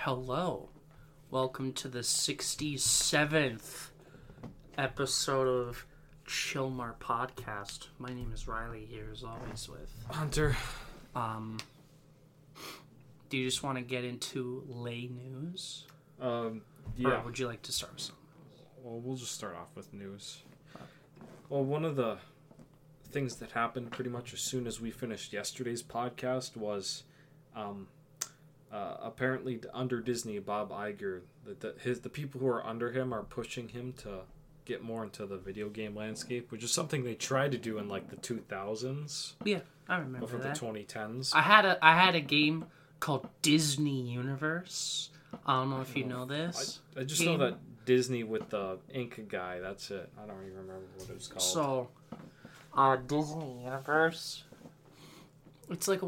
Hello. Welcome to the 67th episode of Chillmar Podcast. My name is Riley here, as always, with Hunter. Do you just want to get into lay news? Yeah. Or would you like to start with something? Well, we'll just start off with news. Well, one of the things that happened pretty much as soon as we finished yesterday's podcast was, apparently under Disney, Bob Iger, the people who are under him are pushing him to get more into the video game landscape, which is something they tried to do in like the 2000s. Yeah, I remember before that. the 2010s. I had a game called Disney Universe. I don't know if you know this. I just know that Disney with the ink guy. That's it. I don't even remember what it was called. So, Disney Universe. It's like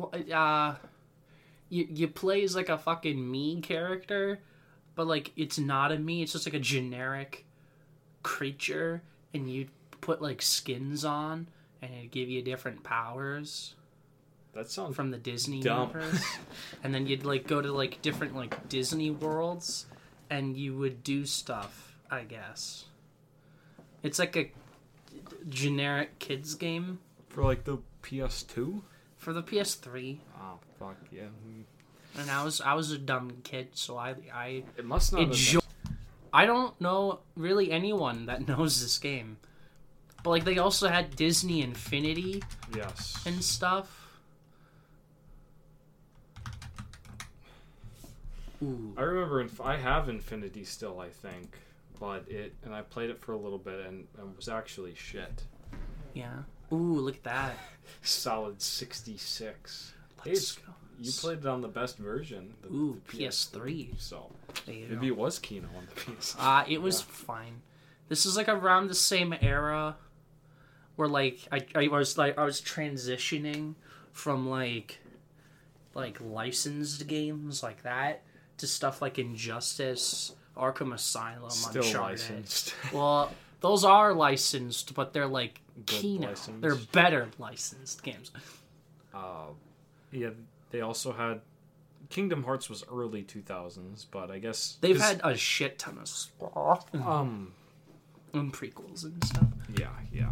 you play as like a fucking Mii character, but like it's not a Mii. It's just like a generic creature, and you put like skins on, and it give you different powers. That sounds from the Disney dumb. Universe. And then you'd like go to like different like Disney worlds, and you would do stuff, I guess. It's like a generic kids game for like the PS2. for the PS3. Oh fuck yeah! And I was a dumb kid, so I It must not enjoy. I don't know really anyone that knows this game, but like they also had Disney Infinity Yes. and stuff. Ooh. I remember I have Infinity still, I think, but I played it for a little bit and was actually shit. Yeah. Ooh, look at that. Solid 66. Let's go. You played it on the best version. The PS3. So Maybe it was Kino on the PS. It was fine. This is like around the same era where like I was transitioning from like licensed games like that to stuff like Injustice, Arkham Asylum, Still Uncharted. licensed. Well, those are licensed, but they're like Good Kino. licensed. They're better licensed games. Yeah, they also had Kingdom Hearts was early 2000s, but I guess They've had a shit ton of stuff. And prequels and stuff. Yeah.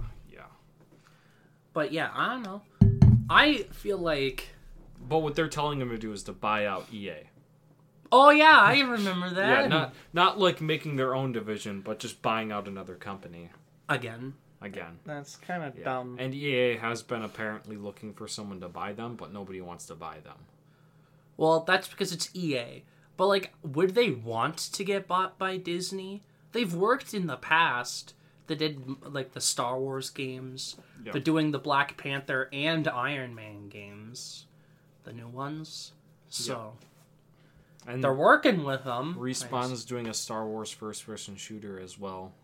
But yeah, I don't know. I feel like... But what they're telling them to do is to buy out EA. Oh yeah, I remember that. Yeah, not like making their own division, but just buying out another company. Again. That's kind of Yeah. dumb. And EA has been apparently looking for someone to buy them, but nobody wants to buy them. Well, that's because it's EA. But like, would they want to get bought by Disney? They've worked in the past. They did like the Star Wars games. Yeah. They're doing the Black Panther and Iron Man games. The new ones. So... And they're working with them. Respawn's doing a Star Wars first-person shooter as well.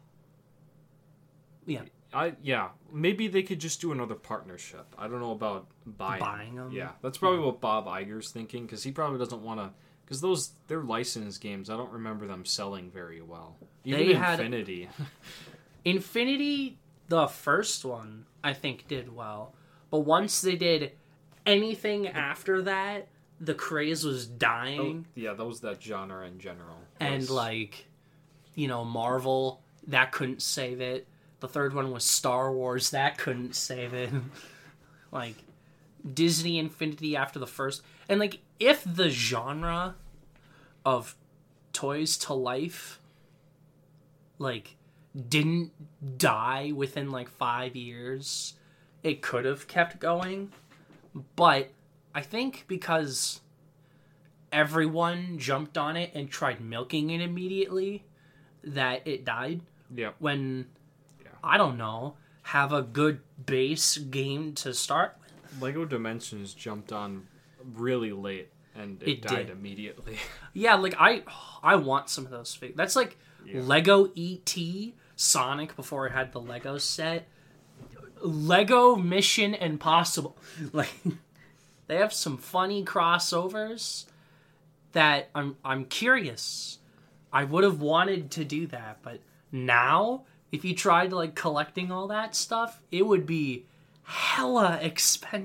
Yeah. Maybe they could just do another partnership. I don't know about buying them. Yeah, that's probably what Bob Iger's thinking, because he probably doesn't want to. Because they're licensed games. I don't remember them selling very well. Even Infinity. Infinity, the first one, I think did well, but once they did anything after that, the craze was dying. Oh, yeah, that was that genre in general. And like, Marvel, that couldn't save it. The third one was Star Wars, that couldn't save it. Like, Disney Infinity after the first. And like, if the genre of toys to life, like, didn't die within like 5 years, it could have kept going. But I think because everyone jumped on it and tried milking it immediately, that it died. Yeah. I don't know, have a good base game to start with. Lego Dimensions jumped on really late, and it died immediately. Yeah, like, I want some of those figures. That's like Lego E.T., Sonic before it had the Lego set, Lego Mission Impossible. Like... They have some funny crossovers that I'm curious. I would have wanted to do that, but now, if you tried like collecting all that stuff, it would be hella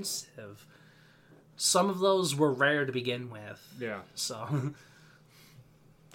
expensive. Some of those were rare to begin with. Yeah. So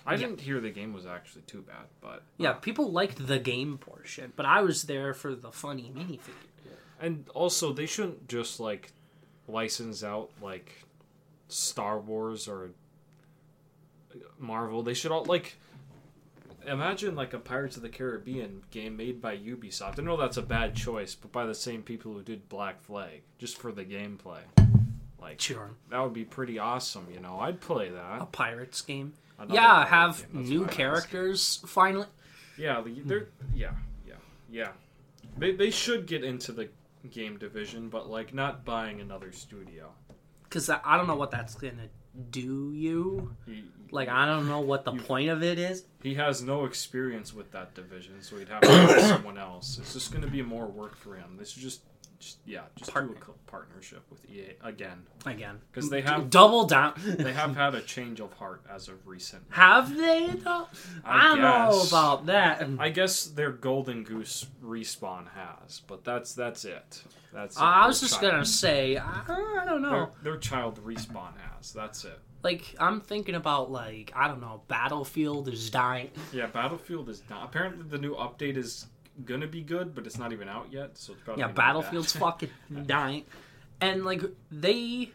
I didn't hear the game was actually too bad, but Yeah, people liked the game portion, but I was there for the funny minifigure. and also they shouldn't just like license out like Star Wars or Marvel. They should all like imagine like a Pirates of the Caribbean game made by Ubisoft. I know that's a bad choice, but by the same people who did Black Flag, just for the gameplay. Like, Sure. that would be pretty awesome, you know. I'd play that. A Pirates game. Another Yeah, pirate have game, that's new what I was- characters finally. Yeah, they're yeah. They should get into the game division, but like not buying another studio. Because I don't know what that's gonna do you. Like, I don't know what the point of it is. He has no experience with that division, so he'd have to hire someone else. It's just going to be more work for him. This is just do a partnership with EA again. Because they have double down. they have had a change of heart as of recent. Have they though? I don't know guess. about that. I guess their Golden Goose Respawn has, but that's it. That's it. I was Their just child- gonna say, I don't know. Their child Respawn has. That's it. Like, I'm thinking about, like, I don't know, Battlefield is dying. Yeah, Battlefield is not. Apparently, the new update is gonna be good, but it's not even out yet. So it's probably Yeah, gonna be Battlefield's bad. fucking dying. And, like, they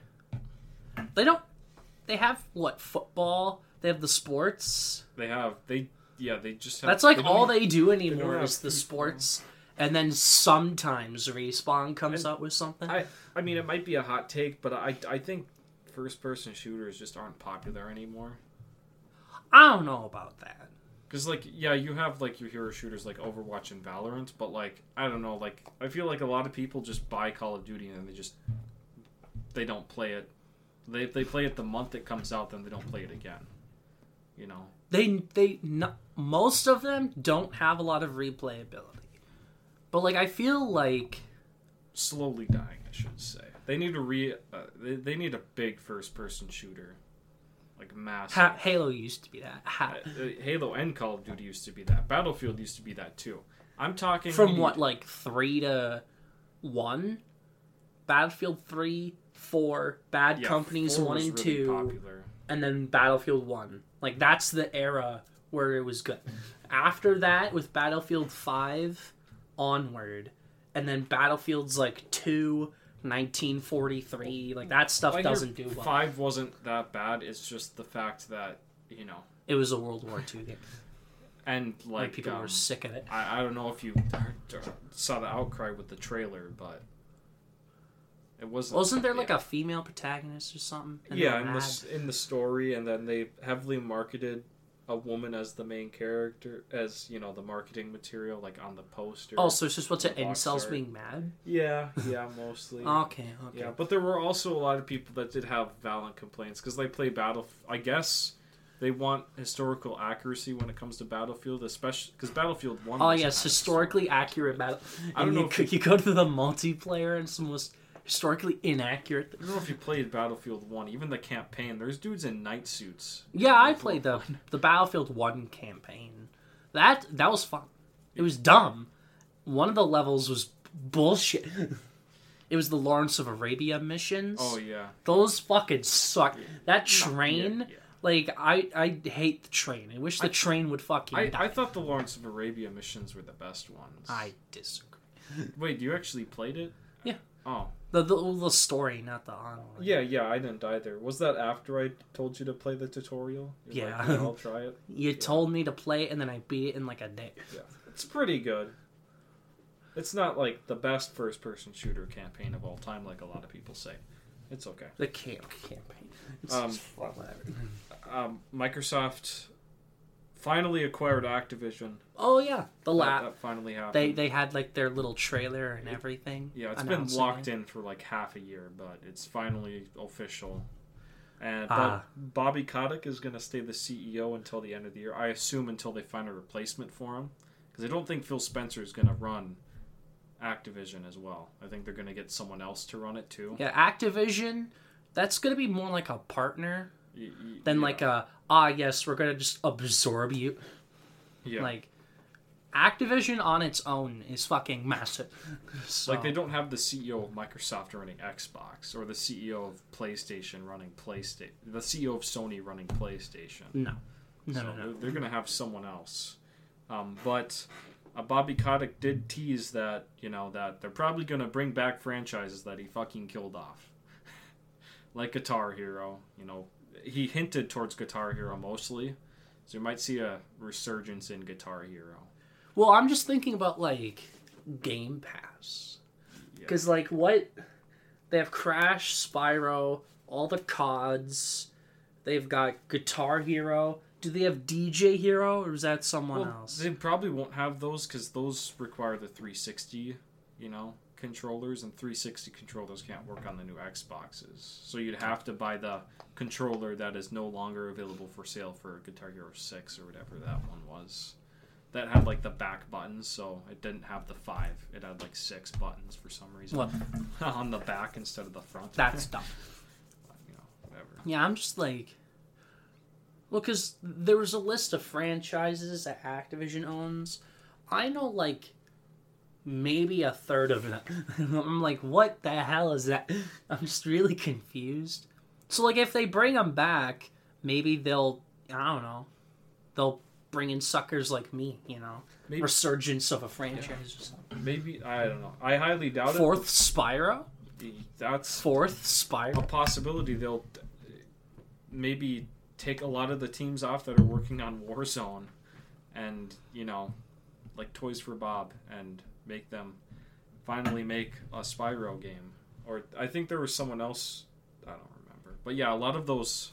have, what, football? They have the sports. They just have. That's, like, don't all even- they do don't anymore have is the people. sports. And then sometimes Respawn comes up with something. I mean, it might be a hot take, but I think first-person shooters just aren't popular anymore. I don't know about that. Because, like, yeah, you have, like, your hero shooters like Overwatch and Valorant, but, like, I don't know, like, I feel like a lot of people just buy Call of Duty and they don't play it. They play it the month it comes out, then they don't play it again. You know? Most of them don't have a lot of replayability. But, like, I feel like... Slowly dying, I should say. They need they need a big first-person shooter. Like, massive. Halo used to be that. Halo and Call of Duty used to be that. Battlefield used to be that too. I'm talking From what, like 3 to 1? Battlefield 3, 4, Bad Companies 4 1 was and really 2, popular. and then Battlefield 1. Like, that's the era where it was good. After that, with Battlefield 5 onward, and then Battlefield's like 2, 1943, like that stuff doesn't do well. 5 wasn't that bad. It's just the fact that, you know, It was a World War II game. and like People were sick of it. I don't know if you saw the outcry with the trailer, but it Wasn't there like a female protagonist or something? And they yeah, were mad? in the story, and then they heavily marketed a woman as the main character, as, you know, the marketing material, like on the poster. Oh, so it's just what's the it? box Incels art. being mad? Yeah, mostly. Okay. Yeah, but there were also a lot of people that did have valid complaints because they play I guess they want historical accuracy when it comes to Battlefield, especially because Battlefield 1. Oh doesn't yes, have historically accurate battle. I don't And know if you go to the multiplayer and it's the most historically inaccurate. I don't know if you played Battlefield 1, even the campaign. There's dudes in night suits. Yeah, I played the Battlefield 1 campaign. That was fun. It was dumb. One of the levels was bullshit. It was the Lawrence of Arabia missions. Oh yeah. Those fucking suck. That train, Yeah. like, I hate the train. I wish the train would fucking die. I thought the Lawrence of Arabia missions were the best ones. I disagree. Wait, you actually played it? Yeah. Oh. The story, not the honor. Yeah, I didn't either. Was that after I told you to play the tutorial? You're Yeah. like, yeah, I'll try it. You told me to play it, and then I beat it in like a day. Yeah, it's pretty good. It's not like the best first-person shooter campaign of all time, like a lot of people say. It's okay. The campaign. It's Um, just fun, whatever. Microsoft finally acquired Activision. Oh yeah, That finally happened. they had like their little trailer and everything. Yeah, it's been locked in for like half a year, but it's finally official. And Bobby Kotick is going to stay the CEO until the end of the year. I assume until they find a replacement for him, because I don't think Phil Spencer is going to run Activision as well. I think they're going to get someone else to run it too. Yeah, Activision. That's going to be more like a partner than yeah. like a yes, we're going to just absorb you. Yeah. Like Activision on its own is fucking massive. So, Like, they don't have the CEO of Microsoft running Xbox, or the CEO of PlayStation running PlayStation, the CEO of Sony running PlayStation. No. No. They're going to have someone else. But Bobby Kotick did tease that, that they're probably going to bring back franchises that he fucking killed off. Like Guitar Hero, he hinted towards Guitar Hero mostly. So you might see a resurgence in Guitar Hero. Well, I'm just thinking about, Game Pass. Because, what... They have Crash, Spyro, all the CODs. They've got Guitar Hero. Do they have DJ Hero, or is that someone else? They probably won't have those, because those require the 360, controllers, and 360 controllers can't work on the new Xboxes. So you'd have to buy the controller that is no longer available for sale for Guitar Hero 6 or whatever that one was. That had the back buttons, so it didn't have the 5. It had 6 buttons for some reason. What? On the back instead of the front. That's dumb. Whatever. Yeah, I'm just well, because there was a list of franchises that Activision owns. I know maybe a third of them. I'm what the hell is that? I'm just really confused. So if they bring them back, maybe they'll, I don't know, they'll bring in suckers like me, maybe. Resurgence of a franchise or something. Maybe, I don't know. I highly doubt Fourth Spyro? That's Fourth Spyro? a possibility. They'll maybe take a lot of the teams off that are working on Warzone and, Toys for Bob, and make them finally make a Spyro game. Or I think there was someone else, I don't remember. But yeah, a lot of those...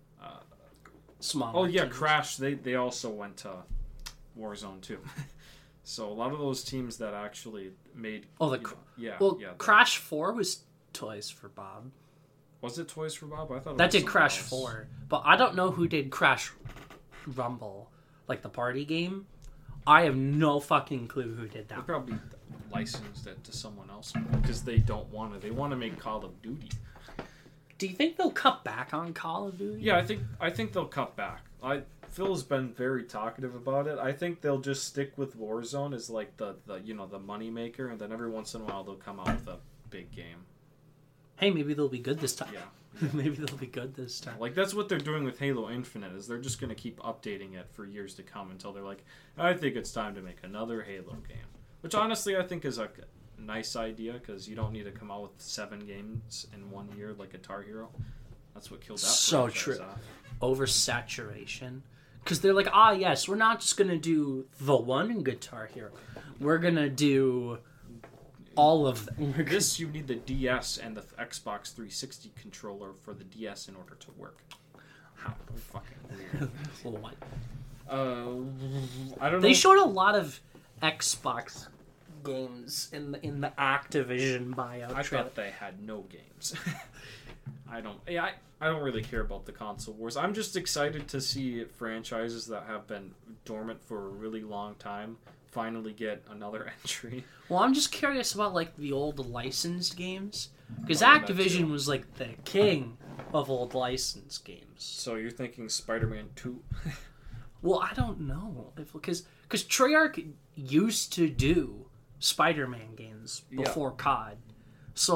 Smaller teams. Crash, they also went to Warzone too. So a lot of those teams that actually made... Crash 4 was Toys for Bob. Was it Toys for Bob? I thought that did Crash 4. But I don't know who did Crash Rumble, the party game. I have no fucking clue who did that. They probably licensed it to someone else because they don't want to. They want to make Call of Duty. Do you think they'll cut back on Call of Duty? Yeah, I think they'll cut back. Phil's been very talkative about it. I think they'll just stick with Warzone as the money maker, and then every once in a while they'll come out with a big game. Hey, maybe they'll be good this time. Yeah. Maybe they'll be good this time. That's what they're doing with Halo Infinite, is they're just going to keep updating it for years to come until they're I think it's time to make another Halo game. Which honestly I think is a nice idea, because you don't need to come out with 7 games in 1 year like Guitar Hero. That's what killed that so true off. Oversaturation, because they're yes, we're not just gonna do the one Guitar Hero, we're gonna do all of them. You need the DS and the Xbox 360 controller for the DS in order to work. How fucking weird. What? I don't know. They showed a lot of Xbox games in the Activision buyout. I thought they had no games. I don't really care about the console wars. I'm just excited to see franchises that have been dormant for a really long time finally get another entry. Well, I'm just curious about the old licensed games, because Activision was the king of old licensed games. So you're thinking Spider-Man 2? Well, I don't know, because Treyarch used to do Spider-Man games before COD. So,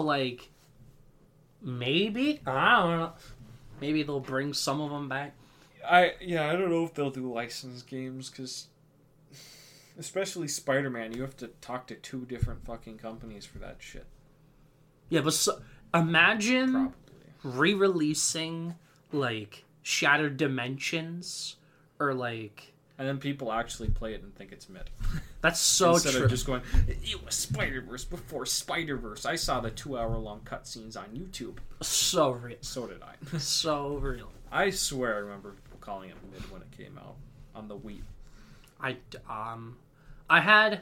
maybe? I don't know. Maybe they'll bring some of them back. I don't know if they'll do licensed games, because especially Spider-Man, you have to talk to 2 different fucking companies for that shit. Yeah, but imagine re-releasing, Shattered Dimensions, or, And then people actually play it and think it's mid. That's so Instead true. Instead of just going, it was Spider-Verse before Spider-Verse. I saw the 2-hour-long cutscenes on YouTube. So real. So did I. So real. I swear I remember people calling it mid when it came out on the Wii. I had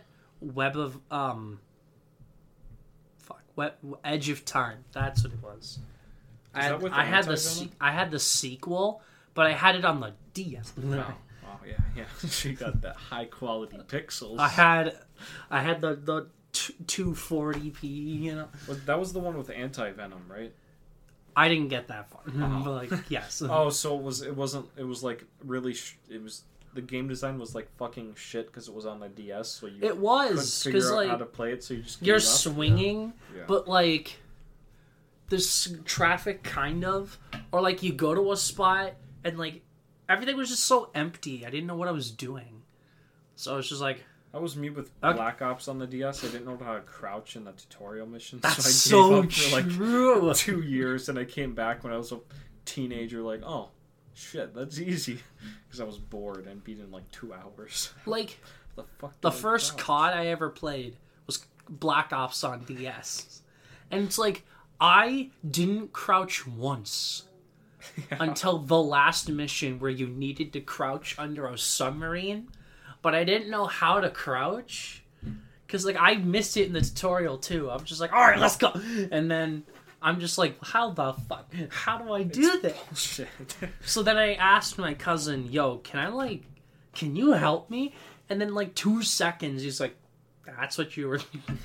Edge of Time. That's what it was. I had the sequel, but I had it on the DS. Oh yeah. She got that high quality pixels. I had the 240p. Well, that was the one with Anti-Venom, right? I didn't get that far, but yes. Oh, so it was really. It was the game design was fucking shit because it was on the DS, so you it was couldn't figure out how to play it, so you just you're swinging, yeah. But there's traffic kind of, or you go to a spot and everything was just so empty. I didn't know what I was doing. So I was just like... That was me with Black Ops on the DS. I didn't know how to crouch in the tutorial mission. That's so I gave up for true. like 2 years, and I came back when I was a teenager like, oh, shit, that's easy. Because I was bored and beat in like 2 hours. Like, the first COD I ever played was Black Ops on DS. And it's like, I didn't crouch once until the last mission where you needed to crouch under a submarine. But I didn't know how to crouch. Because, like, I missed it in the tutorial, too. I'm just like, alright, let's go. And then I'm just like, how the fuck? How do I do this? Bullshit. So then I asked my cousin, yo, can you help me? And then, like, 2 seconds, he's like, that's what you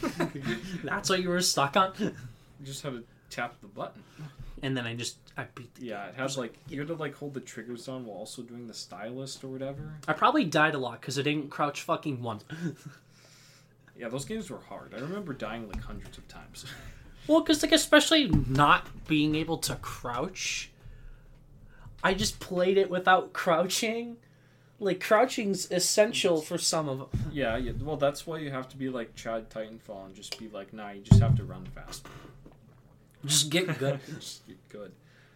were stuck on? You just had to tap the button. And then I beat the game. Yeah, it had you had to like hold the triggers down while also doing the stylist or whatever. I probably died a lot because I didn't crouch fucking once. Yeah, those games were hard. I remember dying like hundreds of times. Well, because like especially not being able to crouch, I just played it without crouching. Like crouching's essential for some of them. Yeah. Well, that's why you have to be like Chad Titanfall and just be like, nah, you just have to run fast. Just get good. Just get good.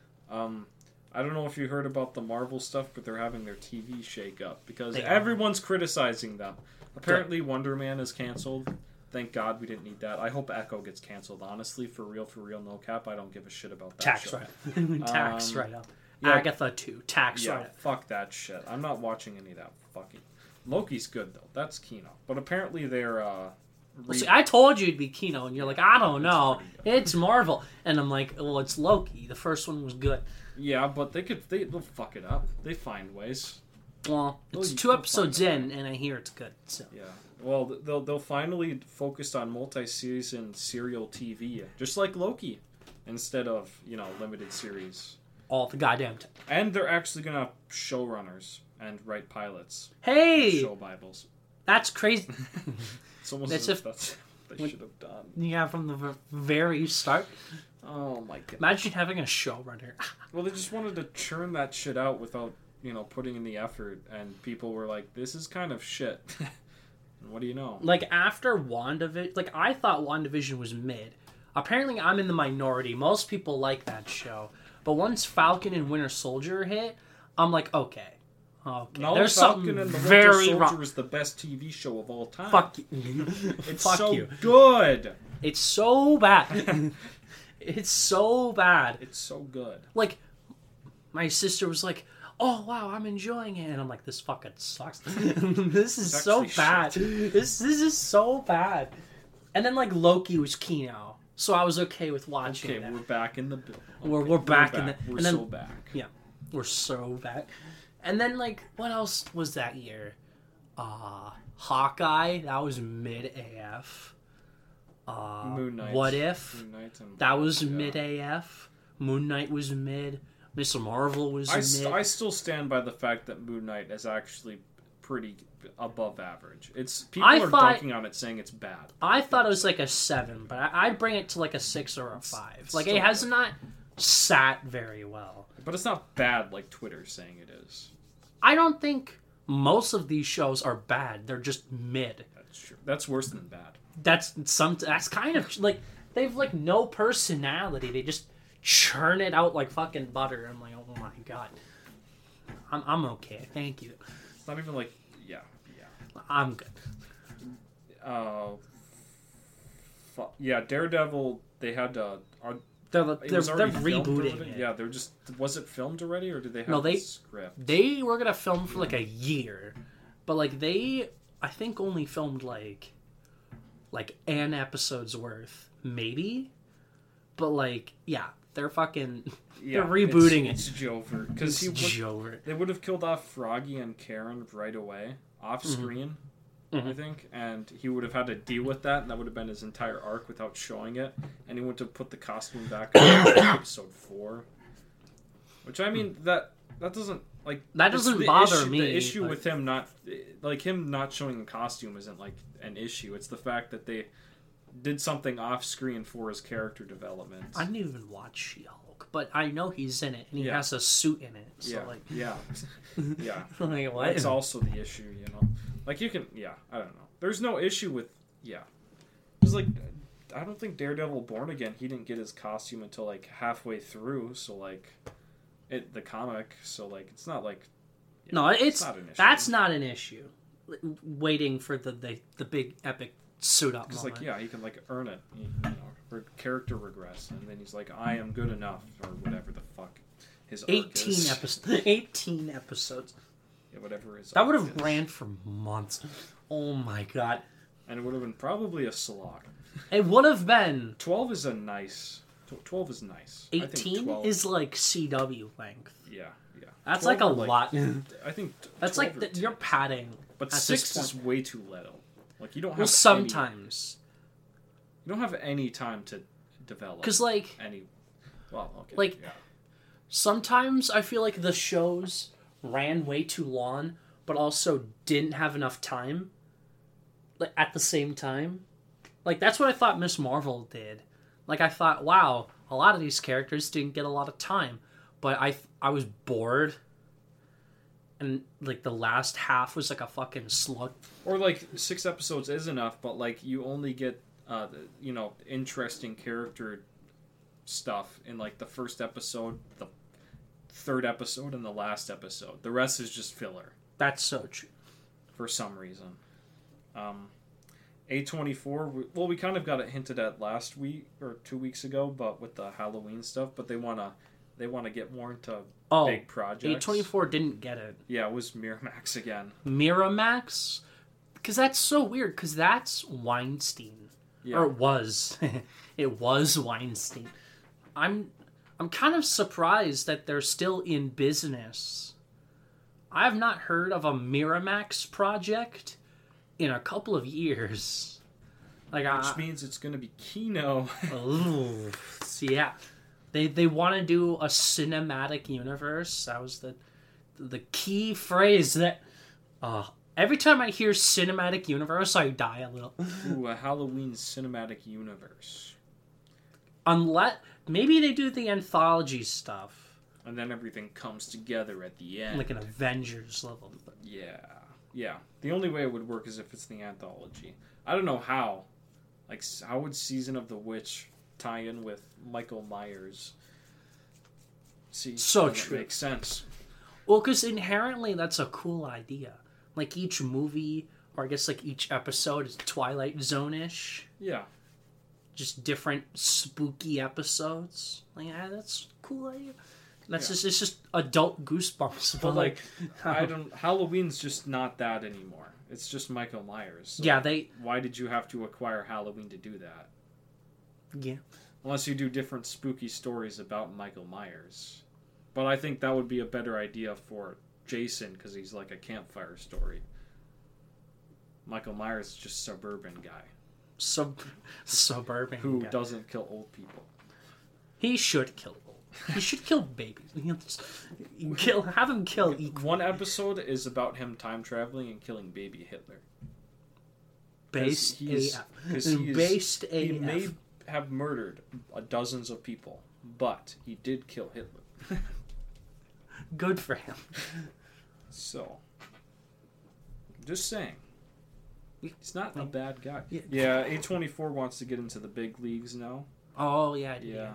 I don't know if you heard about the Marvel stuff, but they're having their TV shake up because everyone's criticizing them. Apparently, Wonder Man is canceled. Thank God we didn't need that. I hope Echo gets canceled. Honestly, for real, no cap. I don't give a shit about that. Tax right up. Tax right up. Yeah, Agatha too. Tax right up. Fuck that shit. I'm not watching any of that fucking. Loki's good though. That's Kino. But apparently they're see, I told you it'd be Kino, and you're like, I don't know. It's Marvel. And I'm like, well, it's Loki. The first one was good. Yeah, but they'll fuck it up. They find ways. Well, it's 2 episodes in, and I hear it's good. So. Yeah. Well, they'll finally focus on multi-season serial TV, just like Loki, instead of, limited series. All the goddamn time. And they're actually going to have showrunners and write pilots. Hey! Show Bibles. That's crazy. It's almost as if that's what they should have done. Yeah, from the very start. Oh my god. Imagine having a showrunner. Well, they just wanted to churn that shit out without, putting in the effort. And people were like, this is kind of shit. And what do you know? Like, after WandaVision... Like, I thought WandaVision was mid. Apparently, I'm in the minority. Most people like that show. But once Falcon and Winter Soldier hit, I'm like, okay. No, there's Falcon something and the very Winter wrong. Soldier is the best TV show of all time. Fuck you. It's Fuck so you. good. It's so bad. It's so bad. It's so good. Like, my sister was like, oh, wow, I'm enjoying it. And I'm like, this fucking sucks. This is so bad. This is so bad. And then, like, Loki was Kino. So I was okay with watching that. We're back in the bill. Okay, we're back in the... We're and then, so back. Yeah, we're so back. And then, like, what else was that year? Hawkeye, that was mid AF. Moon Knight. What If? Moon Knight that was mid AF. Moon Knight was mid. Mr. Marvel was mid. I still stand by the fact that Moon Knight is actually pretty above average. People are dunking on it saying it's bad. I thought it was like a 7, but I'd bring it to like a 6 or a 5. Like, it has not sat very well. But it's not bad like Twitter's saying it is. I don't think most of these shows are bad. They're just mid. That's true. That's worse than bad. That's kind of like they've like no personality. They just churn it out like fucking butter. I'm like, oh my god. I'm okay. Thank you. It's not even like I'm good. Yeah, Daredevil. They had They're rebooting it. Yeah, they're just. Was it filmed already, or did they have the script? They were gonna film for like a year, but like I think only filmed like an episode's worth, maybe. But like, yeah, they're fucking. They're rebooting It's Jover because they would have killed off Froggy and Karen right away off screen. I think, and he would have had to deal with that, and that would have been his entire arc without showing it, and he would have put the costume back in episode 4. Which, I mean, that doesn't, like... That doesn't bother me. The issue with him not showing the costume isn't, like, an issue. It's the fact that they did something off-screen for his character development. I didn't even watch She-Hulk. but I know he's in it, and he Yeah. has a suit in it. So Yeah, like, yeah, yeah. like what? That's also the issue, you know. Like you can, yeah. I don't know. There's no issue with, yeah. Because like, I don't think Daredevil Born Again. He didn't get his costume until like halfway through. So like, the comic. So like, it's not like. Yeah, No, it's not an issue. that's not an issue. Waiting for the big epic suit up Because moment. like, yeah, he can like earn it. You know, character regress, and then he's like, I am good enough, or whatever the fuck his arc 18 is. episodes. 18 episodes. Yeah, whatever his That arc would have is. ran for months. Oh my god. And it would have been probably a slog. It would have been 12 is a nice. 12 is nice. I think 18 12 is like CW length. Yeah, yeah. That's 12 like a or, lot. I think That's 12 like or 10. you're padding. But at 6 this is way too little. Like you don't have Well, any, sometimes. you don't have any time to develop. Because like any. Well, okay. Like- yeah. sometimes I feel like the shows ran way too long, but also didn't have enough time. Like at the same time, like that's what I thought Miss Marvel did. Like I thought, wow, a lot of these characters didn't get a lot of time, but I was bored, and like the last half was like a fucking slug. Or like 6 episodes is enough, but like you only get interesting character stuff in like the first episode, the third episode, and the last episode. The rest is just filler That's so true. for some reason. A24, we kind of got it hinted at last week or 2 weeks ago, but with the Halloween stuff. But they wanna get more into big projects. A24 didn't get it. Yeah, it was Miramax again. Miramax, because that's so weird. Because that's Weinstein, Yeah. or it was, it was Weinstein. I'm kind of surprised that they're still in business. I have not heard of a Miramax project in a couple of years. Like, Which means it's going to be Kino. ooh, yeah, they want to do a cinematic universe. That was the key phrase that. Every time I hear cinematic universe, I die a little. Ooh, a Halloween cinematic universe. Unless maybe they do the anthology stuff, And then everything comes together at the end. like an Avengers level. Yeah. Yeah. The only way it would work is if it's the anthology. I don't know how. Like, how would Season of the Witch tie in with Michael Myers? See, So doesn't true. make sense. Well, because inherently that's a cool idea. Like each movie, or I guess like each episode is Twilight Zone-ish. Yeah. Just different spooky episodes. Like, that's a cool idea. That's Yeah. it's just adult goosebumps. But, like, Halloween's just not that anymore. It's just Michael Myers. So yeah, they, why did you have to acquire Halloween to do that? yeah. Unless you do different spooky stories about Michael Myers. But I think that would be a better idea for Jason, because he's like a campfire story. Michael Myers is just a suburban guy Suburban who guy. doesn't kill old people. He should kill. He should kill babies. Have him kill equal. One episode is about him time traveling and killing baby Hitler. Based he's- AF. 'cause he is- Based He AF. may have murdered dozens of people, but he did kill Hitler. Good for him. So, just saying. He's not a bad guy. Yeah. Yeah, A24 wants to get into the big leagues now. Oh yeah, Yeah.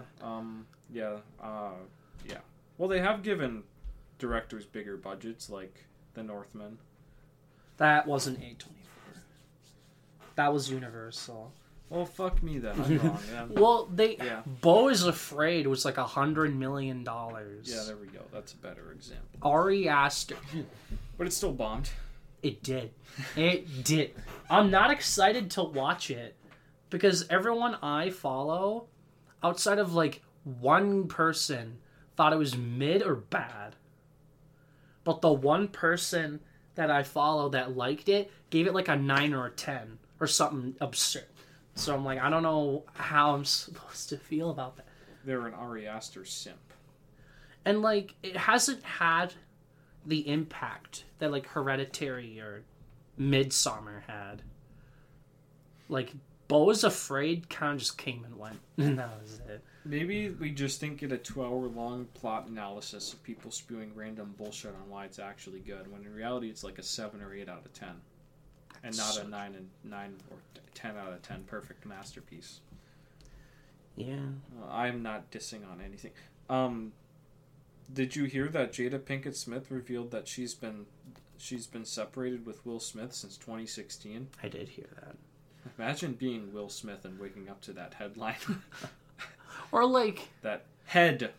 Yeah. Well, they have given directors bigger budgets, like The Northman. That wasn't A24. That was Universal. Well, fuck me then. I'm wrong. Yeah. Well, Yeah. Beau is Afraid was like $100 million. Yeah, there we go. That's a better example. Ari Aster. But it's still bombed. It did. It did. I'm not excited to watch it because everyone I follow, outside of like one person, thought it was mid or bad. But the one person that I follow that liked it gave it like a 9 or a 10 or something absurd. So I'm like, I don't know how I'm supposed to feel about that. They're an Ari Aster simp. And like, it hasn't had the impact that like Hereditary or Midsommar had. Like, Beau Was Afraid kind of just came and went. And that was it. Maybe we just didn't get a 2-hour-long plot analysis of people spewing random bullshit on why it's actually good, when in reality it's like a 7 or 8 out of 10. And not a 9 or 10 out of 10 perfect masterpiece. Yeah. I'm not dissing on anything. Did you hear that Jada Pinkett Smith revealed that she's been separated with Will Smith since 2016? I did hear that. Imagine being Will Smith and waking up to that headline. Or like... That head.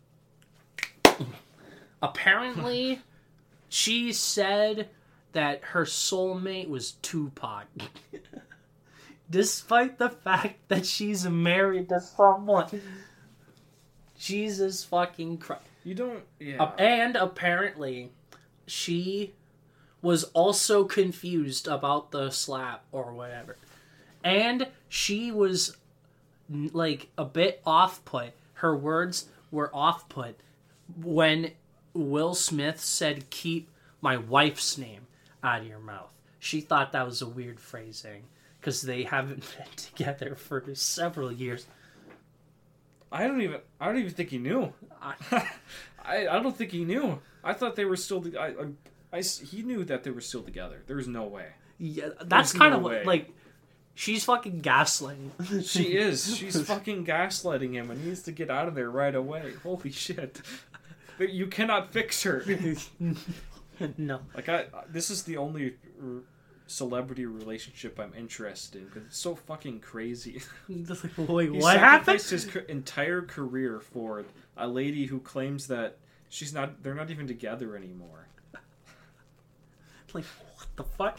Apparently, she said that her soulmate was Tupac. Despite the fact that she's married to someone. Jesus fucking Christ. You don't... Yeah. And apparently, she was also confused about the slap or whatever. And she was, like, a bit off-put. Her words were off-put when Will Smith said, "Keep my wife's name out of your mouth." She thought that was a weird phrasing because they haven't been together for several years. I don't even think he knew. I don't think he knew. I thought they were still... he knew that they were still together. There was no way. Yeah, that's kind of like... She's fucking gaslighting. She is. She's fucking gaslighting him and he needs to get out of there right away. Holy shit. You cannot fix her. No. Like, this is the only celebrity relationship I'm interested in because it's so fucking crazy. Wait, what happened? He sacrificed his entire career for a lady who claims that they're not even together anymore. Like, what the fuck?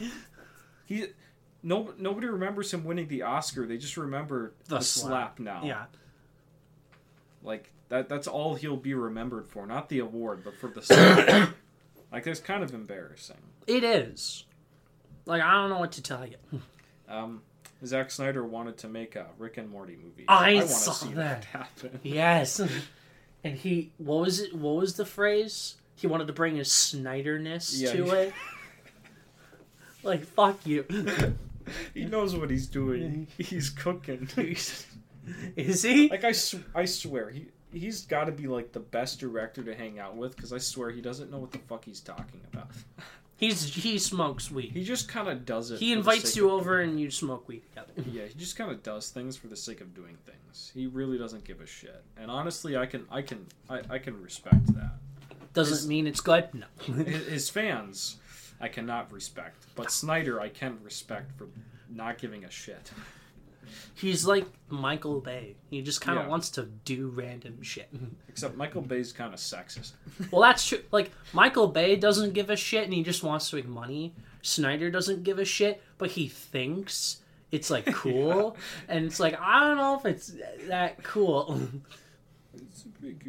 Nobody remembers him winning the Oscar. They just remember the slap now. Yeah. Like, that's all he'll be remembered for. Not the award, but for the slap. Like, that's kind of embarrassing. It is. Like, I don't know what to tell you. Zack Snyder wanted to make a Rick and Morty movie. I want to saw see that happen. Yes. And what was it? What was the phrase? He wanted to bring his Snyderness to it. Like, fuck you. He knows what he's doing. He's cooking. Is he? Like, I swear, he's got to be, like, the best director to hang out with, because I swear he doesn't know what the fuck he's talking about. He smokes weed. He just kind of does it. He invites you over and you smoke weed together. Yeah, he just kind of does things for the sake of doing things. He really doesn't give a shit. And honestly, I can respect that. Doesn't mean it's good? No. His fans, I cannot respect. But Snyder, I can respect for not giving a shit. He's like Michael Bay. He just kind of wants to do random shit. Except Michael Bay's kind of sexist. Well, that's true. Like, Michael Bay doesn't give a shit and he just wants to make money. Snyder doesn't give a shit, but he thinks it's, like, cool. Yeah. And it's like, I don't know if it's that cool. It's a big...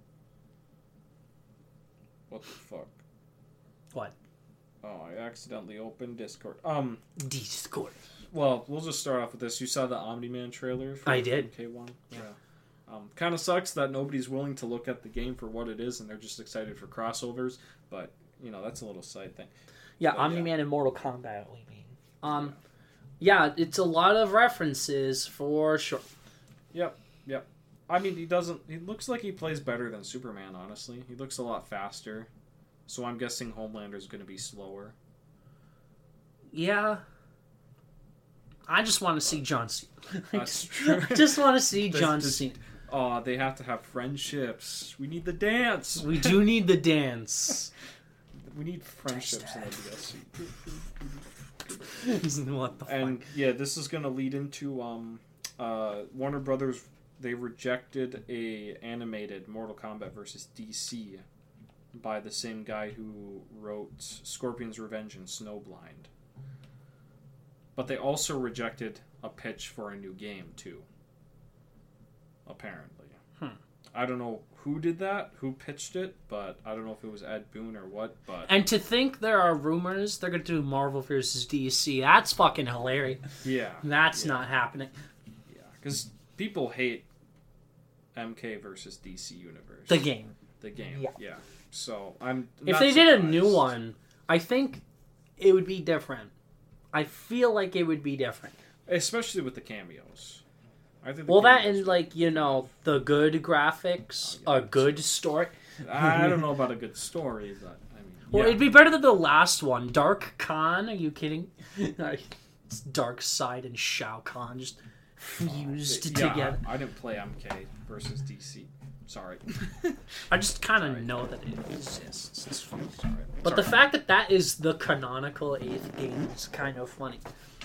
What the fuck? What? Oh, I accidentally opened Discord. Discord. Well, we'll just start off with this. You saw the Omni-Man trailer? I did. K1? Yeah. Kind of sucks that nobody's willing to look at the game for what it is, and they're just excited for crossovers. But, you know, that's a little side thing. Yeah, but, Omni-Man and Mortal Kombat, we mean. Yeah, it's a lot of references for sure. Yep. I mean, he looks like he plays better than Superman, honestly. He looks a lot faster. So I'm guessing Homelander's going to be slower. Yeah. I just want to see John Cena. That's true. Just want to see John Cena. Oh, they have to have friendships. We need the dance. We do need the dance. We need friendships in the DLC. What the fuck? And yeah, this is going to lead into Warner Brothers. They rejected a animated Mortal Kombat versus DC by the same guy who wrote Scorpion's Revenge and Snowblind. But they also rejected a pitch for a new game, too. Apparently. I don't know who did that, who pitched it, but I don't know if it was Ed Boon or what, but... And to think there are rumors they're going to do Marvel vs. DC, that's fucking hilarious. Yeah. That's not happening. Yeah, because people hate MK versus DC Universe. The game. Yeah. So, I'm not If they surprised. did a new one, I think it would be different. I feel like it would be different. especially with the cameos. I think. Well, that and like the good graphics, a good story. I don't know about a good story, but I mean. Well, it'd be better than the last one, Dark Khan. Are you kidding? It's Dark Side and Shao Kahn just fused together. I didn't play MK versus DC. Sorry. I just kind of know that it exists. It's funny. Sorry. But the fact that is the canonical 8th game is kind of funny.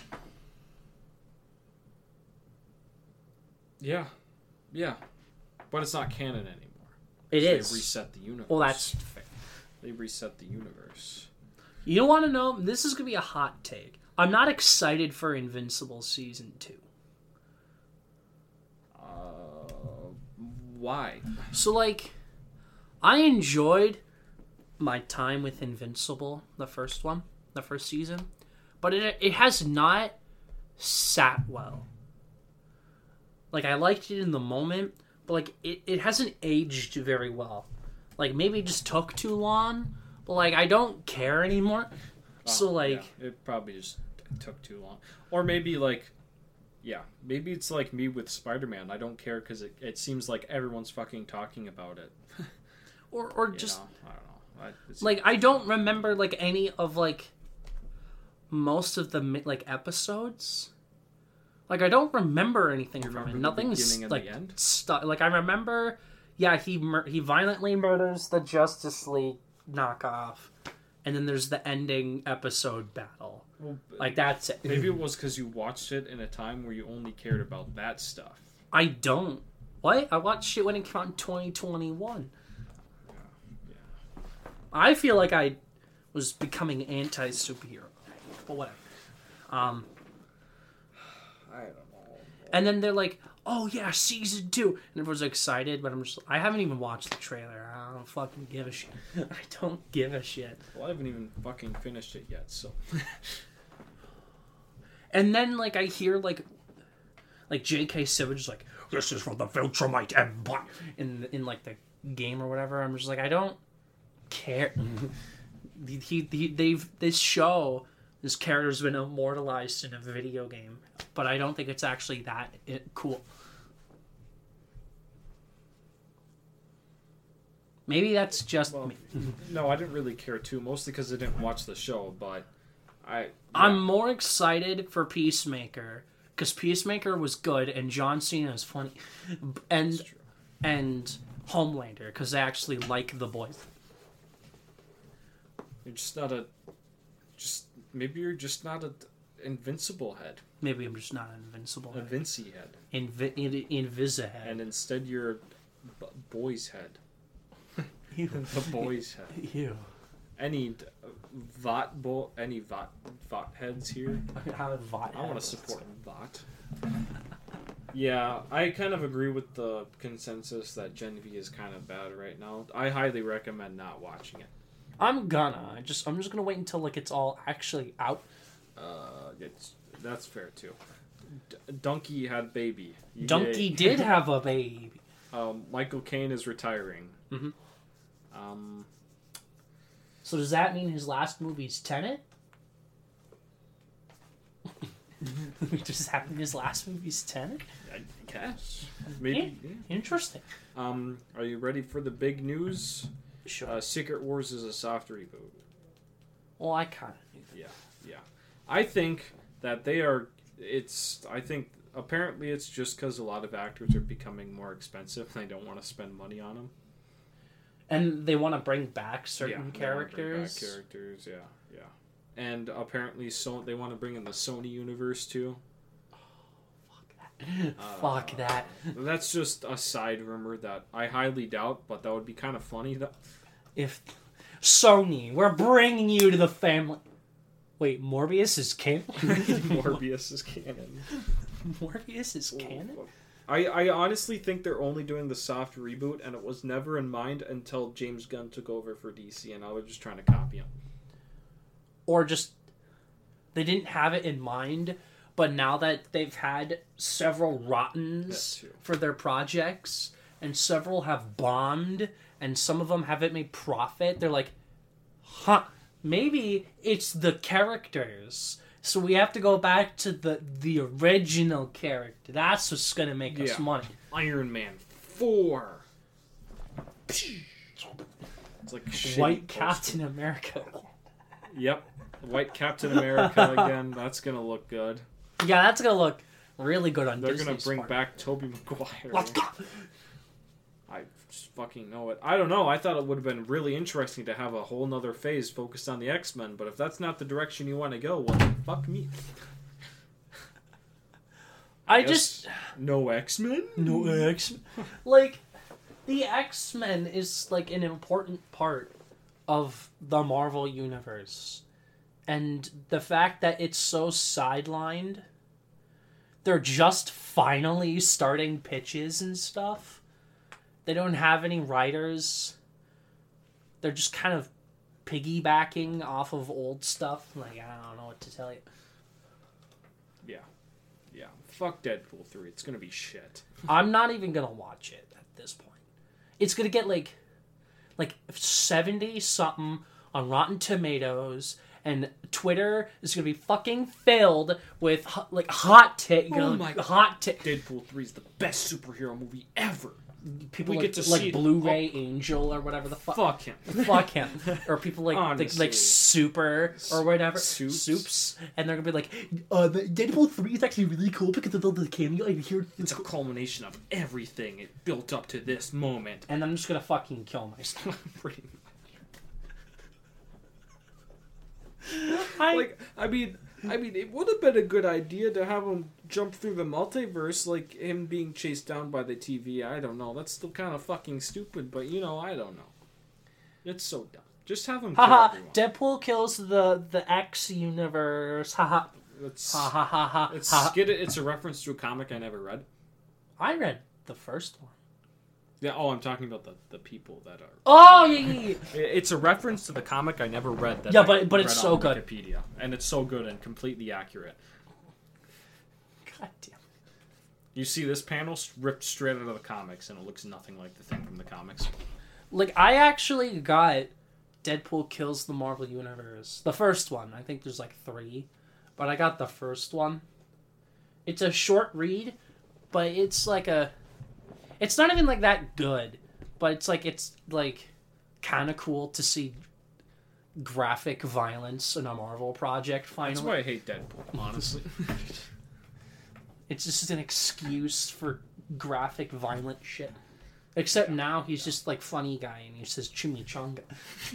Yeah. But it's not canon anymore. It is. They reset the universe. Well, that's fair. They reset the universe. You want to know? This is going to be a hot take. I'm not excited for Invincible Season 2. Why? So, I enjoyed my time with Invincible, the first season, but it has not sat well. I liked it in the moment, but, it hasn't aged very well. Maybe it just took too long, but, I don't care anymore. It probably just took too long. Or maybe, maybe it's like me with Spider-Man. I don't care because it seems like everyone's fucking talking about it. or just... I don't know. I don't remember, any of, most of the, episodes. I don't remember anything from it. Nothing's, stuck. I remember... Yeah, he violently murders the Justice League knockoff. And then there's the ending episode battle. Well, that's it. Maybe it was because you watched it in a time where you only cared about that stuff. I don't. What? I watched it when it came out in 2021. Yeah. I feel like I was becoming anti-superhero. But whatever. I don't know. And then they're like, oh yeah, season 2. And everyone's excited, but I haven't even watched the trailer. I don't fucking give a shit. I don't give a shit. Well, I haven't even fucking finished it yet, so. And then, I hear, J.K. Simmons is this is from the Viltrumite Empire in the game or whatever. I'm just I don't care. This character's been immortalized in a video game, but I don't think it's actually that cool. Maybe that's me. No, I didn't really care too, mostly because I didn't watch the show, but I'm more excited for Peacemaker, because Peacemaker was good, and John Cena is funny. And Homelander, because they actually like the boys. You're just not maybe you're just not an Invincible head. Maybe I'm just not an Invincible head. A Vinci head. Invisa head. And instead you're boy's head. Ew. The boy's head. Ew. Any Vought heads here? I want to support Vought. Yeah, I kind of agree with the consensus that Gen V is kind of bad right now. I highly recommend not watching it. I'm just gonna wait until it's all actually out. That's fair too. Donkey had baby. Donkey did have a baby. Michael Caine is retiring. Mm-hmm. So does that mean his last movie's Tenet? Does that mean his last movie's Tenet? I guess. Maybe. Yeah. Interesting. Are you ready for the big news? Sure. Secret Wars is a soft reboot. Well, I kind of knew that. Yeah. I think that they are... apparently it's just because a lot of actors are becoming more expensive and they don't want to spend money on them. And they want to bring back certain characters. Yeah. And apparently they want to bring in the Sony universe too. Fuck that. That's just a side rumor that I highly doubt, but that would be kind of funny. If Sony, we're bringing you to the family. Wait, Morbius is canon? Morbius is canon. Morbius is canon? I honestly think they're only doing the soft reboot, and it was never in mind until James Gunn took over for DC, and now they're just trying to copy him. Or just, they didn't have it in mind, but now that they've had several rottens for their projects, and several have bombed, and some of them haven't made profit, they're like, maybe it's the characters So we have to go back to the original character. That's what's gonna make us money. Iron Man 4. It's like White Captain America. Yep. White Captain America again. That's gonna look good. Yeah, that's gonna look really good on They're Disney's gonna bring part. back Tobey Maguire. Let's go. I just fucking know it. I don't know. I thought it would have been really interesting to have a whole nother phase focused on the X-Men, but if that's not the direction you want to go, well, then fuck me. I just... No X-Men? No X-Men? Like, the X-Men is, like, an important part of the Marvel Universe. And the fact that it's so sidelined, they're just finally starting pitches and stuff. They don't have any writers. They're just kind of piggybacking off of old stuff. Like, I don't know what to tell you. Yeah. Yeah. Fuck Deadpool 3. It's gonna be shit. I'm not even gonna watch it at this point. It's gonna get like 70-something on Rotten Tomatoes, and Twitter is gonna be fucking filled with hot take. Hot take. Deadpool 3 is the best superhero movie ever. People we like, get to like see Blu-ray Angel or whatever the fuck. Fuck him. Fuck him. Or people like Honestly. Super or whatever. Soups. And they're gonna be like, the Deadpool 3 is actually really cool because of the cameo. I hear It's a culmination of everything. It built up to this moment. And I'm just gonna fucking kill myself. Pretty I much. I mean, it would have been a good idea to have him jump through the multiverse, like him being chased down by the TV. I don't know. That's still kind of fucking stupid, but I don't know. It's so dumb. Just have him kill everyone. Deadpool kills the X universe. Haha. It's a reference to a comic I never read. I read the first one. Yeah. Oh, I'm talking about the people that are. Oh yeah. It's a reference to the comic I never read. That but it's so good. Wikipedia, and it's so good and completely accurate. God damn. You see this panel ripped straight out of the comics, and it looks nothing like the thing from the comics. Like, I actually got Deadpool Kills the Marvel Universe. The first one. I think there's like 3. But I got the first one. It's a short read, but it's like it's not even like that good. But it's like kind of cool to see graphic violence in a Marvel project finally. That's why I hate Deadpool, honestly. It's just an excuse for graphic violent shit. Except now he's just like funny guy and he says chimichanga.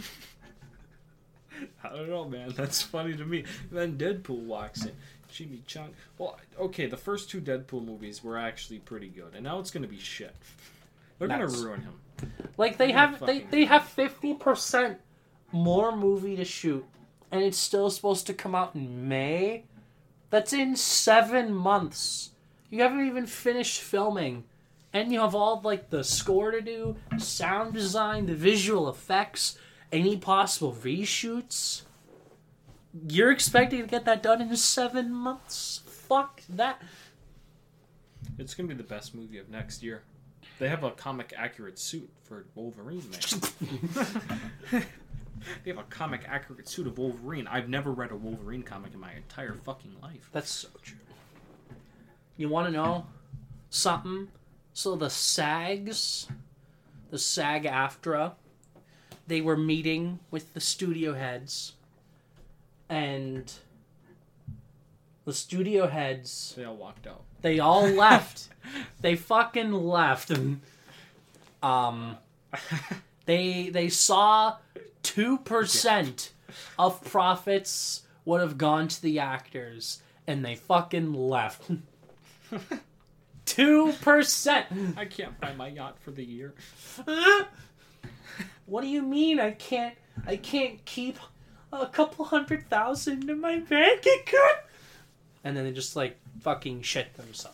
I don't know, man. That's funny to me. Then Deadpool walks in. Chimichanga. Well, okay, the first 2 Deadpool movies were actually pretty good, and now it's gonna be shit. They're gonna ruin him. Like they have 50% more movie to shoot, and it's still supposed to come out in May. That's in 7 months. You haven't even finished filming. And you have all, like, the score to do, sound design, the visual effects, any possible reshoots. You're expecting to get that done in 7 months? Fuck that. It's going to be the best movie of next year. They have a comic-accurate suit for Wolverine, man. They have a comic-accurate suit of Wolverine. I've never read a Wolverine comic in my entire fucking life. That's so true. You want to know something? So the SAG-AFTRA, they were meeting with the studio heads, and the studio heads... They all walked out. They all left. They fucking left. And, they saw 2% of profits would have gone to the actors, and they fucking left. 2%. I can't buy my yacht for the year. What do you mean I can't keep a couple $100,000 in my bank account? And then they just like fucking shit themselves.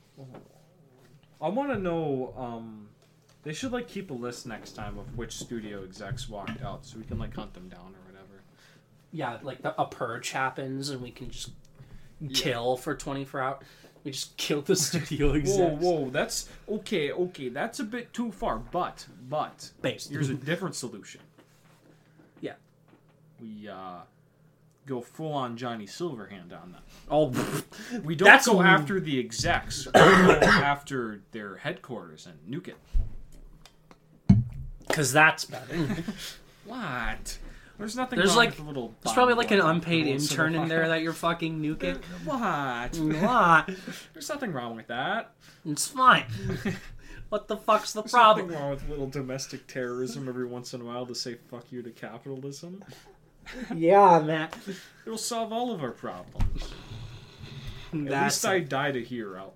I want to know. They should like keep a list next time of which studio execs walked out, so we can like hunt them down or whatever. Yeah, like a purge happens, and we can just kill for 24 hours. We just kill the studio execs. Whoa, that's okay. That's a bit too far, but Based. here's a different solution. Yeah. go full on Johnny Silverhand on them. Oh, We don't go after the execs. We go after their headquarters and nuke it. Because that's better. What? There's nothing There's wrong like with a little... there's probably like an unpaid intern in there that you're fucking nuking. What? What? There's nothing wrong with that. It's fine. What the fuck's the There's problem? nothing wrong with a little domestic terrorism every once in a while to say fuck you to capitalism. Yeah, man. It'll solve all of our problems. At least I died a hero.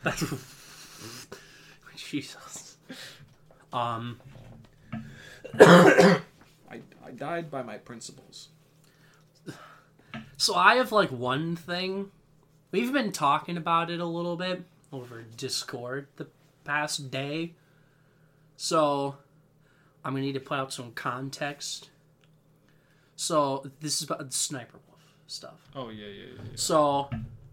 Jesus. I died by my principles. So I have like one thing. We've been talking about it a little bit over Discord the past day. So I'm gonna need to put out some context. So this is about the Sniper Wolf stuff. Oh yeah. So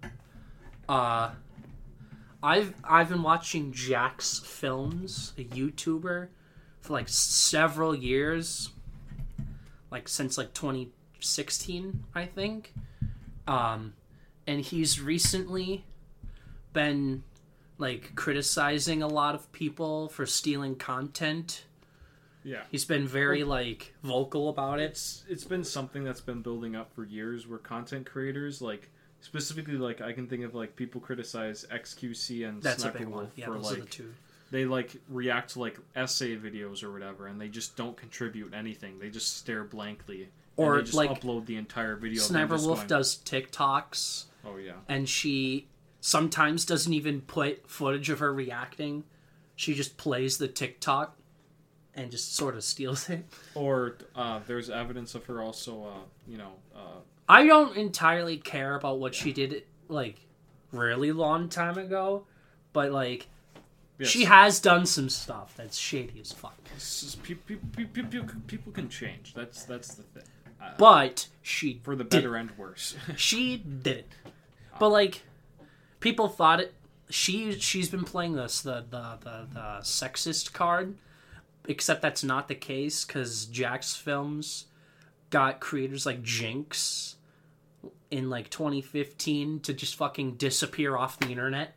I've been watching Jax Films, a YouTuber, for like several years. Like since like 2016, I think. And he's recently been like criticizing a lot of people for stealing content. Yeah. He's been very like vocal about it. It's been something that's been building up for years where content creators, like specifically like I can think of like people criticize XQC and That's Sniper a big one. Wolf Yeah, for those like are the two. they like react to like essay videos or whatever and they just don't contribute anything. They just stare blankly. Or and they just like upload the entire video. Sniper Wolf does TikToks. Oh yeah. And she sometimes doesn't even put footage of her reacting. She just plays the TikTok and just sort of steals it. Or there's evidence of her also, I don't entirely care about what she did, like, really long time ago, but, like, yes. She has done some stuff that's shady as fuck. People can change. That's the thing. But she for the better and worse. She did it. But, like, people thought it... She's been playing this, the sexist card, except that's not the case, because Jax Films got creators like Jinx in, like, 2015 to just fucking disappear off the internet.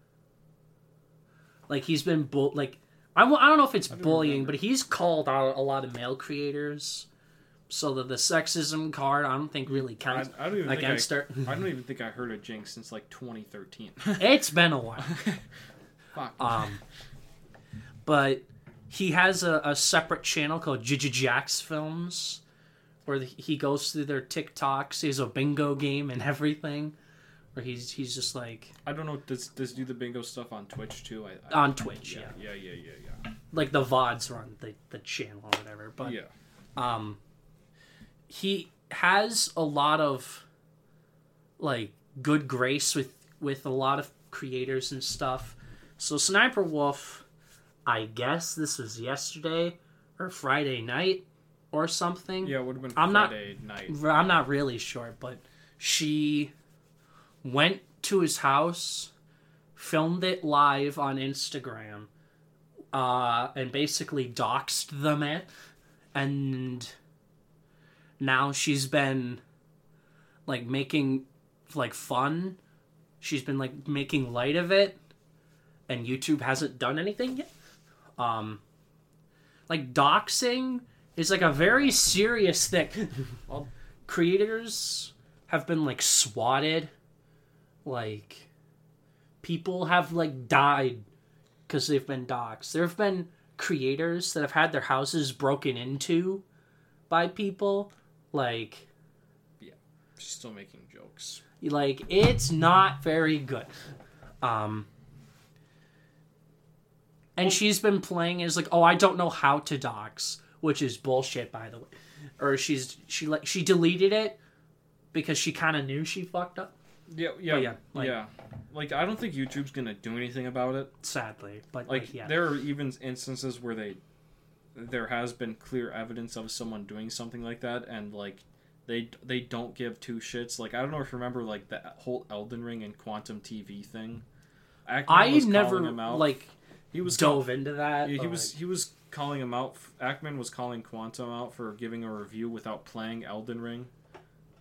Like, he's been... I don't know if it's bullying, but he's called out a lot of male creators... So that the sexism card, I don't think really counts against her. I don't even think I heard of Jinx since like 2013. It's been a while. Fuck. But he has a separate channel called Jax Films, where he goes through their TikToks. He has a bingo game and everything, where he's just like... I don't know. Does do the bingo stuff on Twitch too? On Twitch, yeah. Yeah. Like the VODs are on the channel or whatever. But yeah. He has a lot of, like, good grace with a lot of creators and stuff. So Sniper Wolf, I guess this was yesterday or Friday night or something. Yeah, it would have been Friday night. I'm not really sure, but she went to his house, filmed it live on Instagram, and basically doxed them it, and... Now she's been, like, making, like, fun. She's been, like, making light of it. And YouTube hasn't done anything yet. Like, doxing is, like, a very serious thing. Creators have been, like, swatted. Like, people have, like, died because they've been doxed. There have been creators that have had their houses broken into by people. Like... Yeah, she's still making jokes. Like, it's not very good. And she's been playing as like, oh, I don't know how to dox, which is bullshit, by the way. Or she deleted it because she kind of knew she fucked up. Yeah. Like, I don't think YouTube's gonna do anything about it. Sadly, but there are even instances where there has been clear evidence of someone doing something like that, and like they don't give two shits. Like, I don't know if you remember like the whole Elden Ring and Quantum TV thing. I never like he was dove into that. Yeah, he was calling him out. Ackman was calling Quantum out for giving a review without playing Elden Ring.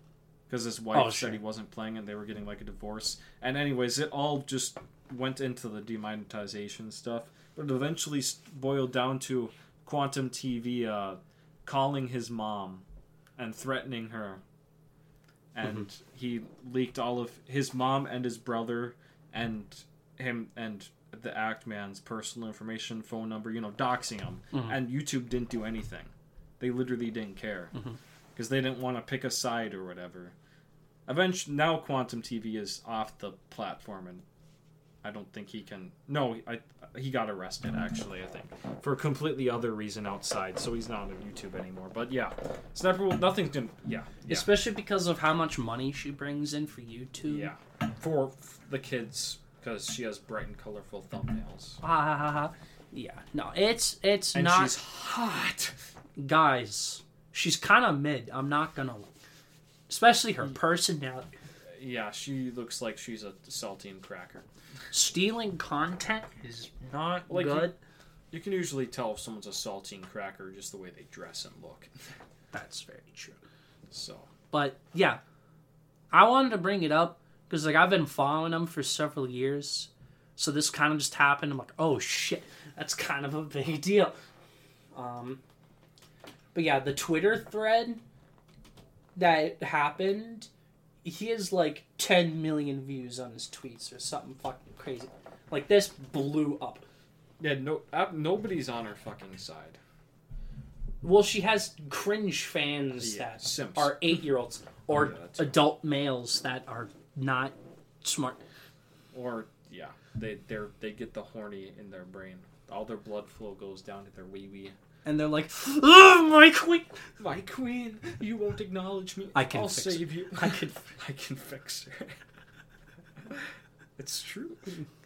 because his wife said he wasn't playing and they were getting like a divorce. And anyways, it all just went into the demonetization stuff, but it eventually boiled down to Quantum TV calling his mom and threatening her. And he leaked all of his mom and his brother and him and the Act Man's personal information, phone number, doxing him. And YouTube didn't do anything. They literally didn't care. Because they didn't want to pick a side or whatever. Eventually, now Quantum TV is off the platform, and I don't think he can... No, he got arrested, actually, I think. For a completely other reason outside, so he's not on YouTube anymore. But yeah, Sniper Wolf, nothing's gonna... Yeah. Especially because of how much money she brings in for YouTube. Yeah. For the kids, because she has bright and colorful thumbnails. Yeah. No, it's and not... And she's hot. Guys, she's kind of mid. I'm not gonna... Especially her personality. Yeah, she looks like she's a saltine cracker. Stealing content is not good. You can usually tell if someone's a saltine cracker just the way they dress and look. That's very true. So, but yeah, I wanted to bring it up because I've been following them for several years, so this kind of just happened. I'm like, oh shit, that's kind of a big deal. But yeah, the Twitter thread that happened. He has like 10 million views on his tweets or something fucking crazy. Like, this blew up. Yeah, nobody's on her fucking side. Well, she has cringe fans that simps. Are 8-year-olds or adult males that are not smart. Or they get the horny in their brain. All their blood flow goes down to their wee-wee. And they're like, oh, my queen! My queen, you won't acknowledge me. I'll save you. I can fix her. It's true.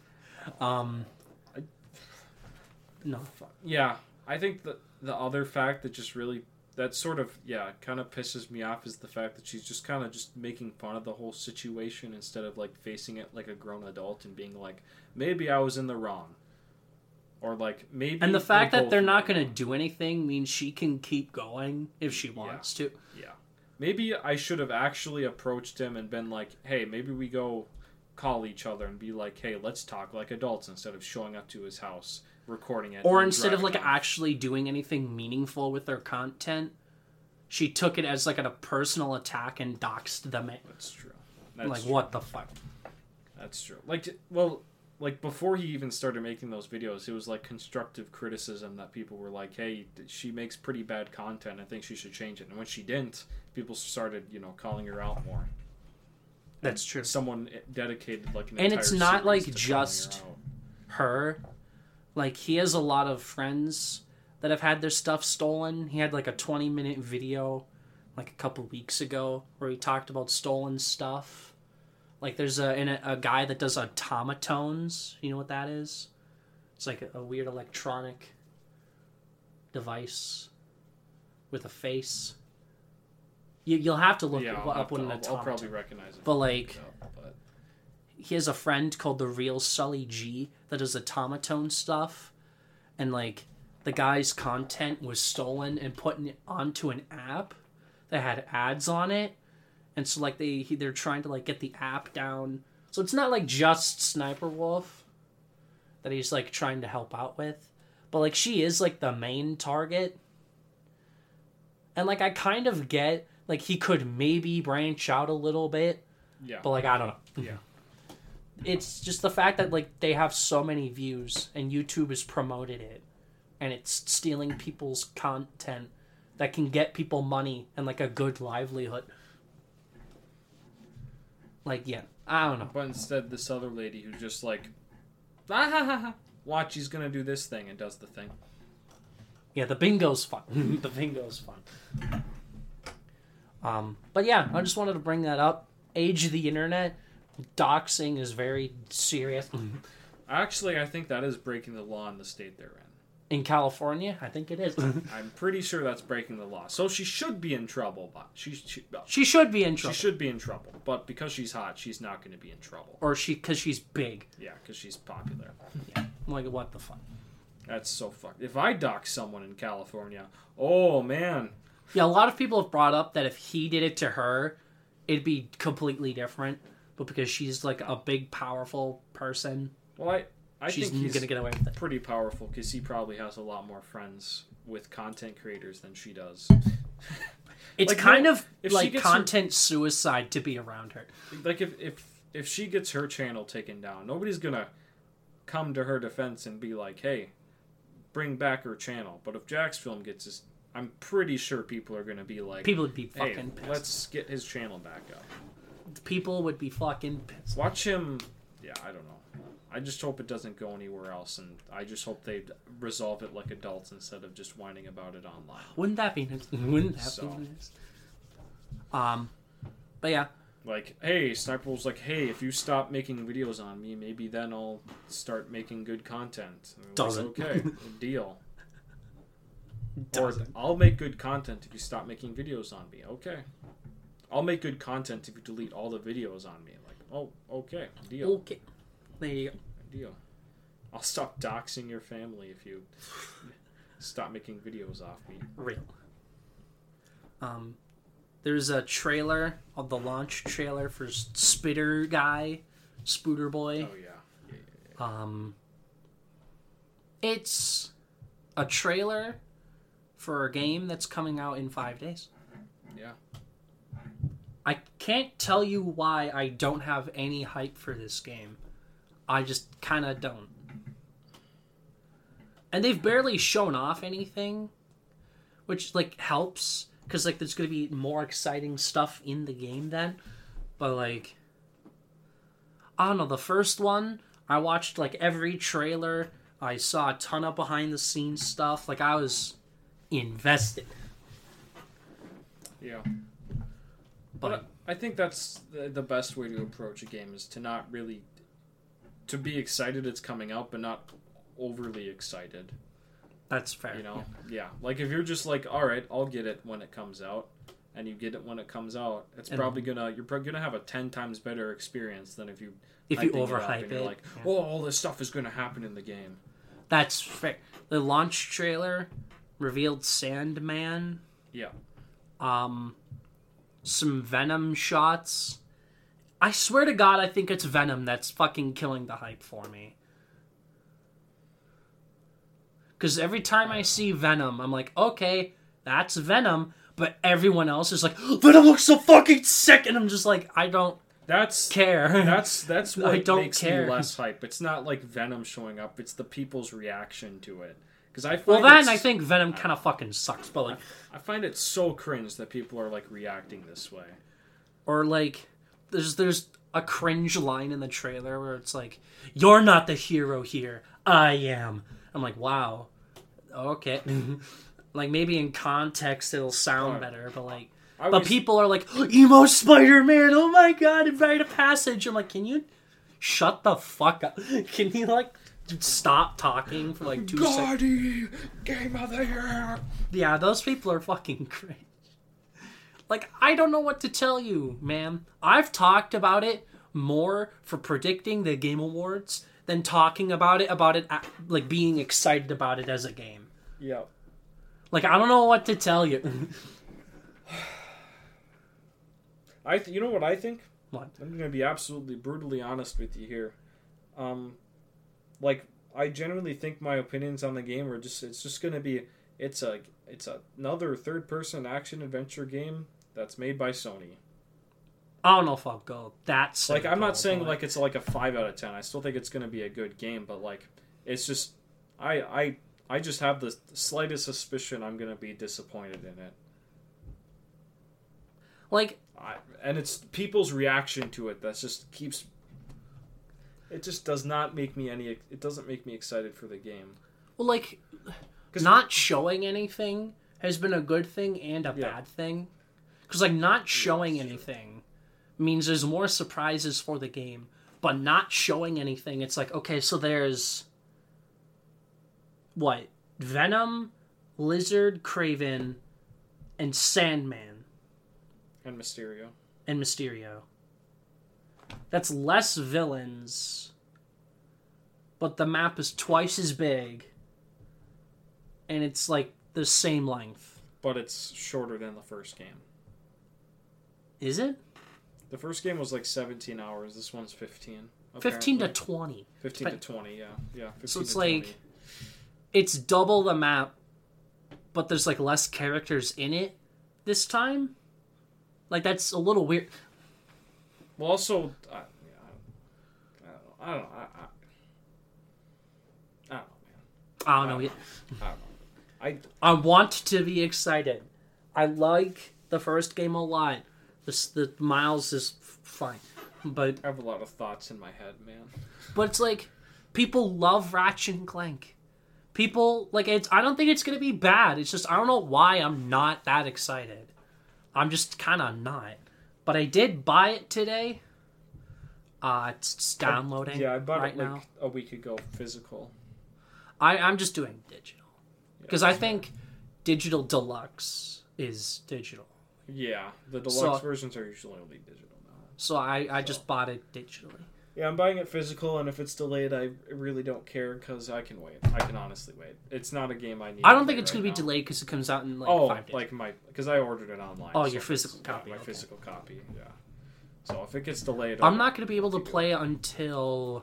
No. Yeah, I think the other fact that just really, that sort of, kind of pisses me off is the fact that she's just kind of just making fun of the whole situation instead of, like, facing it like a grown adult and being like, maybe I was in the wrong. Or like maybe, and the fact that they're not going to do anything means she can keep going if she wants to. Yeah, maybe I should have actually approached him and been like, "Hey, maybe we go call each other and be like, hey, let's talk like adults instead of showing up to his house, recording it, or instead of like actually doing anything meaningful with their content." She took it as like a personal attack and doxed them. That's true. What the fuck? That's true. Like, before he even started making those videos, it was, like, constructive criticism that people were like, hey, she makes pretty bad content. I think she should change it. And when she didn't, people started, calling her out more. That's true. Someone dedicated, like, an and entire it's not, like, series to just her. Like, he has a lot of friends that have had their stuff stolen. He had, like, a 20-minute video, like, a couple weeks ago where he talked about stolen stuff. Like, there's a guy that does automatones. You know what that is? It's like a weird electronic device with a face. You'll have to look up what an automaton. I'll probably recognize it. But, he has a friend called the Real Sully G that does automaton stuff. And, like, the guy's content was stolen and put onto an app that had ads on it. And so, like, they're trying to, like, get the app down. So it's not, like, just Sniper Wolf that he's, like, trying to help out with. But, like, she is, like, the main target. And, like, I kind of get, like, he could maybe branch out a little bit. Yeah. But, like, I don't know. Yeah. It's just the fact that, like, they have so many views and YouTube has promoted it. And it's stealing people's content that can get people money and, like, a good livelihood. Like, yeah, I don't know. But instead, this other lady who's just like, watch, he's gonna do this thing, and does the thing. Yeah, the bingo's fun. The bingo's fun. But yeah, I just wanted to bring that up. Age of the internet, doxing is very serious. Actually, I think that is breaking the law in the state they're in. In California? I think it is. I'm pretty sure that's breaking the law. So she should be in trouble. But she should be in trouble. She should be in trouble. But because she's hot, she's not going to be in trouble. Or because she's big. Yeah, because she's popular. Yeah. Like, what the fuck? That's so fucked. If I dox someone in California, oh, man. Yeah, a lot of people have brought up that if he did it to her, it'd be completely different. But because she's like a big, powerful person, well, I she's think he's gonna get away with it. Pretty powerful because he probably has a lot more friends with content creators than she does. It's like, kind no, of like content suicide to be around her. Like if she gets her channel taken down, nobody's gonna come to her defense and be like, "Hey, bring back her channel." But if Jack's Film gets his, I'm pretty sure people are gonna be like, people would be "Hey, fucking pissed. let's get his channel back up." People would be fucking pissed. Watch him. Yeah, I don't know. I just hope it doesn't go anywhere else, and I just hope they resolve it like adults instead of just whining about it online. Wouldn't that be nice? Wouldn't that be nice? But yeah. Like, hey, Sniper was like, hey, if you stop making videos on me, maybe then I'll start making good content. Doesn't. Like, okay, deal. Doesn't. Or, I'll make good content if you stop making videos on me. Okay. I'll make good content if you delete all the videos on me. Like, oh, okay, deal. Okay. There you go. Deal. I'll stop doxing your family if you stop making videos off me. Real. There's a trailer, the launch trailer for Spitter Guy, Spooter Boy. Oh yeah. It's a trailer for a game that's coming out in 5 days. Yeah. I can't tell you why I don't have any hype for this game. I just kind of don't. And they've barely shown off anything, which, like, helps. Because, like, there's going to be more exciting stuff in the game then. But, like, I don't know. The first one, I watched, like, every trailer. I saw a ton of behind-the-scenes stuff. Like, I was invested. Yeah. But I think that's the best way to approach a game is to not really... to be excited it's coming out, but not overly excited. That's fair. You know? Yeah. Like, if you're just like, alright, I'll get it when it comes out, and you get it when it comes out, it's probably gonna... you're probably gonna have a 10 times better experience than if you overhype it. You're like, oh, all this stuff is gonna happen in the game. That's fair. The launch trailer revealed Sandman. Yeah. Some Venom shots. I swear to God, I think it's Venom that's fucking killing the hype for me. Because every time I see Venom, I'm like, okay, that's Venom. But everyone else is like, Venom looks so fucking sick. And I'm just like, I don't care. That's what I don't makes care. me less hype. It's not like Venom showing up. It's the people's reaction to it. Because I think Venom kind of fucking sucks. But like, I find it so cringe that people are like reacting this way. Or like, there's a cringe line in the trailer where it's like, "You're not the hero here. I am." I'm like, wow, okay. Like maybe in context it'll sound better, but like, but people are like, "Emo Spider-Man! Oh my God, invite a passage." I'm like, can you shut the fuck up? Can you like stop talking for like 2 seconds? Game of the Year. Yeah, those people are fucking cringe. Like, I don't know what to tell you, man. I've talked about it more for predicting the Game Awards than talking about it, like, being excited about it as a game. Yeah. Like, I don't know what to tell you. You know what I think? What? I'm going to be absolutely brutally honest with you here. Like, I genuinely think my opinions on the game are just, it's just going to be, it's another third-person action-adventure game that's made by Sony. I don't know if I'll go that simple. Like, I'm not saying, like, it's like a 5 out of 10. I still think it's going to be a good game, but, like, it's just... I just have the slightest suspicion I'm going to be disappointed in it. Like... and it's people's reaction to it that just keeps... It just does not make me It doesn't make me excited for the game. Well, like, not showing anything has been a good thing and a bad thing. Because, like, not showing anything means there's more surprises for the game. But not showing anything, it's like, okay, so there's... what? Venom, Lizard, Kraven, and Sandman. And Mysterio. That's less villains, but the map is twice as big, and it's like the same length. But it's shorter than the first game. Is it? The first game was like 17 hours. This one's 15. 15 to 20. 15 to 20, yeah. Yeah, 15 so it's to like 20. it's double the map, but there's like less characters in it this time. Like that's a little weird. Well, also, I don't know. I don't know. I don't know. I want to be excited. I like the first game a lot. The Miles is fine, but I have a lot of thoughts in my head, man. But it's like people love Ratchet and Clank. People like it's. I don't think it's gonna be bad. It's just I don't know why I'm not that excited. I'm just kind of not. But I did buy it today. It's downloading. Yeah, I bought right it like now. a week ago, physical. I'm just doing digital because I think digital deluxe is digital. Yeah, the deluxe versions are usually only digital now. So I just bought it digitally. Yeah, I'm buying it physical, and if it's delayed, I really don't care because I can wait. I can honestly wait. It's not a game I need. I don't think it's going to be delayed because it comes out in like 5 days. like because I ordered it online. Oh, your physical copy. Yeah, my physical copy. Yeah. So if it gets delayed, I'm not going to be able to play it until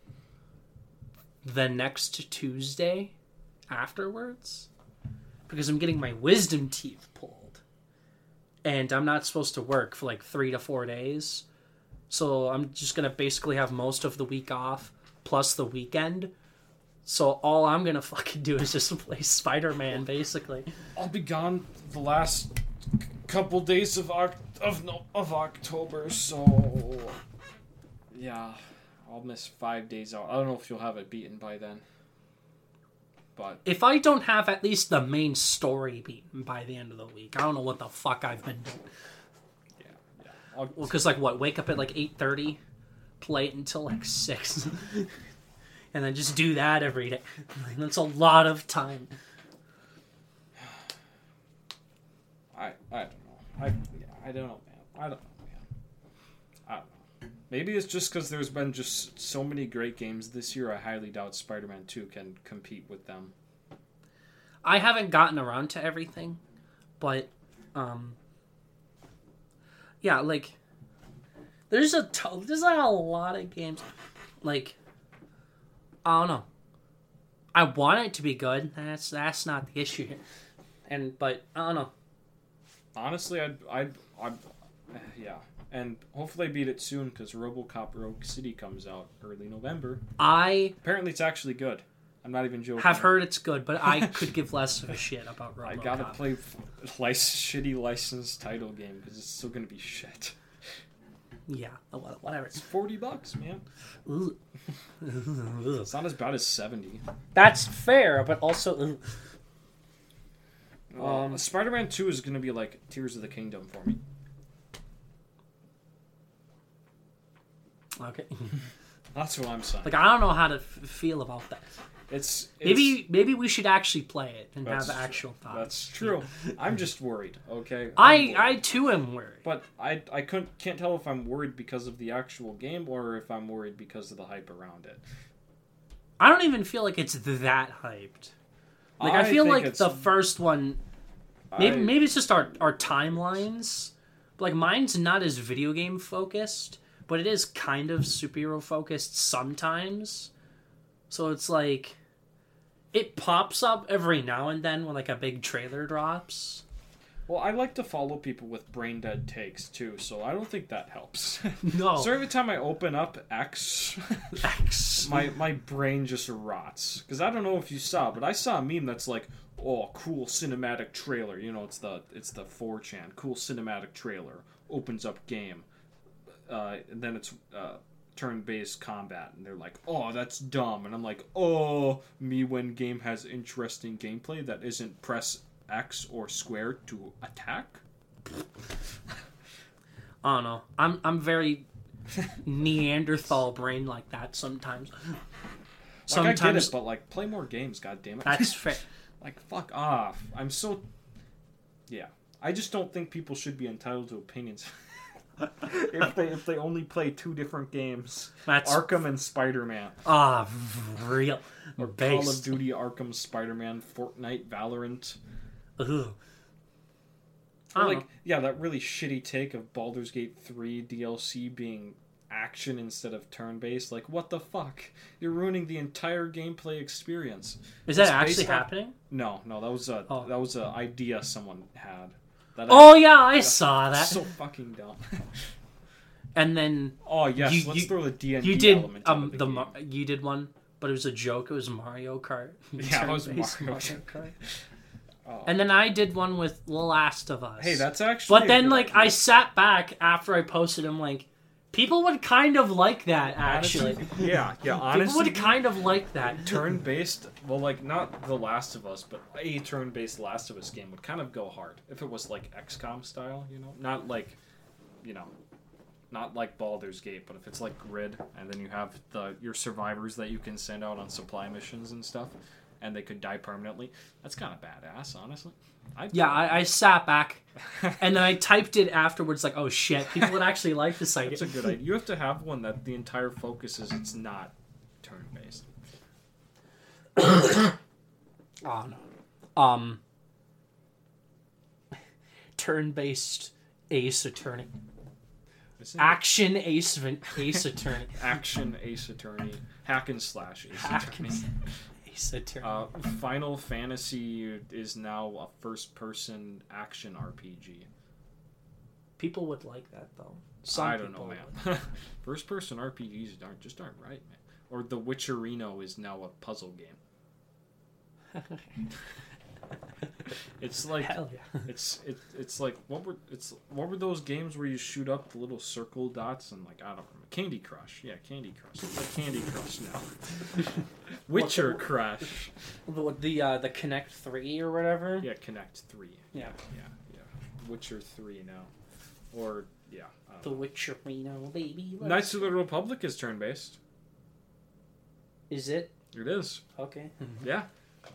the next Tuesday afterwards because I'm getting my wisdom teeth pulled, and I'm not supposed to work for like 3 to 4 days. So I'm just going to basically have most of the week off, plus the weekend. So all I'm going to fucking do is just play Spider-Man, basically. I'll be gone the last couple days of October, so... Yeah, I'll miss 5 days out. I don't know if you'll have it beaten by then. But if I don't have at least the main story beaten by the end of the week, I don't know what the fuck I've been doing. Well, because, like, what, wake up at, like, 8:30, play it until, like, 6, and then just do that every day. That's a lot of time. I don't know. I don't know, man. I don't know. Maybe it's just because there's been just so many great games this year, I highly doubt Spider-Man 2 can compete with them. I haven't gotten around to everything, but, yeah, like, there's like a lot of games. Like, I don't know. I want it to be good. That's not the issue. But I don't know. Honestly, I'd yeah, and hopefully I beat it soon because RoboCop Rogue City comes out early November. Apparently it's actually good. I'm not even joking. Have heard it's good, but I could give less of a shit about RoboCop. I gotta play shitty licensed title game because it's still gonna be shit. Yeah, whatever. It's $40, man. It's not as bad as $70. That's fair, but also. Spider-Man 2 is gonna be like Tears of the Kingdom for me. Okay. That's what I'm saying. Like, I don't know how to feel about that. It's maybe we should actually play it and have actual thoughts. That's true. I'm just worried. Okay. I too am worried. But I can't tell if I'm worried because of the actual game or if I'm worried because of the hype around it. I don't even feel like it's that hyped. Like I feel like the first one. Maybe it's just our timelines. But like mine's not as video game focused, but it is kind of superhero focused sometimes. So it's like it pops up every now and then when like a big trailer drops. Well, I like to follow people with brain dead takes too, so I don't think that helps. No. So every time I open up X, my brain just rots. Because I don't know if you saw, but I saw a meme that's like, oh, cool cinematic trailer. You know, it's the 4chan cool cinematic trailer. Opens up game, and then it's turn-based combat, and they're like, oh, that's dumb. And I'm like, oh, me when game has interesting gameplay that isn't press X or square to attack. I don't know. I'm very Neanderthal brain like that sometimes. Sometimes I get it, but like play more games, goddammit. That's fair. Like fuck off. Yeah. I just don't think people should be entitled to opinions. if they only play two different games. That's Arkham and Spider-Man. Real. Or Call of Duty, Arkham, Spider-Man, Fortnite, Valorant. Ugh. That really shitty take of Baldur's Gate 3 DLC being action instead of turn-based. Like, what the fuck? You're ruining the entire gameplay experience. Is that actually happening? No, that was a idea someone had. I saw that. So fucking dumb. And then let's throw the D&D you did element into the game. You did one, but it was a joke. It was Mario Kart. Yeah, it was Mario Kart. And then I did one with The Last of Us. Hey, that's actually. But then, like, I sat back after I posted. I'm like, people would kind of like that, actually. Yeah. Honestly, people would kind of like that. Turn-based, well, like, not The Last of Us, but a turn-based Last of Us game would kind of go hard if it was like XCOM style, not like, not like Baldur's Gate, but if it's like Grid, and then you have your survivors that you can send out on supply missions and stuff, and they could die permanently. That's kind of badass, honestly. I sat back, and then I typed it afterwards, like, oh shit, people would actually like this idea. That's a good idea. You have to have one that the entire focus is it's not turn-based. Oh, no. Turn-based Ace Attorney. Action Ace Attorney. Action Ace Attorney. Hack and slash Ace Attorney. Ace Attorney. Final Fantasy is now a first-person action RPG. People would like that, though. I don't know, man. First-person RPGs aren't right, man. Or The Witcherino is now a puzzle game. It's like hell yeah. It's like what were those games where you shoot up the little circle dots and, like, I don't remember. Candy Crush. Yeah, Candy Crush. It's like Candy Crush now. Witcher Crush. The Connect 3 or whatever? Yeah, Connect 3. Yeah. Witcher 3 now. Or The Witcherino, baby. Knights of the Republic is turn based. Is it? It is. Okay. Yeah.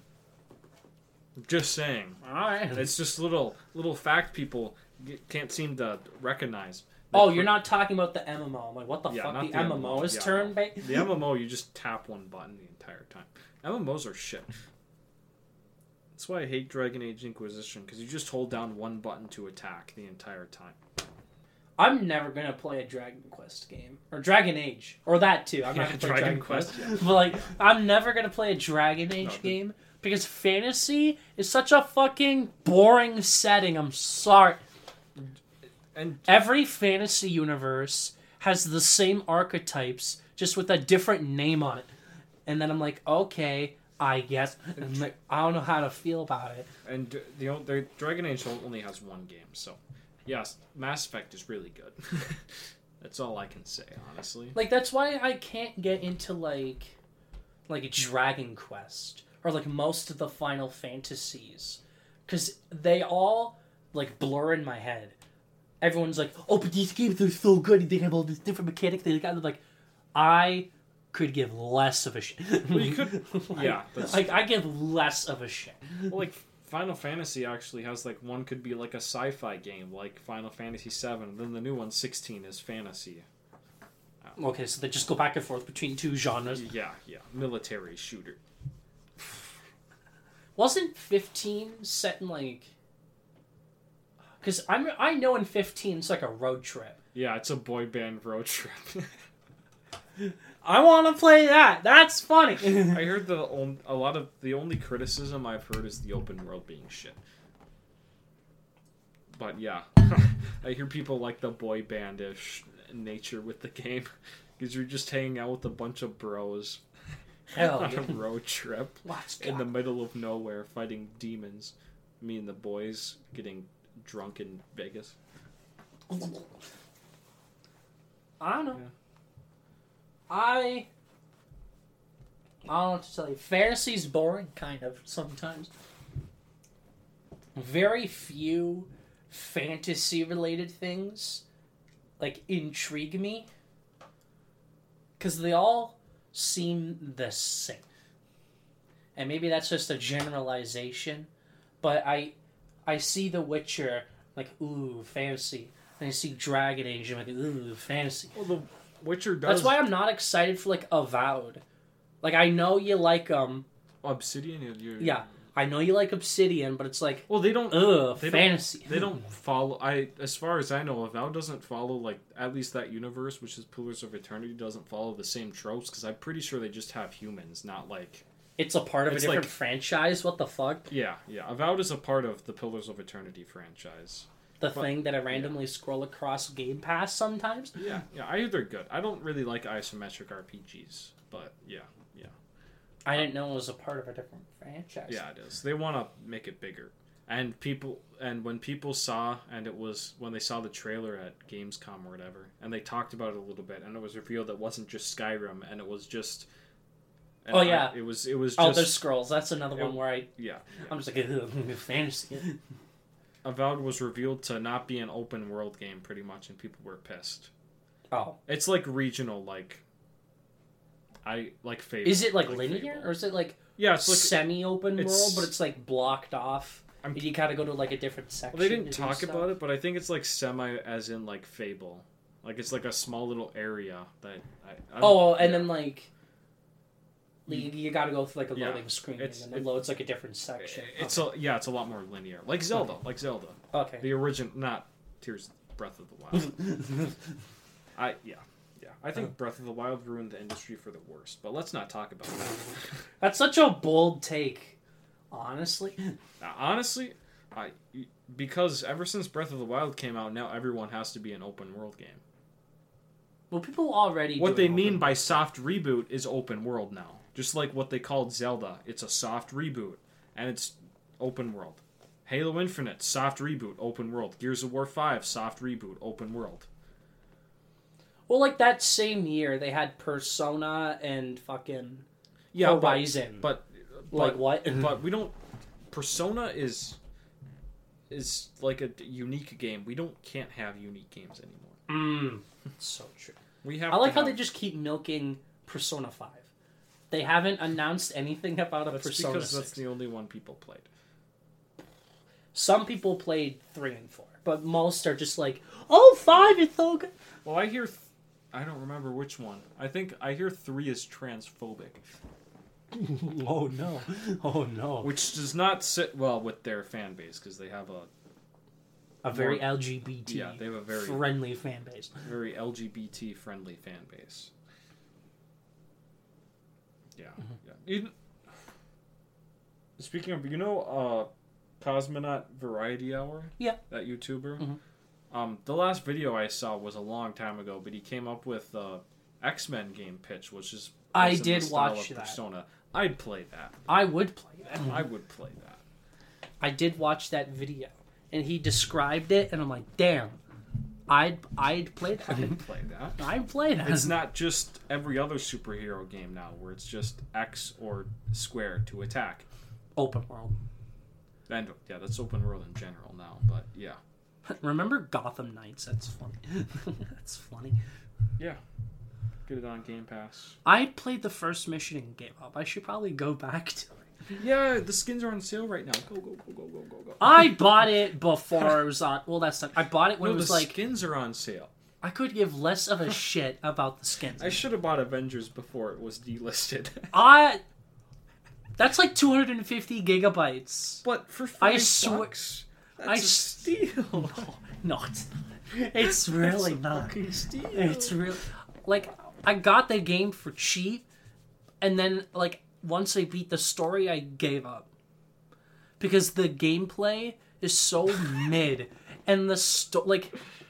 Just saying. Alright. It's just little fact people can't seem to recognize. You're not talking about the MMO. I'm like, what the fuck? The MMO is turn-based? The MMO, you just tap one button the entire time. MMOs are shit. That's why I hate Dragon Age Inquisition, because you just hold down one button to attack the entire time. I'm never going to play a Dragon Quest game. Or Dragon Age. Or that, too. I'm not going to play Dragon Quest. Yeah. But, like, I'm never going to play a Dragon Age game. Because fantasy is such a fucking boring setting. I'm sorry. And every fantasy universe has the same archetypes, just with a different name on it. And then I'm like, okay, I guess. I'm like, I don't know how to feel about it. And the Dragon Age only has one game, so yes, Mass Effect is really good. That's all I can say, honestly. Like, that's why I can't get into like Dragon Quest. Or, like, most of the Final Fantasies. Because they all, like, blur in my head. Everyone's like, oh, but these games are so good. They have all these different mechanics. Like, I could give less of a shit. Well, you could... yeah. Like, I give less of a shit. Well, like, Final Fantasy actually has, like, one could be, like, a sci-fi game, like Final Fantasy 7. Then the new one, 16, is fantasy. Okay, so they just go back and forth between two genres. Yeah. Military shooter. Wasn't 15 set in, like... Because I know in 15 it's like a road trip. Yeah, it's a boy band road trip. I want to play that. That's funny. I heard the only criticism I've heard is the open world being shit. But yeah, I hear people like the boy bandish nature with the game because you're just hanging out with a bunch of bros. Hell on yeah. a road trip in the middle of nowhere fighting demons. Me and the boys getting drunk in Vegas. I don't know. Yeah. I don't know what to tell you. Fantasy's boring, kind of, sometimes. Very few fantasy-related things, like, intrigue me. Because they all seem the same. And maybe that's just a generalization, but I see The Witcher, like, ooh, fantasy. And I see Dragon Age, and I'm like, ooh, fantasy. Well, The Witcher does... That's why I'm not excited for, like, Avowed. Like, I know you like, Obsidian? Yeah. I know you like Obsidian, but it's like, well, they don't. Fantasy. They don't follow. As far as I know, Avowed doesn't follow like at least that universe, which is Pillars of Eternity, doesn't follow the same tropes. Because I'm pretty sure they just have humans, not like. It's a part of a different franchise. What the fuck? Yeah. Avowed is a part of the Pillars of Eternity franchise. The thing that I randomly scroll across Game Pass sometimes. Yeah. I hear they're good. I don't really like isometric RPGs, but yeah. I didn't know it was a part of a different franchise. Yeah, it is. They want to make it bigger. And when people saw, and it was when they saw the trailer at Gamescom or whatever, and they talked about it a little bit, and it was revealed it wasn't just Skyrim, and it was just. Oh yeah, it was just. Oh, there's Scrolls. That's another one where I'm just like fantasy. Avowed was revealed to not be an open world game, pretty much, and people were pissed. Oh, it's like regional, like. I like Fable. Is it like linear, Fable. Or is it like it's like semi-open world, but it's like blocked off? And you gotta go to like a different section. Well, they didn't talk about it, but I think it's like semi, as in like Fable. Like it's like a small little area that. Then like. You gotta go through like a loading screen, and then it loads like a different section. It's a lot more linear, like Zelda, Okay. The original, not Tears, Breath of the Wild. I think Breath of the Wild ruined the industry for the worst, but let's not talk about that. That's such a bold take, honestly. Because ever since Breath of the Wild came out, now everyone has to be an open world game. Well, people already. What they mean by soft reboot is open world now, just like what they called Zelda. It's a soft reboot, and it's open world. Halo Infinite, soft reboot, open world. Gears of War 5, soft reboot, open world. Well, like that same year, they had Persona and fucking Horizon. But like what? But we don't. Persona is like a unique game. We can't have unique games anymore. So true. I like how they just keep milking Persona 5. They haven't announced anything about a Persona because 6. That's the only one people played. Some people played 3 and 4, but most are just like, 5 is so good. Well, I hear. I don't remember which one. I hear 3 is transphobic. Oh no. Which does not sit well with their fan base, because they have a very LGBT they have a very friendly fan base. Very LGBT friendly fan base. Yeah. Even, speaking of, Cosmonaut Variety Hour? Yeah. That YouTuber? The last video I saw was a long time ago, but he came up with the X-Men game pitch, which is I did watch that. Persona. I'd play that. I would play that. I would play that. I did watch that video, and he described it, and I'm like, damn, I'd play that. I'd play that. I'd play that. It's not just every other superhero game now, where it's just X or square to attack. Open world. And that's open world in general now, but yeah. Remember Gotham Knights? That's funny. That's funny. Yeah. Get it on Game Pass. I played the first mission and gave up. I should probably go back to it. Yeah, the skins are on sale right now. Go. I bought it before it was on... Well, that's not... I bought it when it was the skins are on sale. I could give less of a shit about the skins. I should have bought Avengers before it was delisted. That's like 250 gigabytes. But for $5 bucks... That's a steal. No, it's not. It's really not. Steal. It's really like I got the game for cheap, and then like once I beat the story, I gave up because the gameplay is so mid, and the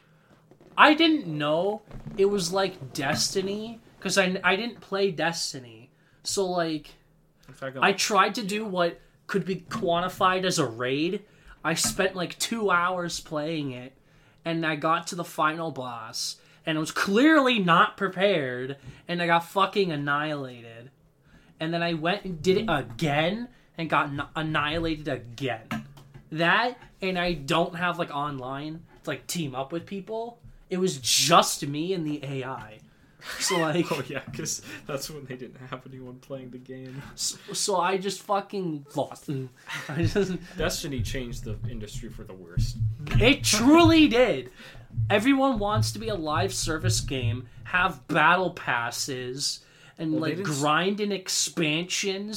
I didn't know it was like Destiny because I didn't play Destiny, so like I tried to do what could be quantified as a raid. I spent like 2 hours playing it, and I got to the final boss, and I was clearly not prepared, and I got fucking annihilated. And then I went and did it again, and got annihilated again. That, and I don't have like online to like team up with people. It was just me and the AI. So like, oh yeah, because that's when they didn't have anyone playing the game. So I just fucking lost. Destiny changed the industry for the worst. It truly did. Everyone wants to be a live service game, have battle passes, and grind in expansions,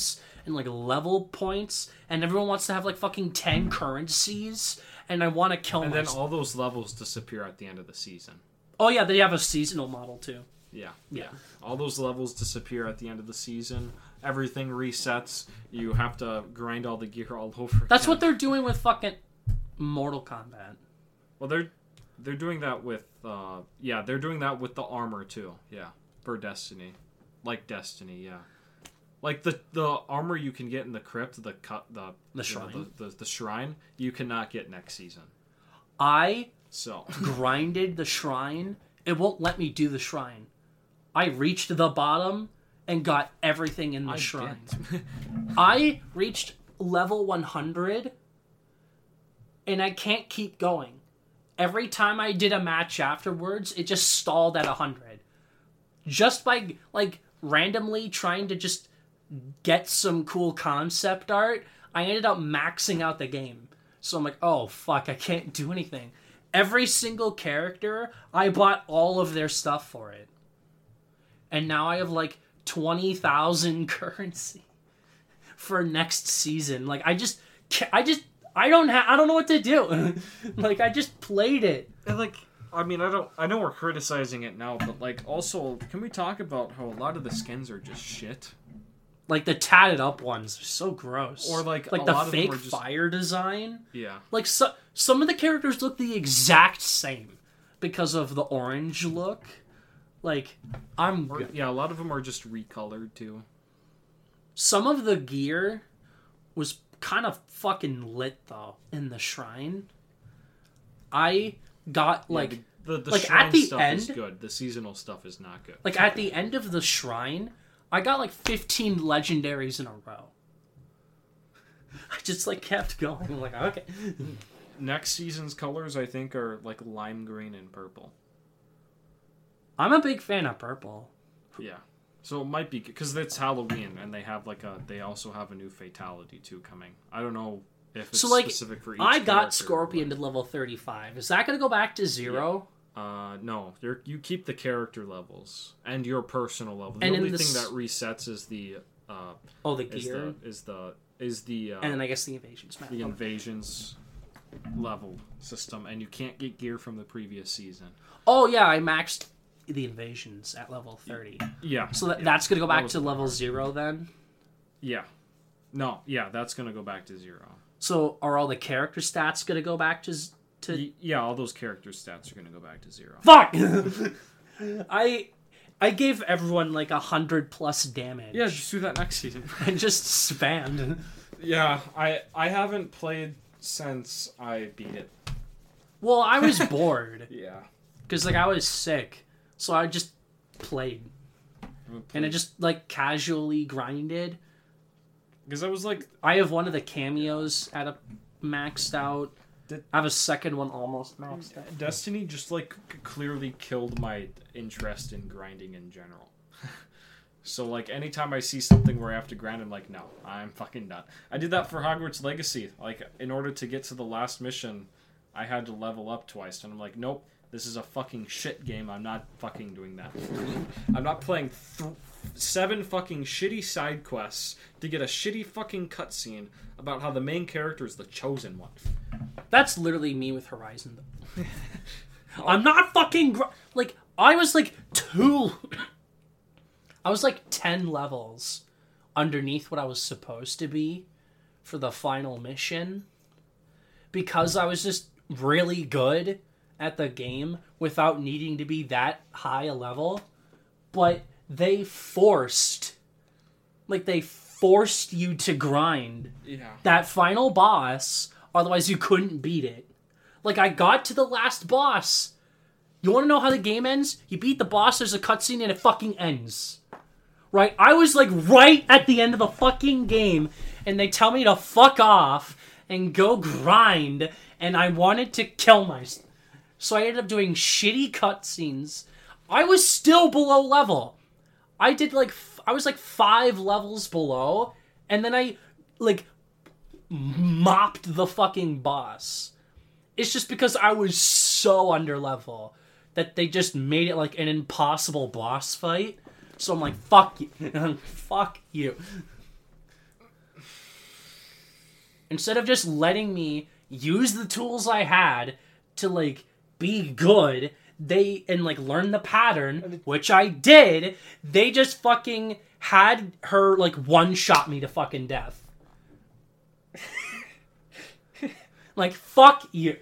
and like level points, and everyone wants to have like fucking 10 currencies, and I want to kill And myself. then all those levels disappear at the end of the season. Oh yeah, they have a seasonal model too. Yeah. Yeah. All those levels disappear at the end of the season. Everything resets. You have to grind all the gear all over That's again. what they're doing with fucking Mortal Kombat. Well, they're doing that with they're doing that with the armor too. Yeah, for Destiny, like Destiny. Yeah, like the armor you can get in the crypt, the shrine. The shrine you cannot get next season. I So grinded the shrine. It won't let me do the shrine. I reached the bottom and got everything in the shrine. I reached level 100 and I can't keep going. Every time I did a match afterwards, it just stalled at 100. Just by, like, randomly trying to just get some cool concept art, I ended up maxing out the game. So I'm like, oh, fuck, I can't do anything. Every single character, I bought all of their stuff for it. And now I have, like, 20,000 currency for next season. Like, I don't know what to do. Like, I just played it. And like, I mean, I know we're criticizing it now, but like, also, can we talk about how a lot of the skins are just shit? Like, the tatted up ones are so gross. Or like the a lot of them fake are just... fire design. Yeah. Like, some of the characters look the exact same because of the orange look. Like, a lot of them are just recolored too. Some of the gear was kind of fucking lit though in the shrine. I got like the like shrine at the stuff end is good. The seasonal stuff is not good. Like at the end of the shrine, I got like 15 legendaries in a row. I just like kept going. I'm like, okay. Next season's colors, I think, are like lime green and purple. I'm a big fan of purple. Yeah. So it might be because it's Halloween and they also have a new fatality too coming. I don't know if it's specific for each I got character, Scorpion to level 35. Is that going to go back to 0? Yeah. No. You keep the character levels and your personal level. The and only thing that resets is the the gear is the and then I guess the invasions map. The invasions level system, and you can't get gear from the previous season. Oh yeah, I maxed the invasions at level 30. Yeah. So that's going to go back to level 0 then? Yeah. No, yeah, that's going to go back to 0. So are all the character stats going to go back to... Yeah, all those character stats are going to go back to 0. Fuck! I gave everyone like 100+ damage. Yeah, just do that next season. And just spammed. Yeah, I haven't played since I beat it. Well, I was bored. Yeah. Because like I was sick. So I just played. And I just like casually grinded. Because I was like... I have one of the cameos at a maxed out. I have a second one almost maxed out. Destiny just like clearly killed my interest in grinding in general. So like anytime I see something where I have to grind, I'm like, no, I'm fucking done. I did that for Hogwarts Legacy. Like in order to get to the last mission, I had to level up twice. And I'm like, nope. This is a fucking shit game. I'm not fucking doing that. I'm not playing 7 fucking shitty side quests to get a shitty fucking cutscene about how the main character is the chosen one. That's literally me with Horizon, though. I'm not fucking... like, I was like 10 levels underneath what I was supposed to be for the final mission. Because I was just really good at the game without needing to be that high a level, but they forced you to grind that final boss, otherwise you couldn't beat it. Like, I got to the last boss. You want to know how the game ends? You beat the boss, there's a cutscene, and it fucking ends. Right? I was, like, right at the end of the fucking game, and they tell me to fuck off and go grind, and I wanted to kill myself. So I ended up doing shitty cutscenes. I was still below level. I was like 5 levels below, and then I like mopped the fucking boss. It's just because I was so under level that they just made it like an impossible boss fight. So I'm like, fuck you. Fuck you. instead of just letting me use the tools I had to, like, be good, and, like, learn the pattern, which I did, they just fucking had her, like, one-shot me to fucking death. Like, fuck you.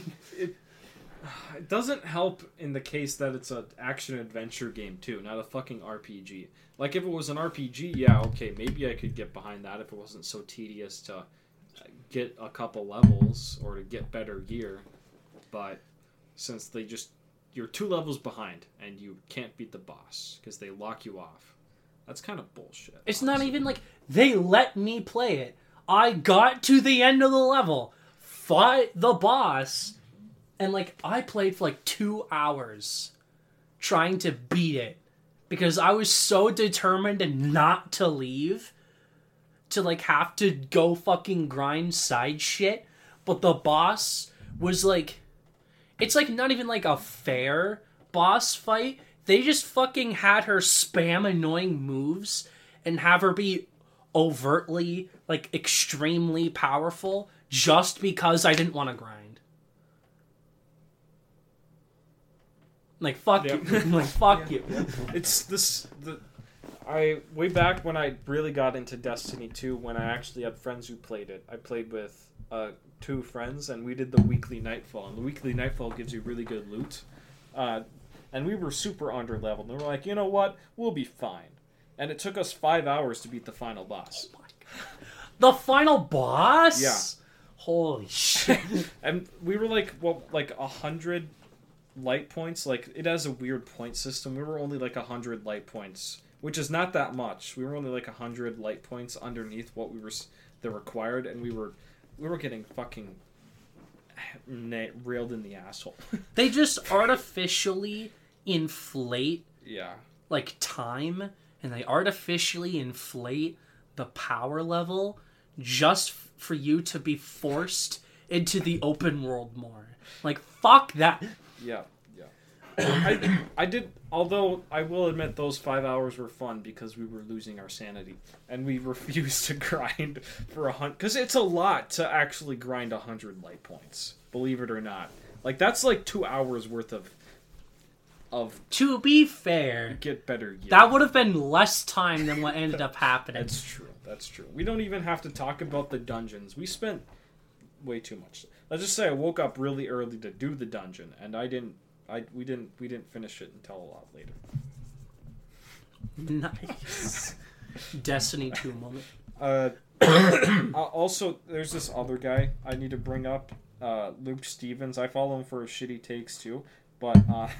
It doesn't help in the case that it's an action-adventure game, too, not a fucking RPG. Like, if it was an RPG, yeah, okay, maybe I could get behind that if it wasn't so tedious to get a couple levels or to get better gear. But since you're 2 levels behind and you can't beat the boss because they lock you off, that's kind of bullshit. It's honestly. Not even like they let me play it. I got to the end of the level, fought the boss, and, like, I played for, like, 2 hours trying to beat it because I was so determined not to leave, to, like, have to go fucking grind side shit. But the boss was, like, it's, like, not even, like, a fair boss fight. They just fucking had her spam annoying moves and have her be overtly, like, extremely powerful just because I didn't want to grind. Like, fuck you. Like, fuck you. It's this... way back when I really got into Destiny 2, when I actually had friends who played it, I played with 2 friends, and we did the weekly Nightfall. And the weekly Nightfall gives you really good loot. And we were super under-leveled. And we were like, you know what? We'll be fine. And it took us 5 hours to beat the final boss. Oh my God. The final boss? Yeah. Holy shit. And we were like, 100 light points. Like, it has a weird point system. We were only like 100 light points, which is not that much. We were only like 100 light points underneath what the required, and we were getting fucking railed in the asshole. They just artificially inflate, yeah, like, time, and they artificially inflate the power level just for you to be forced into the open world more. Like, fuck that. Yeah. I did, although I will admit those 5 hours were fun because we were losing our sanity and we refused to grind for 100, because it's a lot to actually grind 100 light points, believe it or not. Like, that's like 2 hours worth of to be fair, get better gear. That would have been less time than what ended up happening. That's true. We don't even have to talk about the dungeons. We spent way too much. Let's just say I woke up really early to do the dungeon, and we didn't finish it until a lot later. Nice. Destiny 2 moment. Also, there's this other guy I need to bring up, Luke Stevens. I follow him for his shitty takes too, but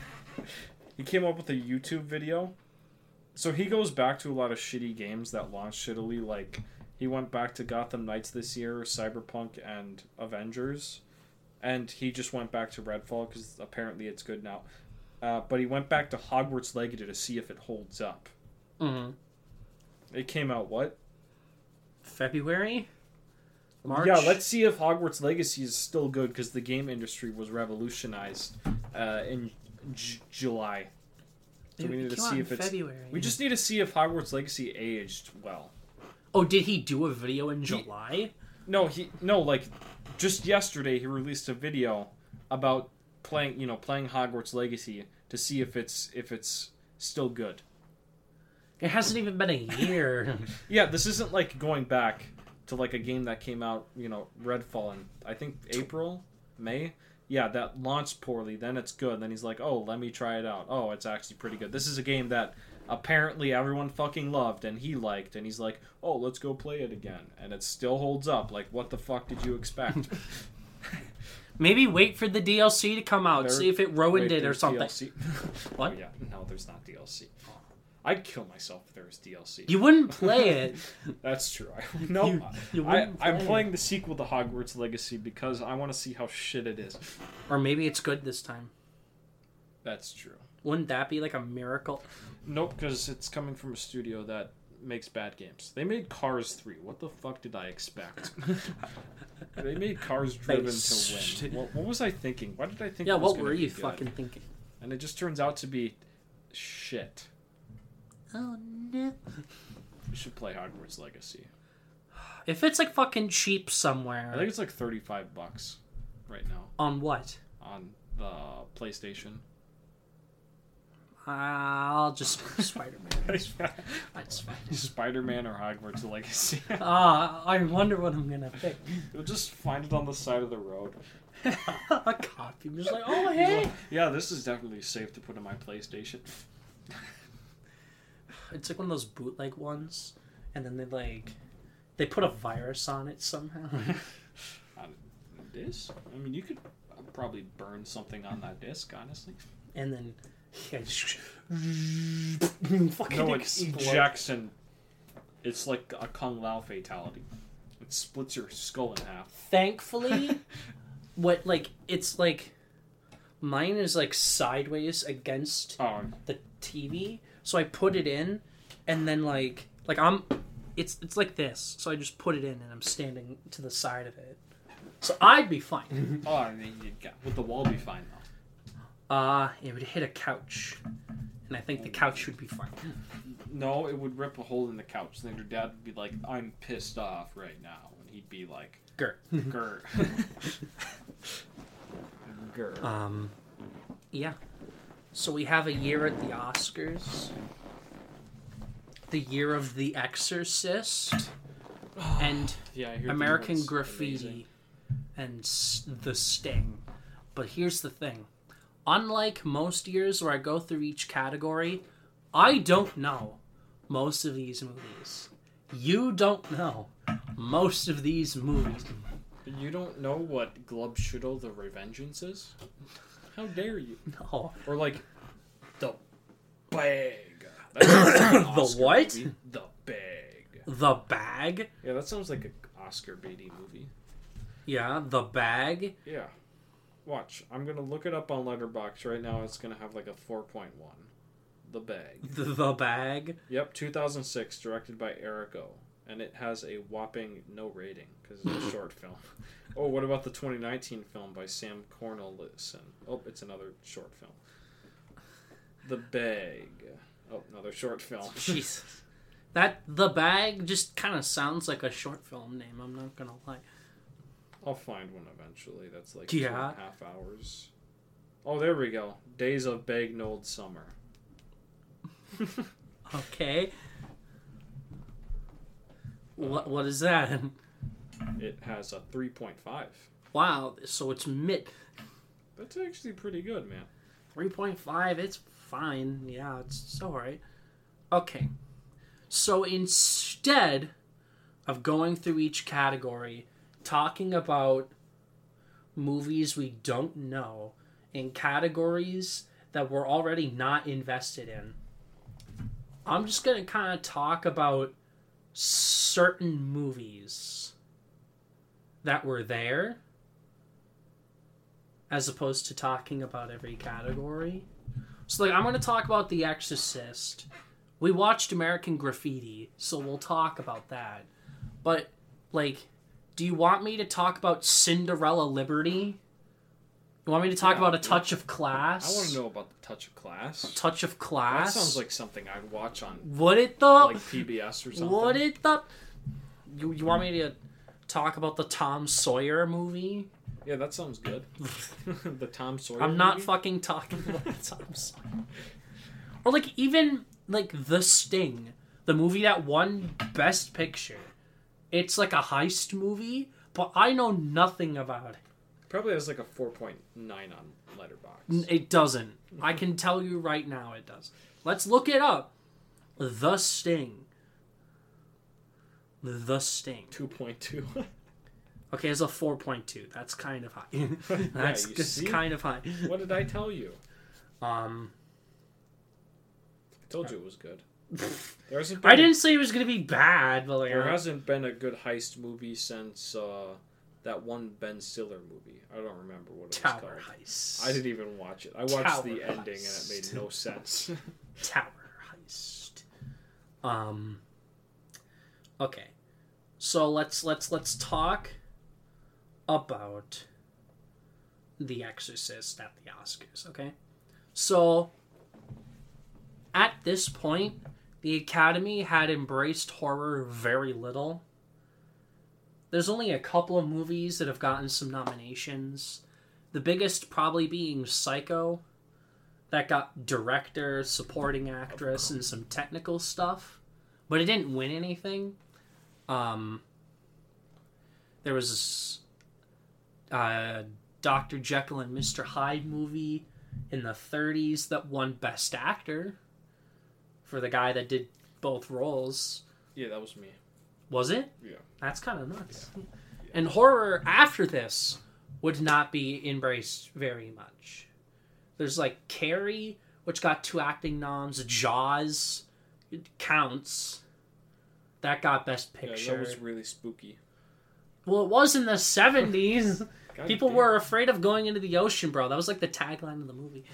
he came up with a YouTube video. So he goes back to a lot of shitty games that launched shittily, like he went back to Gotham Knights this year, Cyberpunk, and Avengers. And he just went back to Redfall because apparently it's good now. But he went back to Hogwarts Legacy to see if it holds up. Mm-hmm. It came out, what? February? March? Yeah, let's see if Hogwarts Legacy is still good because the game industry was revolutionized in July. So we need to see if it's... February. We just need to see if Hogwarts Legacy aged well. Oh, did he do a video in July? No, just yesterday he released a video about playing Hogwarts Legacy to see if it's still good. It hasn't even been a year. Yeah, this isn't like going back to like a game that came out, Redfall in I think April, May. Yeah, that launched poorly, then it's good. Then he's like, oh, let me try it out. Oh, it's actually pretty good. This is a game that apparently everyone fucking loved and he liked, and he's like, oh, let's go play it again. And it still holds up. Like, what the fuck did you expect? Maybe wait for the DLC to come out, see if it ruined it or something. DLC. What? Oh, yeah, no, there's not DLC. I'd kill myself if there was DLC. You wouldn't play it. That's true. I'm playing the sequel to Hogwarts Legacy because I want to see how shit it is. Or maybe it's good this time. That's true. Wouldn't that be like a miracle? Nope, because it's coming from a studio that makes bad games. They made Cars 3. What the fuck did I expect? They made Cars Driven to win. What was I thinking? Why did I think? Yeah, it was what were you good? fucking thinking? And it just turns out to be shit. Oh no! We should play Hogwarts Legacy. If it's like fucking cheap I somewhere. think it's like $35 right now On what? on the PlayStation. I'll just Spider-Man. Spider-Man or Hogwarts Legacy. I wonder what I'm gonna pick. You'll just find it on the side of the road. A copy. I'm just like, oh hey. Yeah, this is definitely safe to put in my PlayStation. It's like one of those bootleg ones, and then they put a virus on it somehow. This? I mean, you could probably burn something on that disc, honestly. And then fucking No, it explode. ejects and it's like a Kung Lao fatality. It splits your skull in half. Thankfully, it's like mine is like sideways against the TV, so I put it in, and then it's like this, so I just put it in and I'm standing to the side of it, so I'd be fine. I mean, would the wall be fine though? It would hit a couch, and I think the couch would be fine. No, it would rip a hole in the couch. Then your dad would be like, "I'm pissed off right now," and he'd be like, Grr. "Grr." Grr. Yeah. So we have a year at the Oscars. The year of The Exorcist. And Yeah, I hear American the Graffiti. And The Sting. But here's the thing. Unlike most years where I go through each category, I don't know most of these movies. You don't know most of these movies. You don't know what Glubshudo the Revengeance is? How dare you? No. Or like the Bag. That sounds like an The Oscar what? movie. The Bag. The Bag? Yeah, that sounds like an Oscar baity movie. Yeah, The Bag. Yeah. Watch. I'm gonna look it up on Letterboxd right now. It's gonna have like a 4.1. The Bag. The Bag. Yep, 2006, directed by Eric O. And it has a whopping no rating because it's a short film. Oh, what about the 2019 film by Sam Cornelison? Oh, it's another short film. The Bag. Oh, another short film. Jesus. The Bag just kind of sounds like a short film name, I'm not gonna lie. I'll find one eventually. That's like Yeah. 2.5 hours. Oh, there we go. Days of Bagnold Summer. Okay. What is that? It has a 3.5. Wow, so it's mid. That's actually pretty good, man. 3.5, it's fine. Yeah, it's alright. Okay. So instead of going through each category, talking about movies we don't know in categories that we're already not invested in, I'm just going to kind of talk about certain movies that were there as opposed to talking about every category. So I'm going to talk about The Exorcist. We watched American Graffiti, so we'll talk about that. But do you want me to talk about Cinderella Liberty? You want me to talk about A Touch of Class? I want to know about The Touch of Class. Touch of Class? That sounds like something I'd watch on Would it though? like PBS or something. Would it though? You want me to talk about the Tom Sawyer movie? Yeah, that sounds good. The Tom Sawyer I'm not movie? fucking talking about Tom Sawyer. Or even The Sting, the movie that won Best Picture. It's like a heist movie, but I know nothing about it. Probably has like a 4.9 on Letterboxd. It doesn't. I can tell you right now it doesn't. Let's look it up. The Sting. The Sting. 2.2. Okay, it's a 4.2. That's kind of high. That's you just see? kind of high. What did I tell you? I I told you it was good. There hasn't been didn't say it was gonna be bad, but there hasn't been a good heist movie since that one Ben Stiller movie. I don't remember what it was Tower called. Heist. I didn't even watch it. I watched Tower the ending Heist. and it made no sense. Tower Heist. Okay. So let's talk about The Exorcist at the Oscars, okay? So at this point, the Academy had embraced horror very little. there's only a couple of movies that have gotten some nominations. The biggest probably being Psycho. That got director, supporting actress, and some technical stuff. But it didn't win anything. There was Dr. Jekyll and Mr. Hyde movie in the 30s that won Best Actor for the guy that did both roles. Yeah, that was me. Was it? Yeah. That's kind of nuts. Yeah. And horror after this would not be embraced very much. There's like Carrie, which got 2 acting noms. Jaws, it counts. That got Best Picture. Yeah, that was really spooky. Well, it was in the 70s. People damn. were afraid of going into the ocean, bro. That was like the tagline of the movie.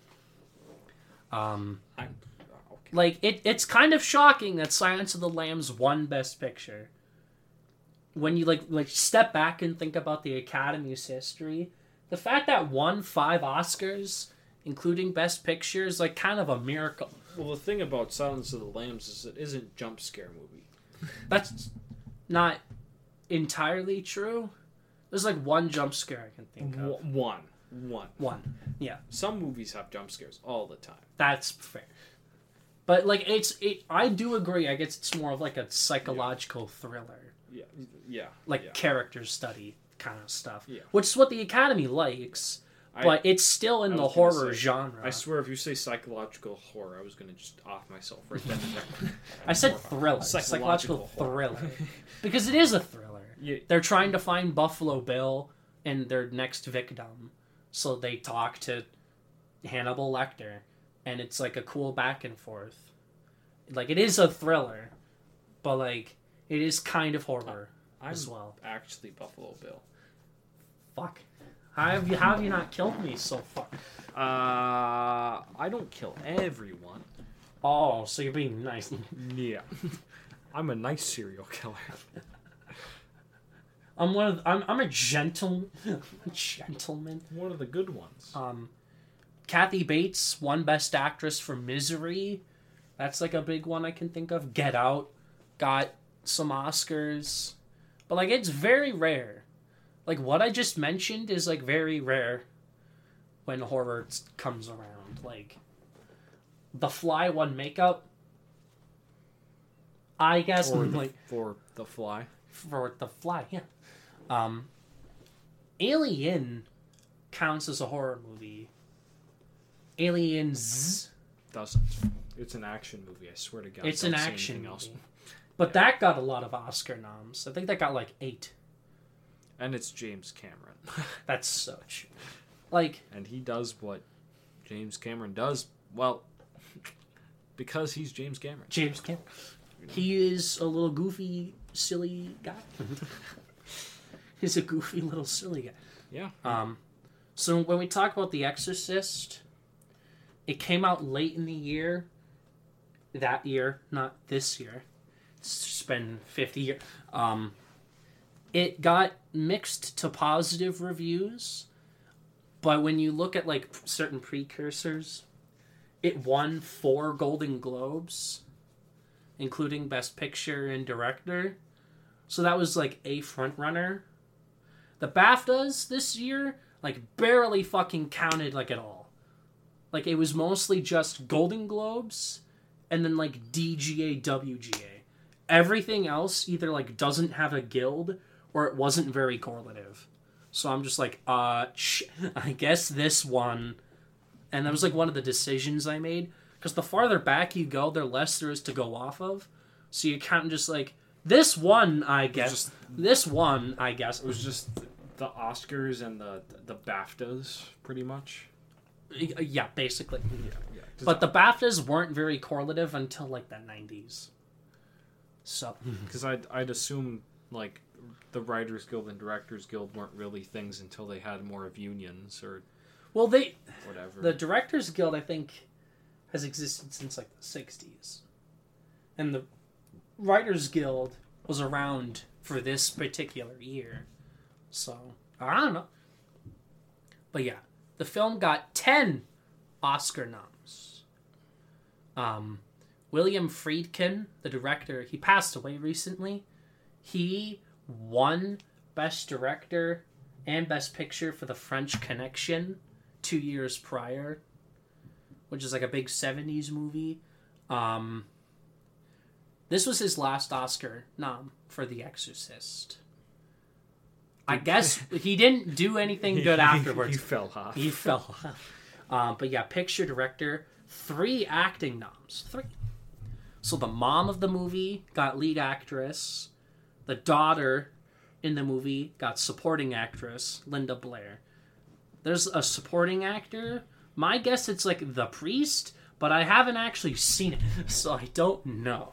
Okay. Like, it's kind of shocking that Silence of the Lambs won Best Picture. When you, like step back and think about the Academy's history, the fact that won 5 Oscars, including Best Picture, is, like, kind of a miracle. Well, the thing about Silence of the Lambs is it isn't a jump scare movie. That's not entirely true. There's, like, one jump scare I can think of. One. Yeah. Some movies have jump scares all the time. That's fair. But, like, I do agree. I guess it's more of, like, a psychological thriller. Yeah. Like, character study kind of stuff. Yeah. Which is what the Academy likes, but it's still in the horror genre. I swear, if you say psychological horror, I was going to just off myself right then and there. I said thriller. Psychological thriller. Because it is a thriller. Yeah. They're trying to find Buffalo Bill and their next victim. So they talk to Hannibal Lecter. And it's like a cool back and forth. Like, it is a thriller. But, like, it is kind of horror as well. Actually Buffalo Bill. Fuck. How have you not killed me so far? I don't kill everyone. Oh, so you're being nice. Yeah. I'm a nice serial killer. I'm a gentleman. One of the good ones. Kathy Bates won Best Actress for Misery. That's like a big one I can think of. Get Out got some Oscars. But like, it's very rare. Like, what I just mentioned is like very rare when horror comes around. Like, The Fly won makeup. I guess for The Fly. For The Fly, yeah. Alien counts as a horror movie. Aliens doesn't. It's an action movie. I swear to God. It's an action movie. But that got a lot of Oscar noms. I think that got like 8. And it's James Cameron. That's so true. Like, and he does what James Cameron does. Well, because he's James Cameron. James Cameron. He is a little goofy, silly guy. He's a goofy little silly guy. Yeah. So when we talk about The Exorcist, it came out late in the year. That year, not this year. It's been 50 years. It got mixed to positive reviews, but when you look at like certain precursors, it won 4 Golden Globes, including Best Picture and Director. So that was like a front runner. The BAFTAs this year like barely fucking counted like at all. Like, it was mostly just Golden Globes and then like DGA, WGA. Everything else either like doesn't have a guild or it wasn't very correlative. So I'm just like, I guess this one. And that was like one of the decisions I made. Because the farther back you go, the less there is to go off of. So you can't just like, this one, I guess. This one, I guess. It was just the Oscars and the BAFTAs, pretty much. Yeah, basically. Yeah. But the BAFTAs weren't very correlative until like the 90s. So. Because I'd assume like the Writers Guild and Directors Guild weren't really things until they had more of unions or. Well, whatever. The Directors Guild, I think, has existed since like the 60s. And the Writers Guild was around for this particular year. So, I don't know. But yeah, the film got 10 Oscar noms. William Friedkin, the director, he passed away recently. He won Best Director and Best Picture for The French Connection 2 years prior, which is like a big 70s movie. This was his last Oscar nom for The Exorcist. I guess he didn't do anything good afterwards. He fell off. He fell off. But yeah, Picture, Director, 3 acting noms. 3. So the mom of the movie got lead actress. The daughter in the movie got supporting actress, Linda Blair. There's a supporting actor. My guess it's like The Priest, but I haven't actually seen it, so I don't know.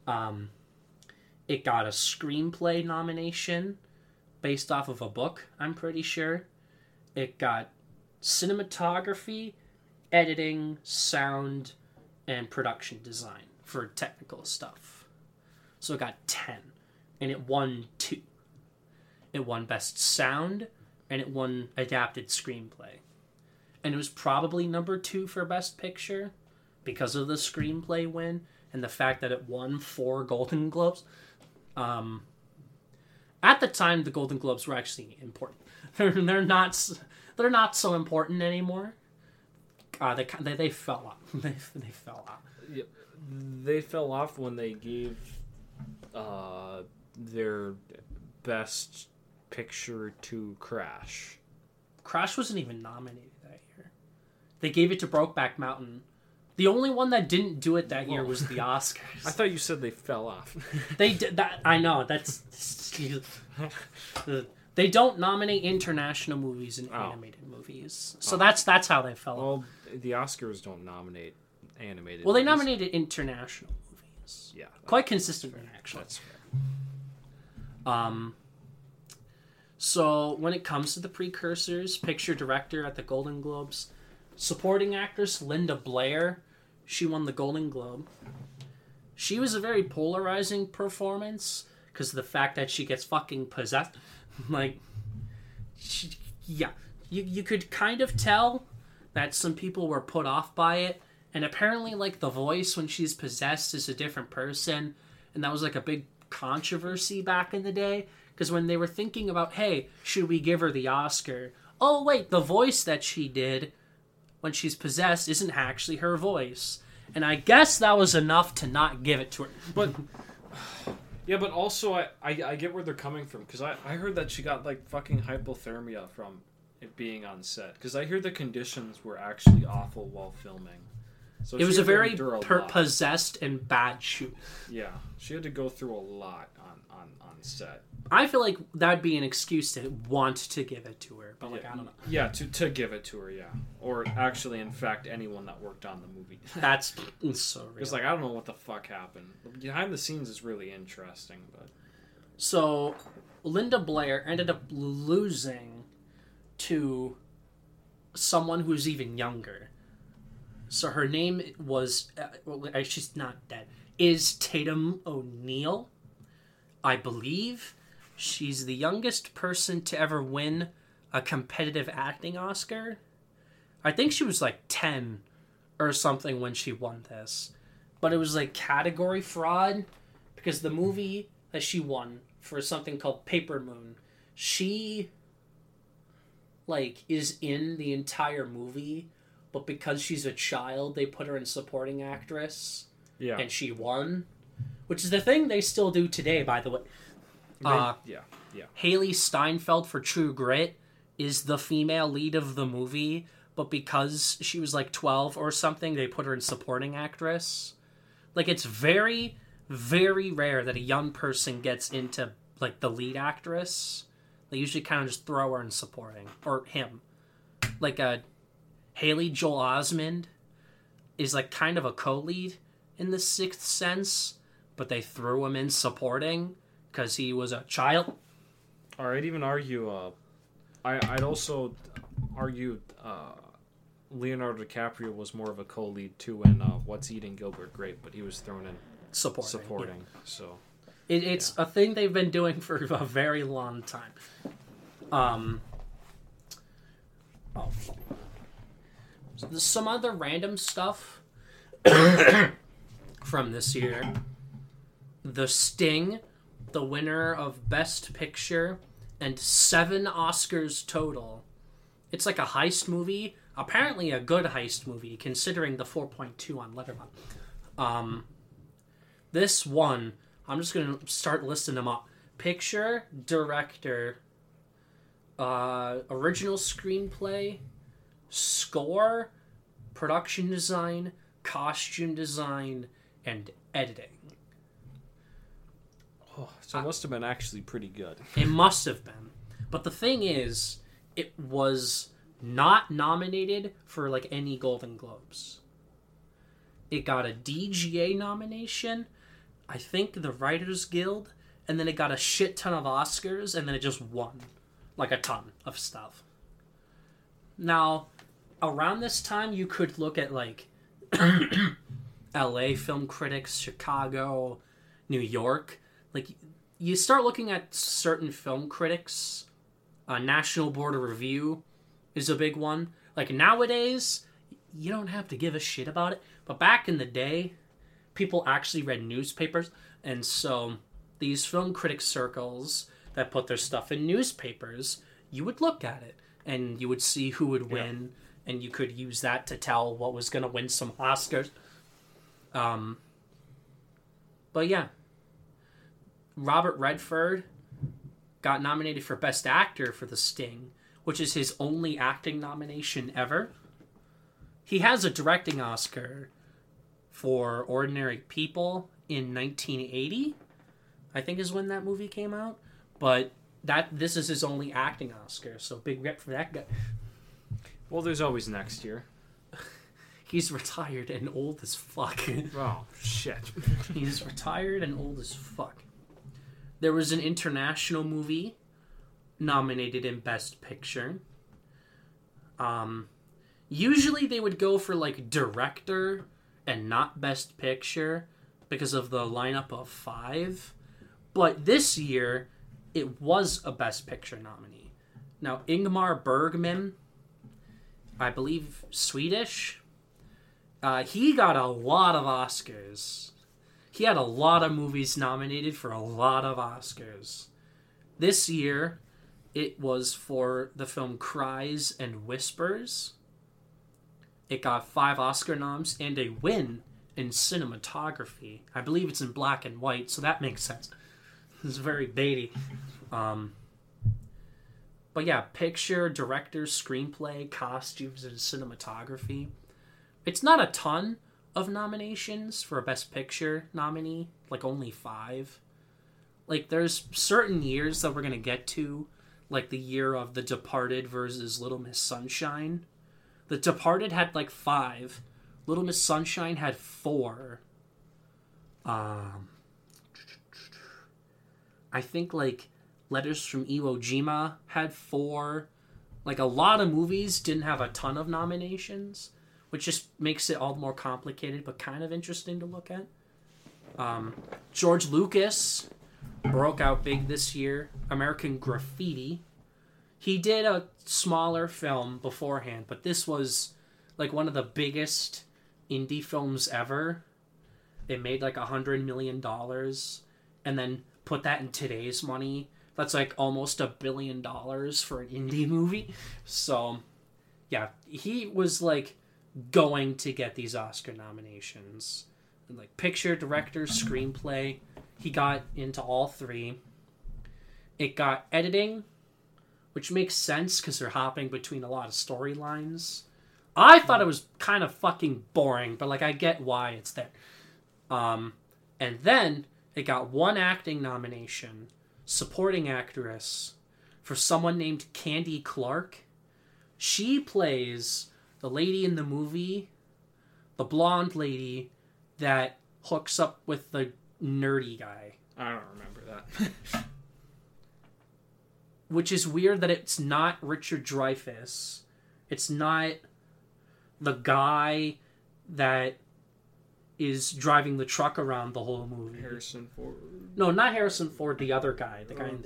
It got a screenplay nomination based off of a book, I'm pretty sure. It got cinematography, editing, sound, and production design for technical stuff. So it got 10, and it won 2. It won Best Sound, and it won Adapted Screenplay. And it was probably number 2 for Best Picture because of the screenplay win and the fact that it won 4 Golden Globes. At the time, the Golden Globes were actually important. They're not so important anymore. They fell off. They fell off. Yeah, they fell off when they gave their Best Picture to Crash. Crash wasn't even nominated that year. They gave it to Brokeback Mountain. The only one that didn't do it that year was the Oscars. I thought you said they fell off. They did that. I know that's. They don't nominate international movies and animated movies, so that's how they fell off. Well, the Oscars don't nominate animated. Well, they movies. nominated international movies. Yeah, quite consistent actually. That's fair. So when it comes to the precursors, Picture, Director at the Golden Globes, supporting actress Linda Blair, she won the Golden Globe. She was a very polarizing performance because of the fact that she gets fucking possessed. Like, you could kind of tell that some people were put off by it, and apparently, like, the voice when she's possessed is a different person, and that was like a big controversy back in the day. Because when they were thinking about, hey, should we give her the Oscar? Oh, wait, the voice that she did when she's possessed isn't actually her voice. And I guess that was enough to not give it to her. But, yeah, but also I get where they're coming from. Because I heard that she got, like, fucking hypothermia from it being on set. Because I hear the conditions were actually awful while filming. So it was a very possessed and bad shoot. Yeah, she had to go through a lot on set. I feel like that'd be an excuse to want to give it to her, but like, I don't know. Yeah, to give it to her, yeah. Or actually, in fact, anyone that worked on the movie. That's so real. Because, like, I don't know what the fuck happened. Behind the scenes is really interesting, but... So, Linda Blair ended up losing to someone who's even younger. So her name was... she's not dead. Is Tatum O'Neal, I believe. She's the youngest person to ever win a competitive acting Oscar. I think she was like 10 or something when she won this. But it was like category fraud because the movie that she won for something called Paper Moon, she like is in the entire movie, but because she's a child, they put her in supporting actress. Yeah. And she won, which is the thing they still do today, by the way. Yeah. Haley Steinfeld for True Grit is the female lead of the movie, but because she was like 12 or something, they put her in supporting actress. Like, it's very, very rare that a young person gets into like the lead actress. They usually kind of just throw her in supporting, or him. Like Haley Joel Osment is like kind of a co-lead in The Sixth Sense, but they threw him in supporting because he was a child. Or I'd even argue, I'd also argue Leonardo DiCaprio was more of a co-lead too in What's Eating Gilbert Grape, but he was thrown in supporting. Yeah. So it's a thing they've been doing for a very long time. Some other random stuff from this year. The Sting the winner of Best Picture and 7 Oscars total. It's like a heist movie. Apparently a good heist movie, considering the 4.2 on Letterboxd. This one, I'm just going to start listing them up. Picture, director, original screenplay, score, production design, costume design, and editing. Oh, so it must have been actually pretty good. It must have been. But the thing is, it was not nominated for like any Golden Globes. It got a DGA nomination, I think the Writers Guild, and then it got a shit ton of Oscars, and then it just won. Like a ton of stuff. Now, around this time, you could look at like LA film critics, Chicago, New York. Like, you start looking at certain film critics. National Board of Review is a big one. Like, nowadays, you don't have to give a shit about it. But back in the day, people actually read newspapers. And so, these film critic circles that put their stuff in newspapers, you would look at it. And you would see who would win. Yeah. And you could use that to tell what was going to win some Oscars. But yeah. Robert Redford got nominated for Best Actor for The Sting, which is his only acting nomination ever. He has a directing Oscar for Ordinary People in 1980, I think is when that movie came out. But this is his only acting Oscar, so big rep for that guy. Well, there's always next year. He's retired and old as fuck. Oh, shit. He's retired and old as fuck. There was an international movie nominated in Best Picture. Usually they would go for like director and not Best Picture because of the lineup of 5. But this year, it was a Best Picture nominee. Now, Ingmar Bergman, I believe Swedish, he got a lot of Oscars. He had a lot of movies nominated for a lot of Oscars. This year, it was for the film Cries and Whispers. It got 5 Oscar noms and a win in cinematography. I believe it's in black and white, so that makes sense. It's very baity. But yeah, picture, director, screenplay, costumes, and cinematography. It's not a ton of nominations for a Best Picture nominee, like only 5. Like, there's certain years that we're going to get to, like the year of The Departed versus Little Miss Sunshine. The Departed had like 5. Little Miss Sunshine had 4. I think like Letters from Iwo Jima had 4. Like, a lot of movies didn't have a ton of nominations, which just makes it all more complicated, but kind of interesting to look at. George Lucas broke out big this year. American Graffiti. He did a smaller film beforehand, but this was like one of the biggest indie films ever. It made like $100 million, and then put that in today's money. That's like almost $1 billion for an indie movie. So, yeah, he was like going to get these Oscar nominations. And like picture, director, screenplay. He got into all 3. It got editing, which makes sense because they're hopping between a lot of storylines. I thought it was kind of fucking boring, but like I get why it's there. And then it got 1 acting nomination, supporting actress, for someone named Candy Clark. She plays the lady in the movie, the blonde lady that hooks up with the nerdy guy. I don't remember that. Which is weird that it's not Richard Dreyfuss. It's not the guy that is driving the truck around the whole movie. Harrison Ford. No, not Harrison Ford. The other guy. The guy in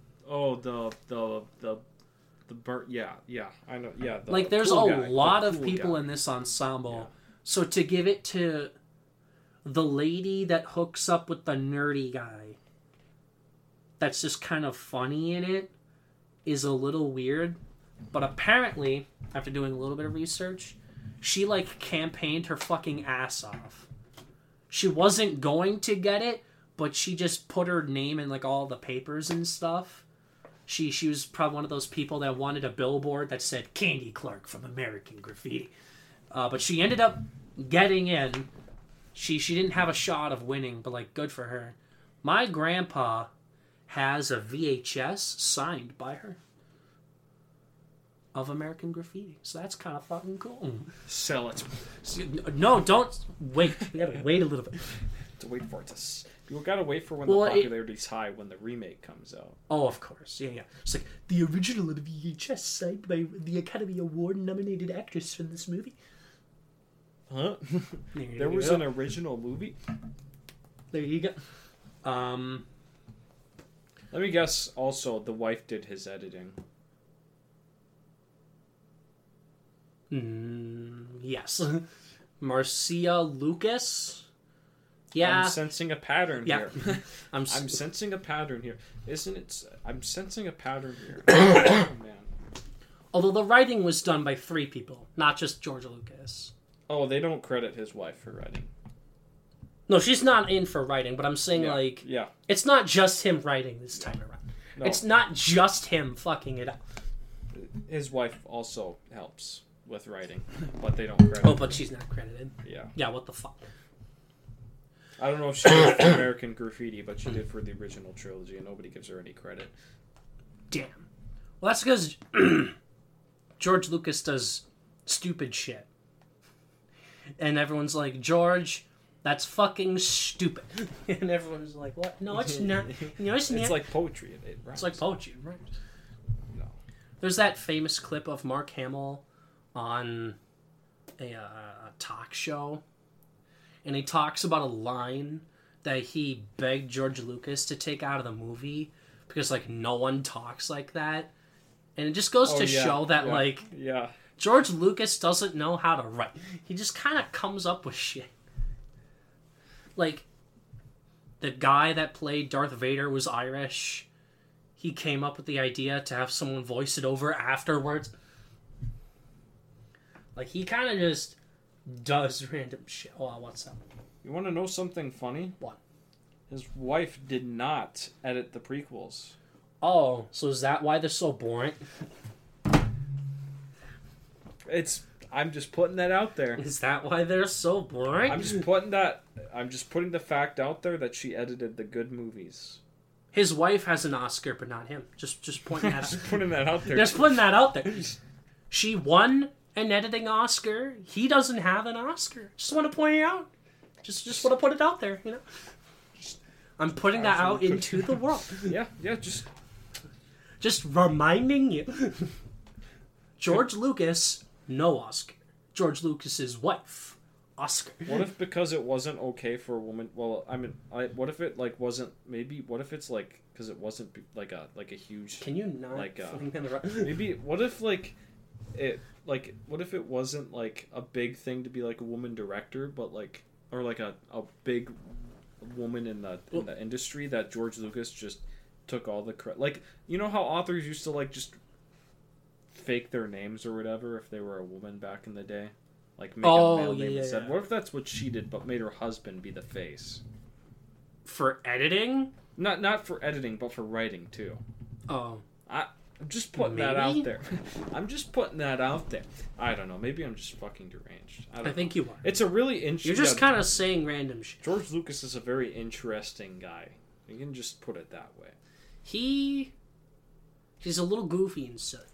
yeah. I know. Yeah. Like, there's a lot of people in this ensemble. Yeah. So to give it to the lady that hooks up with the nerdy guy, that's just kind of funny in it is a little weird. But apparently, after doing a little bit of research, she, like, campaigned her fucking ass off. She wasn't going to get it, but she just put her name in, like, all the papers and stuff. She was probably one of those people that wanted a billboard that said Candy Clark from American Graffiti. But she ended up getting in. She didn't have a shot of winning, but, like, good for her. My grandpa has a VHS signed by her of American Graffiti. So that's kind of fucking cool. Sell it. No, don't wait. You gotta wait a little bit. To wait for it to... You gotta wait for when the popularity's high, when the remake comes out. Oh, of course. Yeah. It's like, the original of the VHS signed by the Academy Award-nominated actress from this movie. Huh? There was an original movie? There you go. Let me guess, also, the wife did his editing. Yes. Marcia Lucas? Yeah. I'm sensing a pattern here. I'm sensing a pattern here. Isn't it? I'm sensing a pattern here. Oh, man. Although the writing was done by 3 people, not just George Lucas. Oh, they don't credit his wife for writing. No, she's not in for writing, but I'm saying, it's not just him writing this time around. No. It's not just him fucking it up. His wife also helps with writing, but they don't credit. Oh, but she's not credited. Yeah. Yeah, what the fuck? I don't know if she did for American Graffiti, but she did for the original trilogy, and nobody gives her any credit. Damn. Well, that's because George Lucas does stupid shit. And everyone's like, George, that's fucking stupid. And everyone's like, what? No, it's not. No, it's not. It's like poetry. It's like poetry, right? No. There's that famous clip of Mark Hamill on a talk show. And he talks about a line that he begged George Lucas to take out of the movie because, like, no one talks like that. And it just goes to show that, George Lucas doesn't know how to write. He just kind of comes up with shit. Like, the guy that played Darth Vader was Irish. He came up with the idea to have someone voice it over afterwards. Like, he kind of just does random shit. Oh, what's up? You want to know something funny? What? His wife did not edit the prequels. Oh, so is that why they're so boring? I'm just putting that out there. Is that why they're so boring? I'm just putting the fact out there that she edited the good movies. His wife has an Oscar, but not him. Just pointing that out. Just putting that out there. Just putting that out there. She won an editing Oscar. He doesn't have an Oscar. Just want to point it out. Just want to put it out there, you know. I'm putting that out into the world. Yeah, just reminding you. George Lucas, no Oscar. George Lucas's wife, Oscar. What if because it wasn't okay for a woman? Well, I mean, what if it like wasn't? Maybe what if it's like because it wasn't like a huge. Can you not? Like maybe what if like it like what if it wasn't like a big thing to be like a woman director, but like or like a big woman in the industry that George Lucas just took all the credit. Like, you know how authors used to like just fake their names or whatever if they were a woman back in the day, like make a male name and said, what if that's what she did but made her husband be the face for editing? Not for editing, but for writing too. I'm just putting that out there. I'm just putting that out there. I don't know. Maybe I'm just fucking deranged. I think you are. It's a really interesting... You're just kind of saying random shit. George Lucas is a very interesting guy. You can just put it that way. He's a little goofy and silly.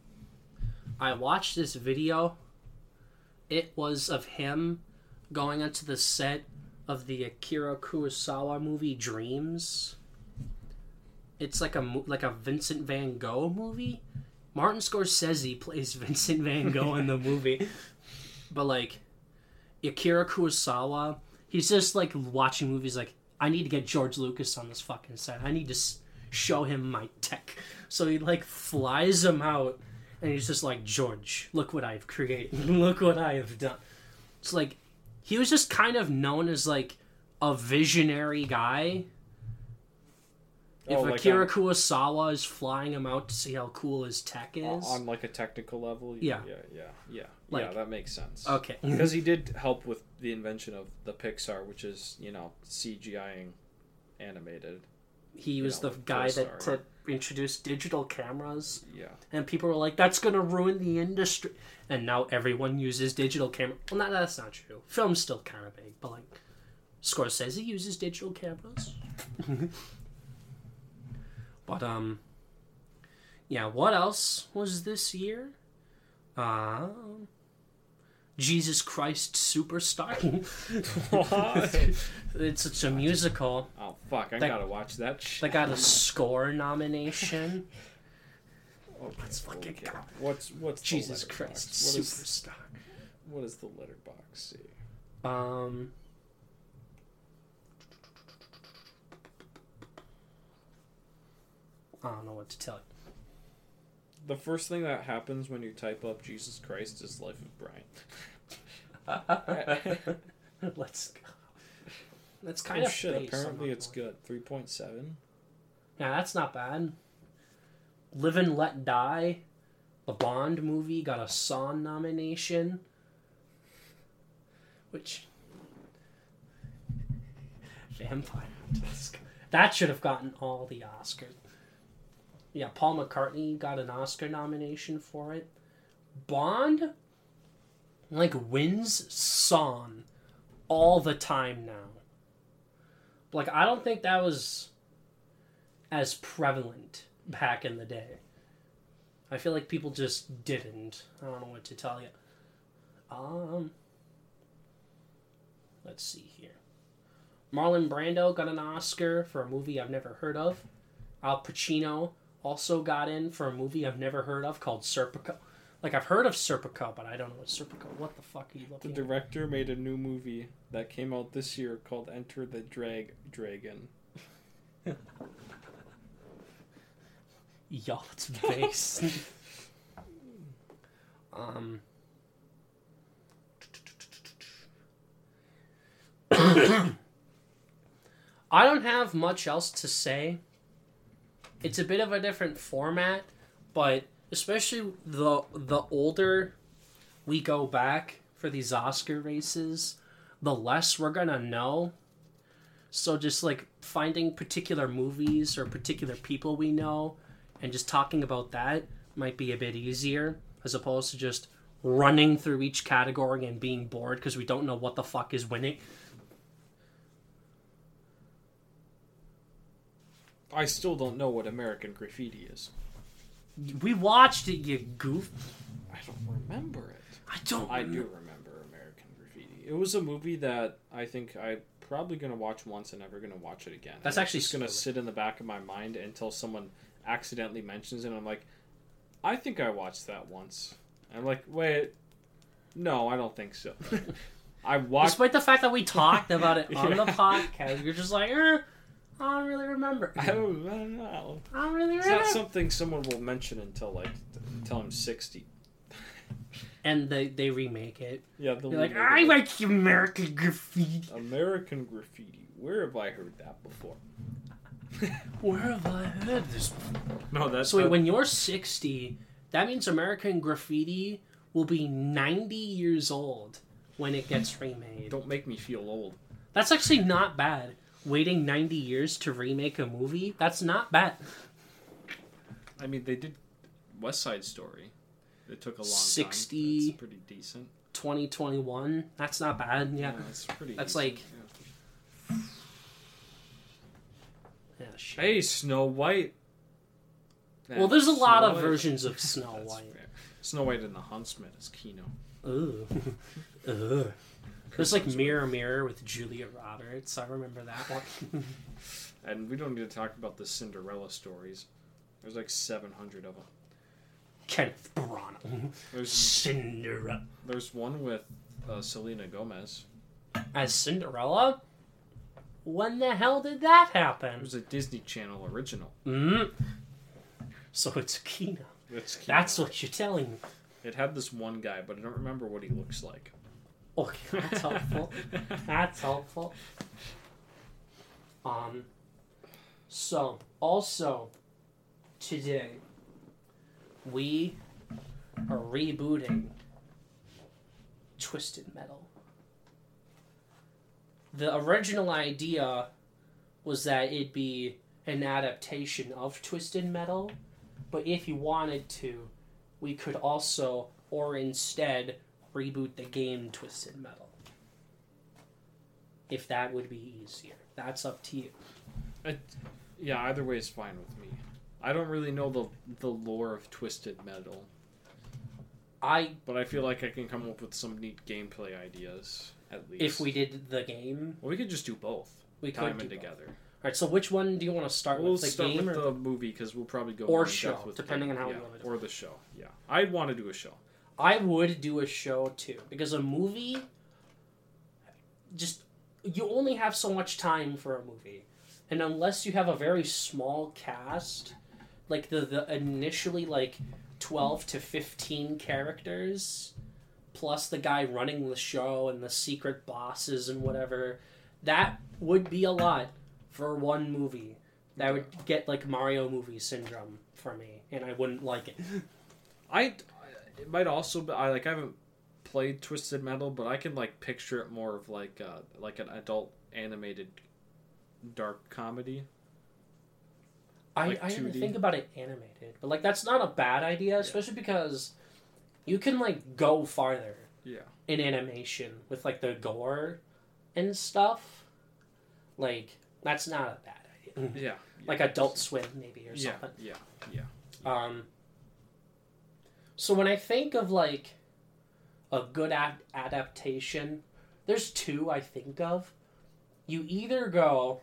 I watched this video. It was of him going onto the set of the Akira Kurosawa movie Dreams. It's like a Vincent Van Gogh movie. Martin Scorsese plays Vincent Van Gogh in the movie. But, like, Akira Kurosawa, he's just, like, watching movies like, I need to get George Lucas on this fucking set. I need to show him my tech. So he, like, flies him out, and he's just like, George, look what I've created. Look what I have done. It's like, he was just kind of known as, like, a visionary guy. If Oh, like Akira on- Kurosawa is flying him out to see how cool his tech is. on like a technical level. Yeah. Yeah, Like- that makes sense. Okay. Because he did help with the invention of the Pixar, which is, CGIing animated. He was the with guy that Pixar. introduced digital cameras. Yeah. And people were like, that's going to ruin the industry. And now everyone uses digital camera. Well, that's not true. Film's still kind of big, but like, Scorsese uses digital cameras. But, yeah, what else was this year? Jesus Christ Superstar. What? It's a musical. Oh, fuck. I That- gotta watch that shit. They got a score nomination. Okay, Let's fucking go. What's Jesus the Christ letterbox? Superstar. What does the letterbox say? I don't know what to tell you. The first thing that happens when you type up Jesus Christ is Life of Brian. Let's go. That's kind of shit, based apparently on it's good. 3.7. Yeah, that's not bad. Live and Let Die, the Bond movie, got a Song nomination. Which... Vampire. That should have gotten all the Oscars. Yeah, Paul McCartney got an Oscar nomination for it. Bond, wins Song all the time now. I don't think that was as prevalent back in the day. I feel like people just didn't. I don't know what to tell you. Let's see here. Marlon Brando got an Oscar for a movie I've never heard of. Al Pacino also got in for a movie I've never heard of called Serpico. I've heard of Serpico, but I don't know what Serpico. What the fuck are you The looking at? director made a new movie that came out this year called Enter the Dragon. Yo, it's base. I don't have much else to say. It's a bit of a different format, but especially the older we go back for these Oscar races, the less we're gonna know. So just finding particular movies or particular people we know and just talking about that might be a bit easier as opposed to just running through each category and being bored because we don't know what the fuck is winning. I still don't know what American Graffiti is. We watched it, you goof. I don't remember it. I do remember American Graffiti. It was a movie that I think I'm probably going to watch once and never going to watch it again. That's actually just going to sit in the back of my mind until someone accidentally mentions it. And I'm like, I think I watched that once. And I'm like, wait, no, I don't think so. I watched. Despite the fact that we talked about it on the Yeah. podcast, you're just like, I don't really remember. I don't know. I don't really It's remember. not something someone will mention until I'm 60. And they remake it. Yeah, You're like, I like American Graffiti. American Graffiti. Where have I heard that before? Where have I heard this before? No, that's So wait, when you're 60, that means American Graffiti will be 90 years old when it gets remade. Don't make me feel old. That's actually not bad. Waiting 90 years to remake a movie, that's not bad. I mean, they did West Side Story. It took a long 60 time. That's pretty decent. 2021, that's not bad. Yeah. That's pretty That's decent. Yeah, shit. Hey, Snow White. Well, there's a lot Snow of White. versions of Snow That's White. fair. Snow White and the Huntsman is Kino. Ooh. Ugh. There's Mirror Mirror with Julia Roberts. I remember that one. And we don't need to talk about the Cinderella stories. There's 700 of them. Kenneth Branagh. There's Cinderella. there's one with Selena Gomez. As Cinderella? When the hell did that It happen? was a Disney Channel original. So it's Kino. It's Kino. That's what you're telling me. It had this one guy, but I don't remember what he looks like. Okay, that's helpful. That's helpful. So, also, today, we are rebooting Twisted Metal. The original idea was that it'd be an adaptation of Twisted Metal, but if you wanted to, we could also, or instead, reboot the game Twisted Metal. If that would be easier. That's up to you. Yeah, either way is fine with me. I don't really know the lore of Twisted Metal. But I feel like I can come up with some neat gameplay ideas, at least. If we did the game? Well, we could just do both. We could time do it together. Alright, so which one do you want to start with? The start game with or the movie, because we'll probably go or more in show, depth with depending on how we want to do it. Or the show, yeah. I'd want to do a show. I would do a show, too. Because a movie... Just... You only have so much time for a movie. And unless you have a very small cast... Like, the initially, 12 to 15 characters... Plus the guy running the show and the secret bosses and whatever... That would be a lot for one movie. That would get, Mario movie syndrome for me. And I wouldn't like it. It might also be... I haven't played Twisted Metal, but I can, picture it more of, an adult animated dark comedy. I didn't think about it animated. But, that's not a bad idea, especially because you can, go farther in animation with, the gore and stuff. That's not a bad idea. Yeah. Like Adult Swim, maybe, or something. Yeah. So when I think of, a good adaptation, there's two I think of. You either go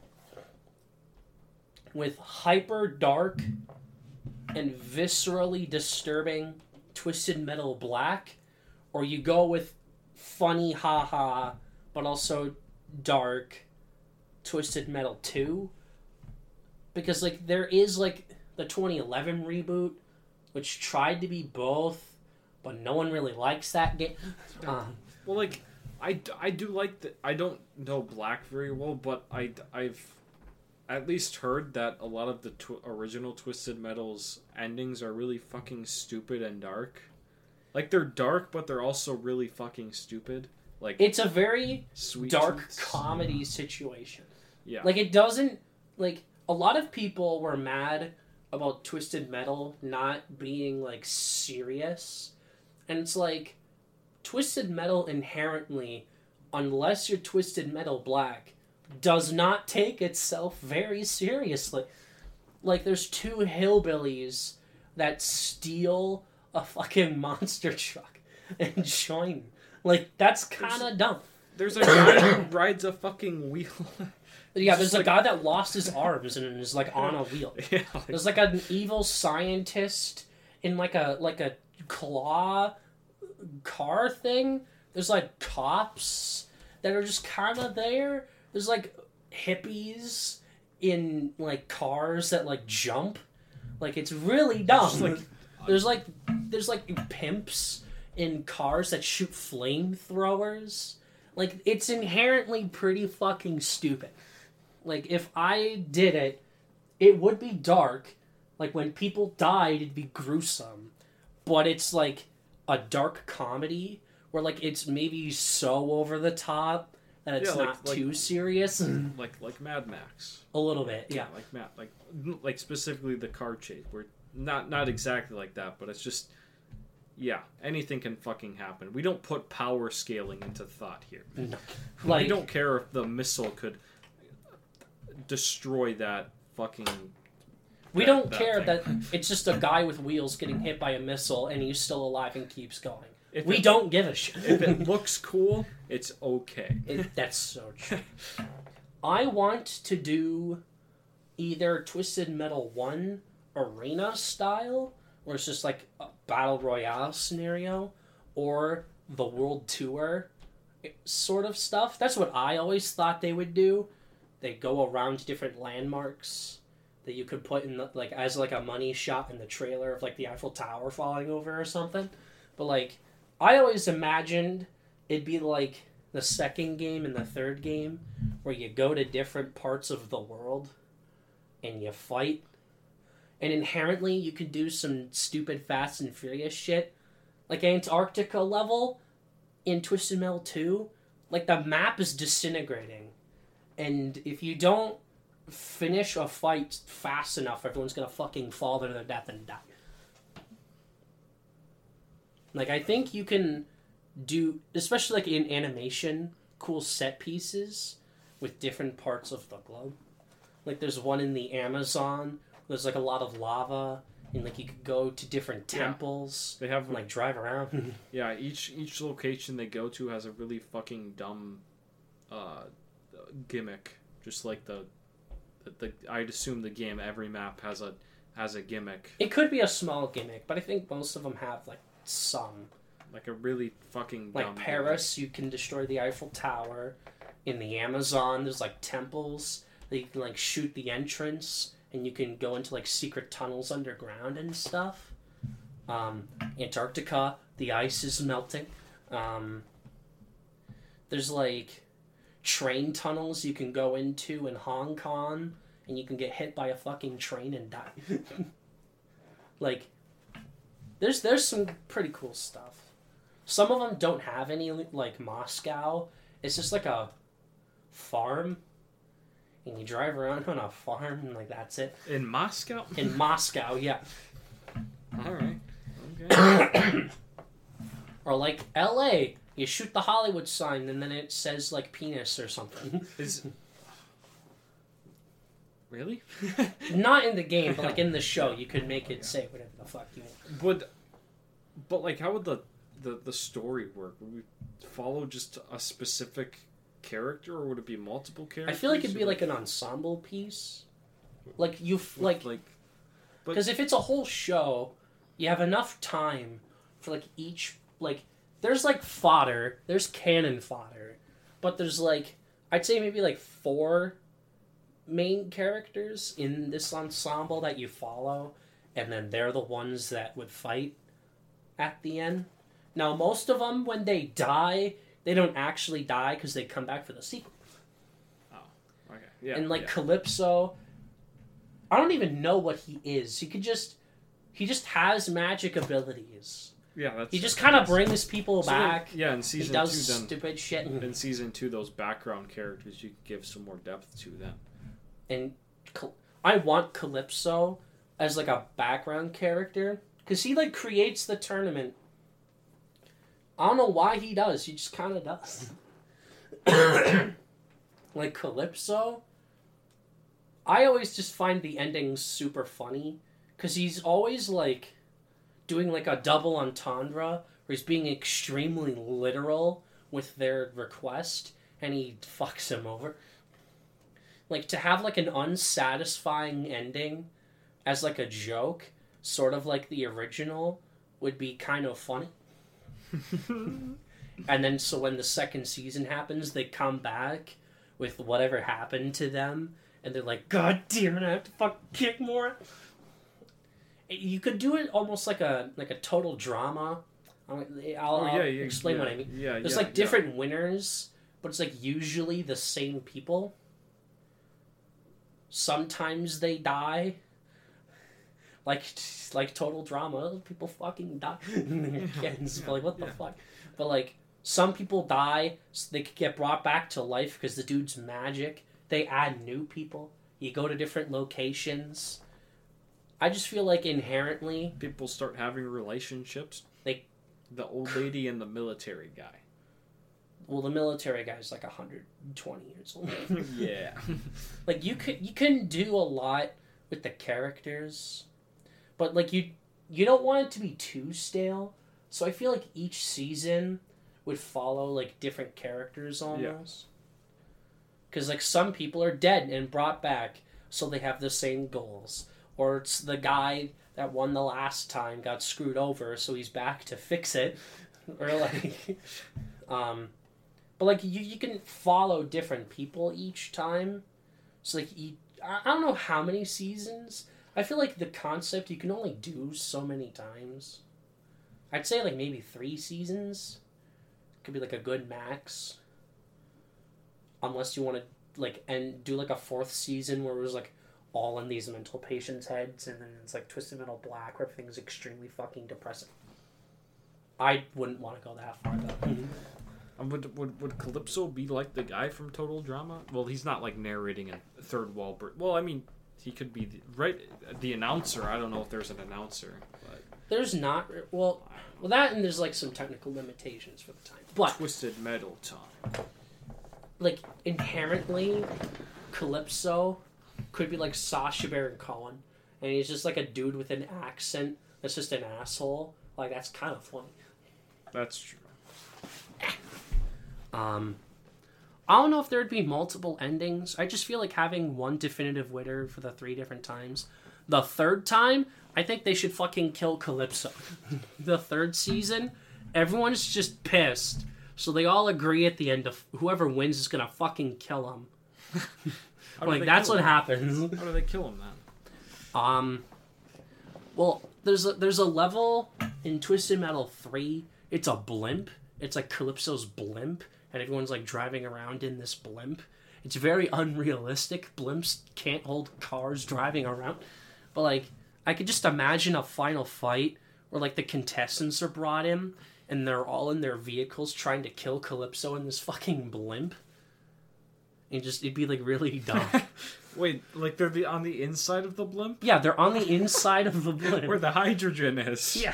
with hyper dark and viscerally disturbing Twisted Metal Black, or you go with funny haha, but also dark Twisted Metal 2. Because, there is, the 2011 reboot, which tried to be both, but no one really likes that game. Well, I do like the... I don't know Black very well, but I've at least heard that a lot of the original Twisted Metal's endings are really fucking stupid and dark. They're dark, but they're also really fucking stupid. It's a very Sweet dark Tooth's... comedy situation. Yeah. It doesn't... a lot of people were mad about Twisted Metal not being, serious. And it's Twisted Metal inherently, unless you're Twisted Metal Black, does not take itself very seriously. There's two hillbillies that steal a fucking monster truck and join. That's kind of dumb. There's a guy who rides a fucking wheel. Yeah, there's a guy that lost his arms and is on a wheel. Yeah, there's an evil scientist in a claw car thing. There's cops that are just kind of there. There's hippies in cars that jump. It's really dumb. There's pimps in cars that shoot flamethrowers. It's inherently pretty fucking stupid. If I did it, it would be dark. When people died, it'd be gruesome. But it's a dark comedy where it's maybe so over the top that it's not too serious. like Mad Max. A little bit, yeah. Like specifically the car chase, where not exactly like that, but it's just... Yeah, anything can fucking happen. We don't put power scaling into thought here. No. We don't care if the missile could destroy that fucking... We don't care that it's just a guy with wheels getting hit by a missile and he's still alive and keeps going. We don't give a shit. If it looks cool, it's okay. That's so true. I want to do either Twisted Metal 1 arena style, where it's just a battle royale scenario, or the world tour sort of stuff. That's what I always thought they would do. They go around different landmarks that you could put in as a money shot in the trailer of the Eiffel Tower falling over or something. But I always imagined it'd be the second game and the third game, where you go to different parts of the world and you fight. And inherently, you can do some stupid Fast and Furious shit. Like Antarctica level in Twisted Metal 2, like the map is disintegrating. And if you don't finish a fight fast enough, everyone's gonna fucking fall to their death and die. Like, I think you can do, especially like in animation, cool set pieces with different parts of the globe. Like, there's one in the Amazon. There's like a lot of lava, and like you could go to different temples. They have and, like drive around. Yeah, each location they go to has a really fucking dumb gimmick. Just like the I'd assume the game, every map has a gimmick. It could be a small gimmick, but I think most of them have like some. Like a really fucking like dumb Paris, gimmick. you can destroy the Eiffel Tower. In the Amazon, there's like temples that you can like shoot the entrance, and you can go into like secret tunnels underground and stuff. Antarctica, the ice is melting. There's like train tunnels you can go into in Hong Kong, and you can get hit by a fucking train and die. Like, there's some pretty cool stuff. Some of them don't have any, like Moscow. It's just like a farm, and you drive around on a farm, and like that's it. In Moscow? In Moscow, yeah. Alright. Okay. Or like LA, you shoot the Hollywood sign, and then it says like penis or something. Really? Not in the game, but like in the show, you could make it say whatever the fuck you want. But like, how would the story work? Would we follow just a specific character, or would it be multiple characters? I feel like it'd be like an ensemble piece. Like you like, because if it's a whole show, you have enough time for like each like. There's like fodder, there's canon fodder, but there's like I'd say maybe like 4 main characters in this ensemble that you follow, and then they're the ones that would fight at the end. Now, most of them, when they die, they don't actually die because they come back for the sequel. Oh, okay. Yeah. And like Calypso, I don't even know what he is. He just has magic abilities. Yeah, he just kind of brings people back. Yeah, in season 2, he does stupid shit. In season 2, those background characters you could give some more depth to them. And I want Calypso as like a background character because he like creates the tournament. I don't know why he does. He just kind of does. Like Calypso, I always just find the ending super funny because he's always like doing like a double entendre where he's being extremely literal with their request and he fucks him over. Like, to have like an unsatisfying ending as like a joke, sort of like the original, would be kind of funny. And then so when the second season happens, they come back with whatever happened to them, and they're like, God damn it, I have to fucking kick more. You could do it almost like a total drama. I'll explain what I mean. There's like different winners, but it's like usually the same people. Sometimes they die. Like total drama, people fucking die. Like, what the fuck? But like, some people die, so they could get brought back to life because the dude's magic. They add new people. You go to different locations. I just feel like inherently people start having relationships. The old lady and the military guy. Well, the military guy's like 120 years old. Yeah. Like you can do a lot with the characters, but like you don't want it to be too stale. So I feel like each season would follow like different characters almost. Because like some people are dead and brought back, so they have the same goals. Or it's the guy that won the last time got screwed over, so he's back to fix it. Or like, but like you can follow different people each time. So like I don't know how many seasons. I feel like the concept you can only do so many times. I'd say like maybe 3 seasons. Could be like a good max. Unless you want to like do like a 4th season where it was like all in these mental patients' heads, and then it's like Twisted Metal Black, where everything's extremely fucking depressing. I wouldn't want to go that far though. Would Calypso be like the guy from Total Drama? Well, he's not like narrating a third wall. Well, I mean, he could be the announcer. I don't know if there's an announcer. But there's not. Well, that and there's like some technical limitations for the time. But Twisted Metal time. Like inherently, Calypso could be like Sacha Baron Cohen, and he's just like a dude with an accent that's just an asshole. Like that's kind of funny. That's true. I don't know if there'd be multiple endings. I just feel like having one definitive winner for the 3 different times. The third time, I think they should fucking kill Calypso. The third season, everyone's just pissed. So they all agree at the end of whoever wins is gonna fucking kill him. Like that's what happens. How do they kill him then? Well, there's a level in Twisted Metal 3. It's a blimp. It's like Calypso's blimp, and everyone's like driving around in this blimp. It's very unrealistic. Blimps can't hold cars driving around. But like, I could just imagine a final fight where like the contestants are brought in, and they're all in their vehicles trying to kill Calypso in this fucking blimp. And it'd be like really dumb. Wait, like they're on the inside of the blimp? Yeah, they're on the inside of the blimp. Where the hydrogen is. Yeah.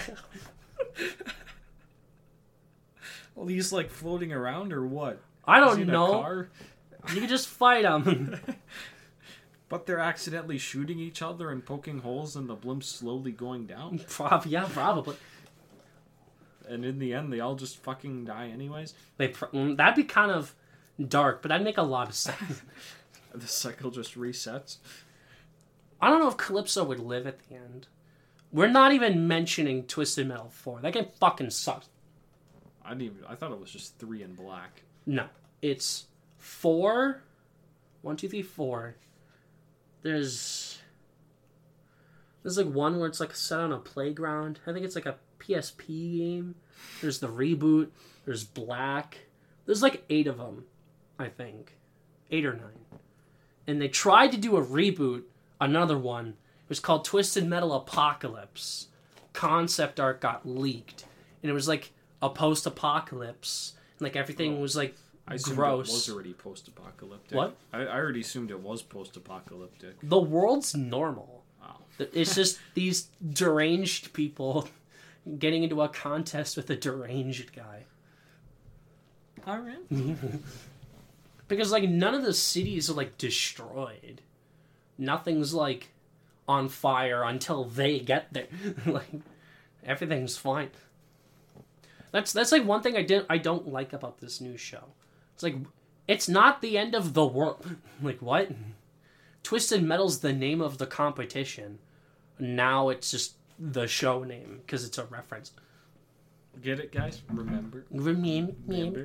Well, he's like floating around or what? I Is don't he in a know. car? You can just fight them. But they're accidentally shooting each other and poking holes and the blimp's slowly going down. Yeah, probably. And in the end, they all just fucking die anyways. That'd be kind of dark, but that'd make a lot of sense. The cycle just resets. I don't know if Calypso would live at the end. We're not even mentioning Twisted Metal 4. That game fucking sucks. I thought it was just 3 in black. No. It's 4. 1, 2, 3, 4. There's like one where it's like set on a playground. I think it's like a PSP game. There's the reboot. There's Black. There's like 8 of them, I think. 8 or 9. And they tried to do a reboot, another one. It was called Twisted Metal Apocalypse. Concept art got leaked. And it was like a post-apocalypse. And like everything was like I assumed gross. it was already post-apocalyptic. What? I already assumed it was post-apocalyptic. The world's normal. Wow. It's just these deranged people getting into a contest with a deranged guy. Alright. Because, like, none of the cities are, like, destroyed. Nothing's, like, on fire until they get there. Like, everything's fine. That's like one thing I don't like about this new show. It's like, it's not the end of the world. Like, what? Twisted Metal's the name of the competition. Now it's just the show name, because it's a reference. Get it, guys? Remember? Remember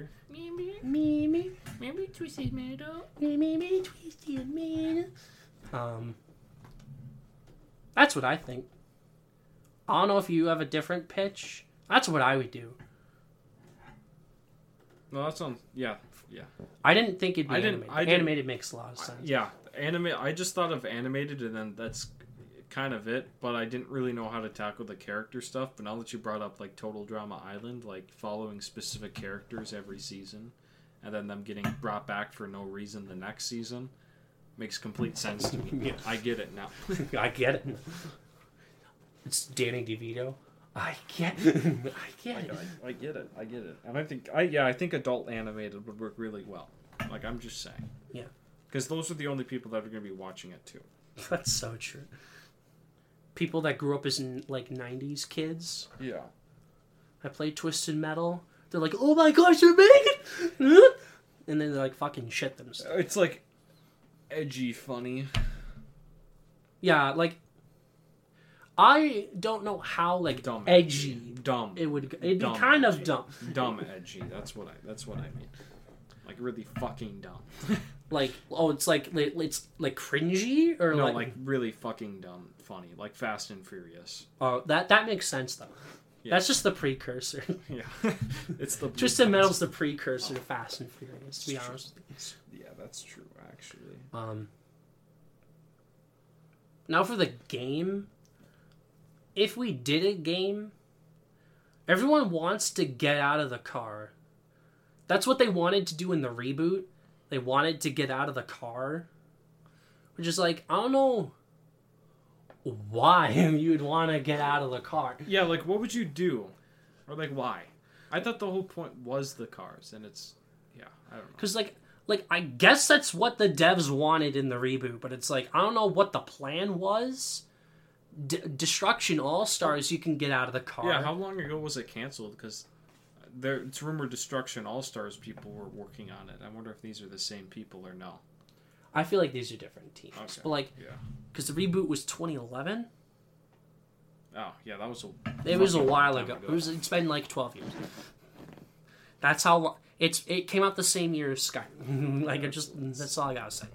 Twisted Metal. Twisted Metal. That's what I think. I don't know if you have a different pitch. That's what I would do. No, that sounds... Yeah. I didn't think it'd be animated. Animated makes a lot of sense. Yeah. I just thought of animated, and then that's kind of it, but I didn't really know how to tackle the character stuff. But now that you brought up, like, Total Drama Island, like, following specific characters every season, and then them getting brought back for no reason the next season, makes complete sense to me. Yeah. I get it now. I get it. It's Danny DeVito. I get it. I get it. And I think adult animated would work really well. Like, I'm just saying. Yeah. Because those are the only people that are going to be watching it, too. That's so true. People that grew up as, like, 90s kids. Yeah. I played Twisted Metal. They're like, oh my gosh, you're making... And then they, like, fucking shit themselves. It's, like, edgy funny. Yeah, like... I don't know how, like, Dumb edgy... Dumb. It'd be kind of dumb. Dumb edgy. That's what I mean. Like, really fucking dumb. Like, oh, it's like cringy? Or no, like really fucking dumb funny. Like Fast and Furious. Oh, that makes sense, though. Yeah. That's just the precursor. Yeah. It's the... Twisted Metal's the precursor to Fast and Furious, to be honest with you. Yeah, that's true, actually. Now for the game. If we did a game, everyone wants to get out of the car. That's what they wanted to do in the reboot. They wanted to get out of the car. Which is like, I don't know why you'd want to get out of the car. Yeah, like, what would you do? Or, like, why? I thought the whole point was the cars, and it's... Yeah, I don't know. Because, like, I guess that's what the devs wanted in the reboot, but it's like, I don't know what the plan was. Destruction All-Stars, you can get out of the car. Yeah, how long ago was it canceled? Because it's rumored Destruction All-Stars people were working on it. I wonder if these are the same people or no. I feel like these are different teams. Okay. But, like, because the reboot was 2011? Oh, yeah, that was It was a while ago. It's been, like, 12 years. That's how... It came out the same year as Skyrim. Like, that's all I gotta say.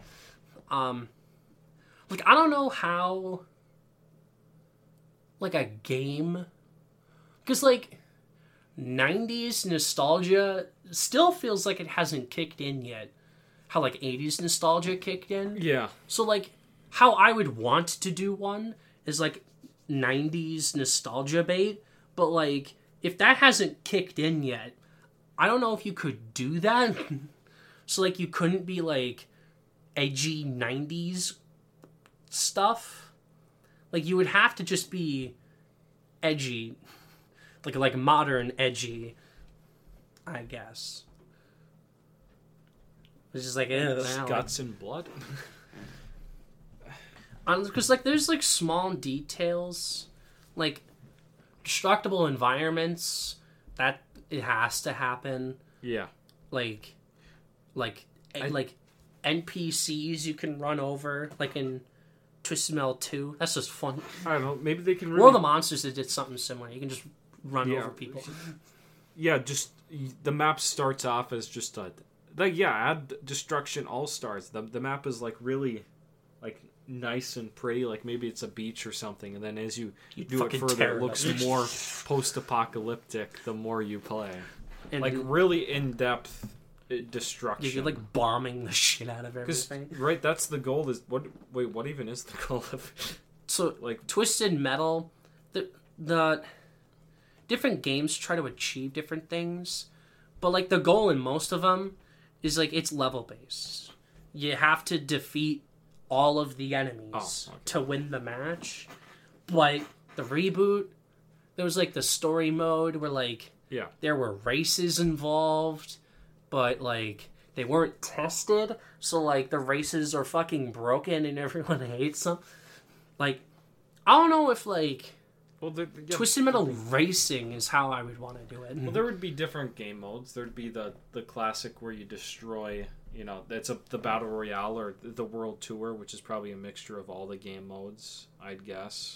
Like, I don't know how... Like, a game... Because, like, 90s nostalgia still feels like it hasn't kicked in yet. How, like, 80s nostalgia kicked in. Yeah. So, like, how I would want to do one is, like, 90s nostalgia bait. But, like, if that hasn't kicked in yet, I don't know if you could do that. So, like, you couldn't be, like, edgy 90s stuff. Like, you would have to just be edgy. Like modern edgy, I guess. It's just like, guts and blood. Because, like, there's, like, small details. Like, destructible environments. That, it has to happen. Yeah. Like NPCs you can run over. Like in Twisted Metal 2. That's just fun. I don't know. Maybe they can World of the Monsters, they did something similar. You can just run over people. Yeah, just the map starts off as just add Destruction All-Stars. The map is like really like nice and pretty, like maybe it's a beach or something, and then as you do it further, it looks more post-apocalyptic the more you play. And like really in-depth destruction. You're like bombing the shit out of everything. Right, that's the goal. What even is the goal of so like Twisted Metal, the different games try to achieve different things, but like the goal in most of them is like it's level based. You have to defeat all of the enemies to win the match. But the reboot, there was like the story mode where like there were races involved, but like they weren't tested, so like the races are fucking broken and everyone hates them. Like I don't know if like Twisted Metal Racing is how I would want to do it. Well, there would be different game modes. There'd be the classic where you destroy, that's the Battle Royale or the World Tour, which is probably a mixture of all the game modes, I'd guess.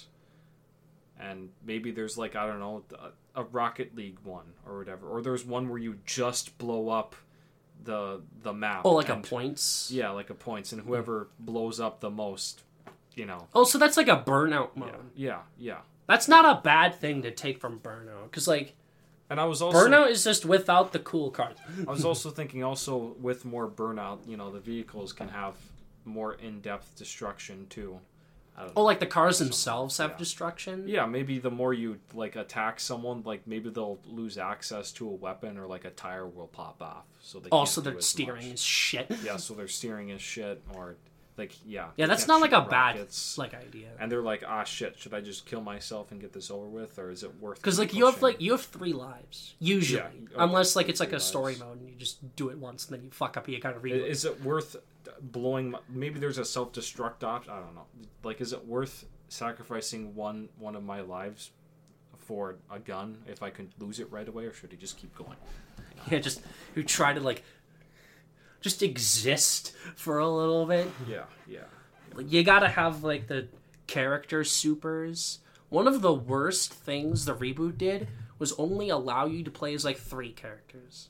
And maybe there's like, I don't know, a Rocket League one or whatever. Or there's one where you just blow up the map. Oh, like a points? Yeah, like a points. And whoever blows up the most, Oh, so that's like a Burnout mode. Yeah. That's not a bad thing to take from Burnout, because like, and I was also Burnout is just without the cool cards. I was also thinking, with more Burnout, the vehicles can have more in-depth destruction too. I don't know. Oh, like the cars themselves have destruction? Yeah, maybe the more you like attack someone, like maybe they'll lose access to a weapon, or like a tire will pop off. So they also their steering is shit. Yeah, so their steering is shit, or. Yeah, that's not like a rockets, bad idea. And they're like, shit, should I just kill myself and get this over with, or is it worth? Because you have 3 lives usually, unless like it's like a story mode and you just do it once and then you fuck up, you gotta reload. Is it worth blowing? Maybe there's a self-destruct option. I don't know. Like, is it worth sacrificing one of my lives for a gun if I can lose it right away, or should he just keep going? Yeah, just you try to like. Just exist for a little bit. Yeah. You gotta have, like, the character supers. One of the worst things the reboot did was only allow you to play as, like, 3 characters.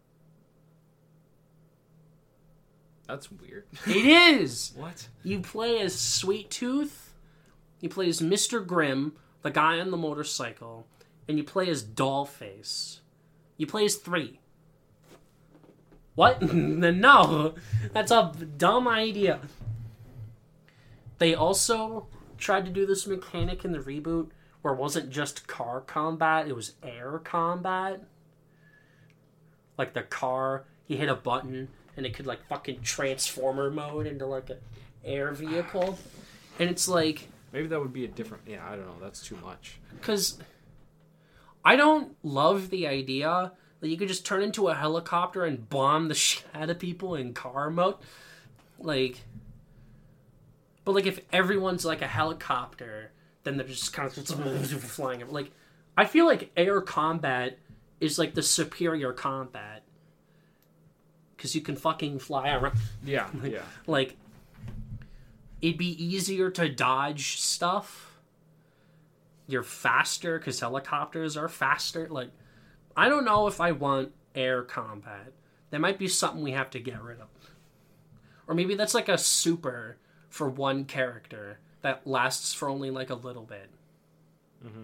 That's weird. It is! What? You play as Sweet Tooth, you play as Mr. Grimm, the guy on the motorcycle, and you play as Dollface. You play as 3. What? No, that's a dumb idea. They also tried to do this mechanic in the reboot where it wasn't just car combat, it was air combat. Like the car, you hit a button and it could like fucking transformer mode into like an air vehicle. And it's like... Maybe that would be a different... Yeah, I don't know. That's too much. Because I don't love the idea that you could just turn into a helicopter and bomb the shit out of people in car mode. Like... But like if everyone's like a helicopter, then they're just kind of flying. Like, I feel like air combat is like the superior combat. Because you can fucking fly around. Yeah, yeah. Like... It'd be easier to dodge stuff. You're faster because helicopters are faster. Like, I don't know if I want air combat. That might be something we have to get rid of. Or maybe that's like a super for one character that lasts for only like a little bit. Mm-hmm.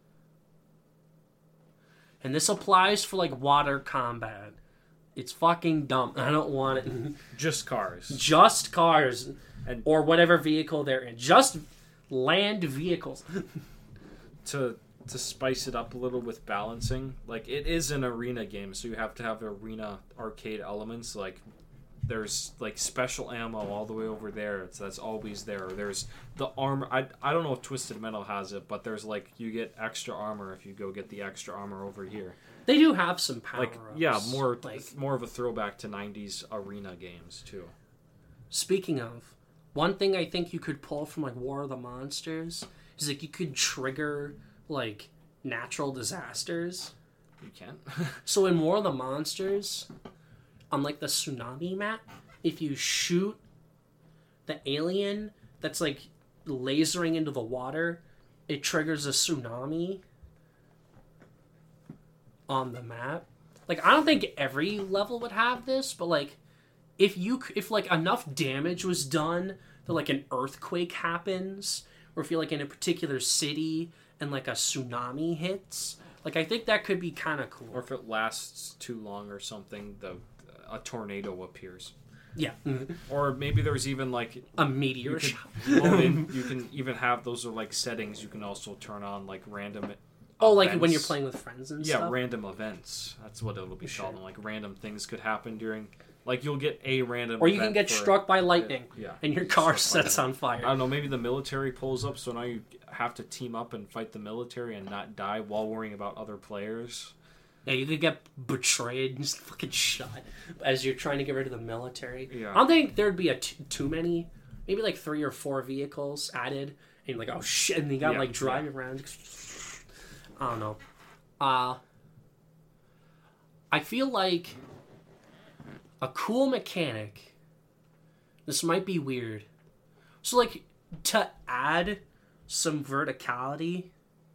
And this applies for like water combat. It's fucking dumb. I don't want it. Just cars. Just cars. Or whatever vehicle they're in. Just land vehicles. To spice it up a little with balancing, like it is an arena game, so you have to have arena arcade elements. Like there's like special ammo all the way over there. That's always there. There's the armor. I don't know if Twisted Metal has it, but there's like you get extra armor if you go get the extra armor over here. They do have some power-ups. Like yeah, more of a throwback to 90s arena games too. Speaking of, one thing I think you could pull from like War of the Monsters is like you could trigger like natural disasters. You can. So in War of the Monsters, on like the tsunami map, if you shoot the alien that's like lasering into the water, it triggers a tsunami on the map. Like I don't think every level would have this, but like if like enough damage was done that like an earthquake happens, or if you're like in a particular city and like a tsunami hits, like I think that could be kind of cool. Or if it lasts too long or something, a tornado appears. Yeah. Mm-hmm. Or maybe there's even like a meteor shot. You can even have those are like settings. You can also turn on like random. Oh, events. like when you're playing with friends and stuff? Yeah, random events. That's what it'll be called. Like random things could happen during. Like you'll get a random. Or you can get struck by lightning. Yeah. And your car sets on fire. I don't know. Maybe the military pulls up, so now you have to team up and fight the military and not die while worrying about other players. Yeah, you could get betrayed and just fucking shot as you're trying to get rid of the military. Yeah. I don't think there'd be too many. Maybe like 3 or 4 vehicles added. And you're like, oh shit. And you got like driving around. I don't know. I feel like a cool mechanic. This might be weird. So like to add some verticality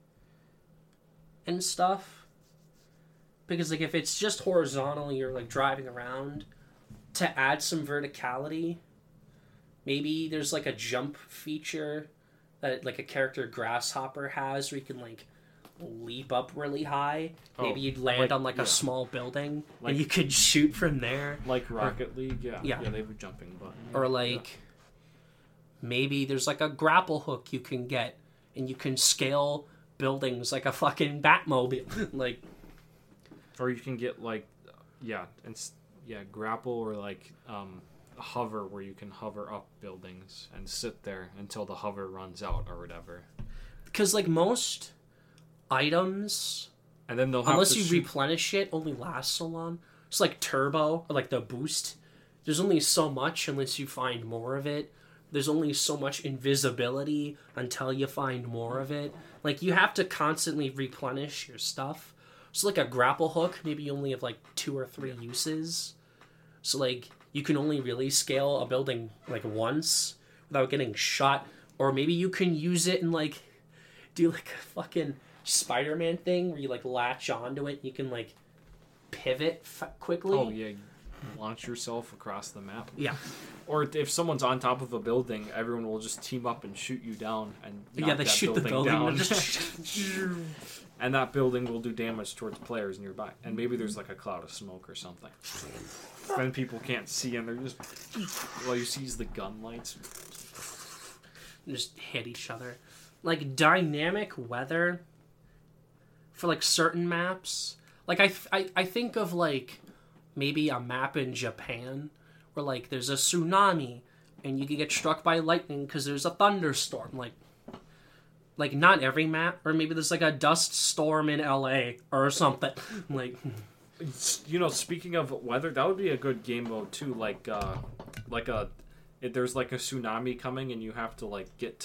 and stuff. Because like if it's just horizontal, you're like driving around. To add some verticality, maybe there's like a jump feature that like a character Grasshopper has, where you can like leap up really high. Maybe you'd land on like a small building, and you could shoot from there. Like Rocket League, yeah, they have a jumping button. Or like maybe there's like a grapple hook you can get, and you can scale buildings like a fucking Batmobile, like. Or you can get like, grapple or like hover, where you can hover up buildings and sit there until the hover runs out or whatever. Because like most items, and then they'll unless you replenish it, only lasts so long. It's like turbo or like the boost. There's only so much unless you find more of it. There's only so much invisibility until you find more of it. Like you have to constantly replenish your stuff. So like a grapple hook, maybe you only have like 2 or 3 uses. So like you can only really scale a building like once without getting shot. Or maybe you can use it and like do like a fucking Spider-Man thing where you like latch onto it and you can like pivot quickly. Oh yeah, launch yourself across the map. Yeah. Or if someone's on top of a building, everyone will just team up and shoot you down and knock they shoot the building down. And that building will do damage towards players nearby. And maybe there's like a cloud of smoke or something. Then people can't see and they're just... All you see is the gun lights. and just hit each other. Like, dynamic weather for, like, certain maps. Like, I think of, like, maybe a map in Japan where, like, there's a tsunami and you can get struck by lightning because there's a thunderstorm. Like, not every map, or maybe there's, like, a dust storm in LA or something. Like, You know, speaking of weather, that would be a good game mode too. There's like a tsunami coming, and you have to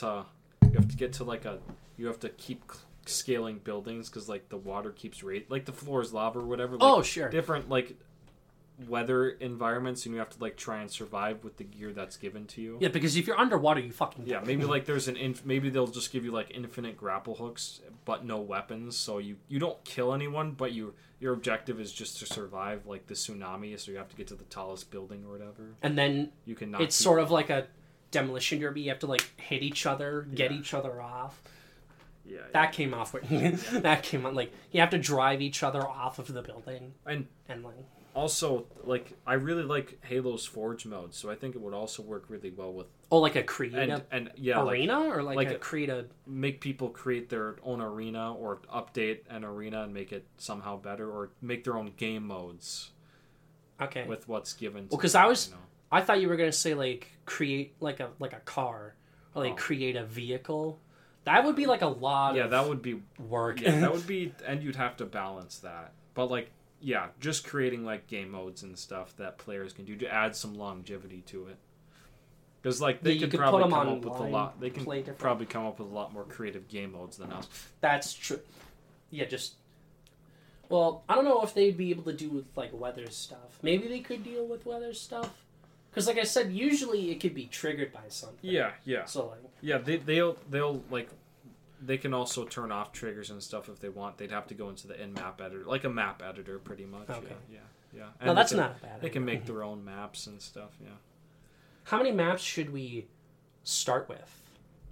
keep scaling buildings because like the water keeps like the floor is lava or whatever. Like, oh, sure. Different like weather environments, and you have to like try and survive with the gear that's given to you. Yeah, because if you're underwater, you fucking die. Yeah, maybe like there's maybe they'll just give you like infinite grapple hooks, but no weapons, so you don't kill anyone, but your objective is just to survive like the tsunami, so you have to get to the tallest building or whatever. And then you can knock it's sort of like a demolition derby. You have to like hit each other, get each other off. Yeah, that came off. That came on like you have to drive each other off of the building, and like. Also, like, I really like Halo's Forge mode, so I think it would also work really well with... Oh, like a creative and yeah, arena? Or like a creative... Make people create their own arena, or update an arena and make it somehow better, or make their own game modes. Okay. With what's given to because them, I thought you were going to say, like, create, like a car, or, like, create a vehicle. That would be, like, a lot of... that would be... work. Yeah, that would be... And you'd have to balance that. But, like... Yeah, just creating like game modes and stuff that players can do to add some longevity to it. Because like they could probably come up with a lot. They can probably come up with a lot more creative game modes than us. That's true. Yeah, just. Well, I don't know if they'd be able to do with like weather stuff. Maybe they could deal with weather stuff. Because like I said, usually it could be triggered by something. Yeah. So like. Yeah, they'll like. They can also turn off triggers and stuff if they want. They'd have to go into the in-map editor, like a map editor, pretty much. Okay. Yeah. And no, that's not bad. They can make their own maps and stuff. Yeah. How many maps should we start with?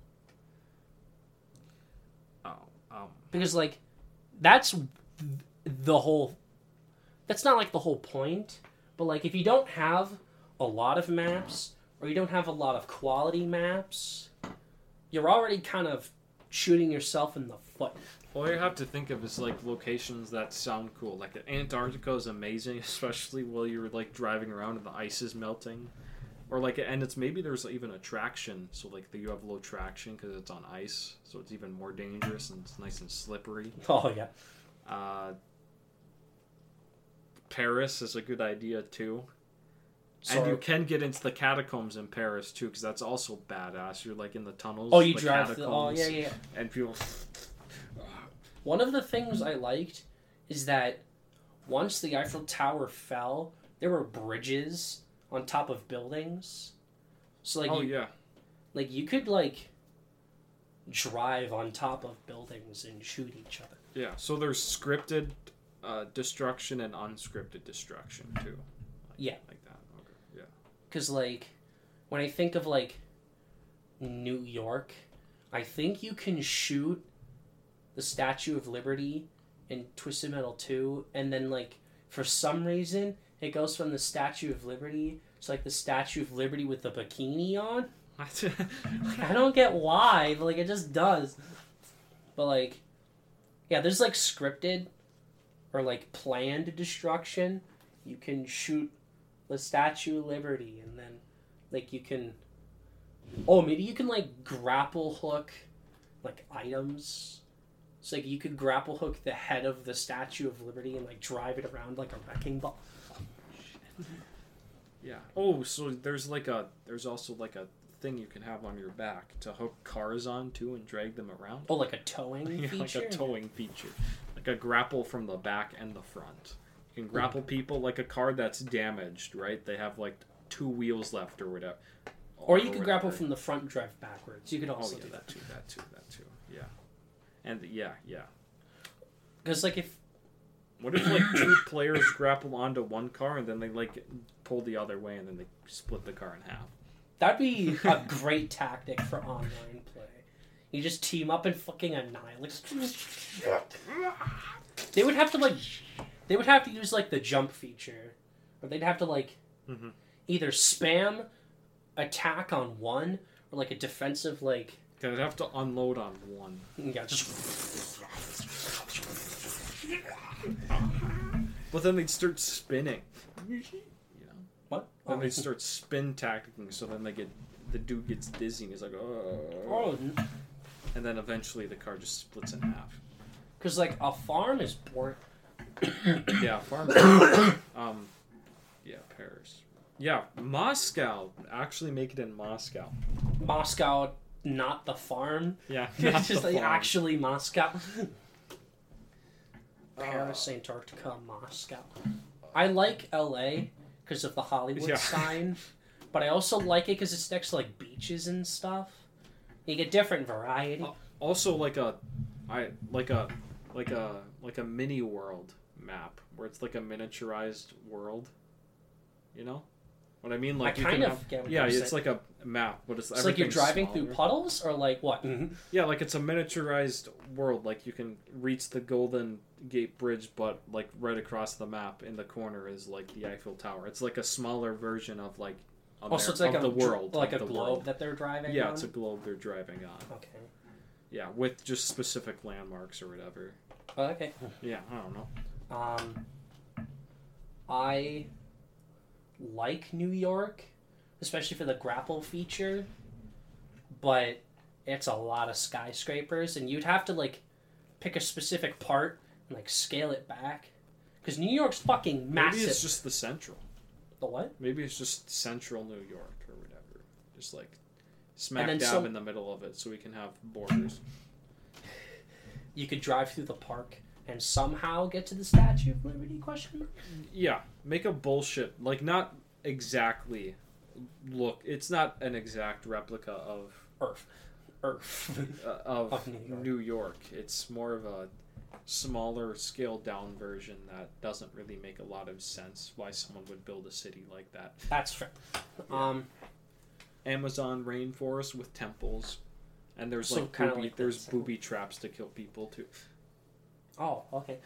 Because like, that's the whole. That's not like the whole point, but like if you don't have a lot of maps or you don't have a lot of quality maps, you're already kind of shooting yourself in the foot. All you have to think of is like locations that sound cool. Like Antarctica is amazing, especially while you're like driving around and the ice is melting, or like and it's maybe there's even a traction, so like you have low traction because it's on ice, so it's even more dangerous and it's nice and slippery. Oh yeah. Paris is a good idea too. And you can get into the catacombs in Paris too, because that's also badass. You're like in the tunnels. Oh, you drive. Oh, yeah. And people. One of the things I liked is that once the Eiffel Tower fell, there were bridges on top of buildings. So like, like you could like drive on top of buildings and shoot each other. Yeah. So there's scripted destruction and unscripted destruction too. Like that. Because, like, when I think of, like, New York, I think you can shoot the Statue of Liberty in Twisted Metal 2, and then, like, for some reason, it goes from the Statue of Liberty to, like, the Statue of Liberty with the bikini on. I don't get why, but, like, it just does. But, like, yeah, there's, like, scripted or, like, planned destruction. You can shoot the Statue of Liberty, and then, like, you can... Oh, maybe you can, like, grapple hook, like, items. So, like, you could grapple hook the head of the Statue of Liberty and, like, drive it around like a wrecking ball. Yeah. Oh, so there's also, like, a thing you can have on your back to hook cars on, too, and drag them around. Oh, like a towing feature? Like a towing feature. Like a grapple from the back and the front. You can grapple people like a car that's damaged, right? They have like 2 wheels left or whatever. Or you could grapple from the front and drive backwards. You could also do that too. That too. Yeah. And yeah. Because like if... What if like 2 players grapple onto one car and then they like pull the other way and then they split the car in half? That'd be a great tactic for online play. You just team up and fucking annihilate. They would have to use, like, the jump feature. Or they'd have to, like, either spam attack on one, or, like, a defensive, like, I'd have to unload on one. Yeah, just But then they'd start spinning. You know? what? Then they'd start spin tacticking, so then the dude gets dizzy and he's like, oh. Oh, And then eventually the car just splits in half. because like a farm is boring. Yeah, farm. Yeah, Paris. Yeah, Moscow. Actually make it in Moscow. Moscow, not the farm. Yeah, It's the just like farm. actually Moscow. Paris, Antarctica, Moscow. I like LA because of the Hollywood Yeah. sign, but I also like it because it's next to like beaches and stuff. You get different variety. Also, like a mini world map where it's like a miniaturized world. You know what I mean? Like I you kind can of have, get what yeah, you're it's saying. like a map, but It's like you're everything's driving smaller. through puddles, or like what? Yeah, like it's a miniaturized world. Like you can reach the Golden Gate Bridge, but like right across the map in the corner is like the Eiffel Tower. It's like a smaller version of like Also, it's like of a the world, like of a the globe world. that they're driving. Yeah, on? it's a globe they're driving on. Okay. Yeah, with just specific landmarks or whatever. Oh, okay. Yeah, I don't know. I like New York, especially for the grapple feature, but it's a lot of skyscrapers, and you'd have to like pick a specific part and like scale it back, because New York's fucking massive. Maybe it's just the central. The what? Maybe it's just central New York or whatever. Just like smack then dab in the middle of it so we can have borders. You could drive through the park and somehow get to the Statue of Liberty? Question mark. Yeah, make a bullshit. Like, not exactly look. It's not an exact replica of Earth. of New York. New York. It's more of a smaller, scaled down version that doesn't really make a lot of sense why someone would build a city like that. That's fair. Yeah. Amazon rainforest with temples, and there's So like kinda booby, like there's that. booby traps to kill people too. Oh, okay.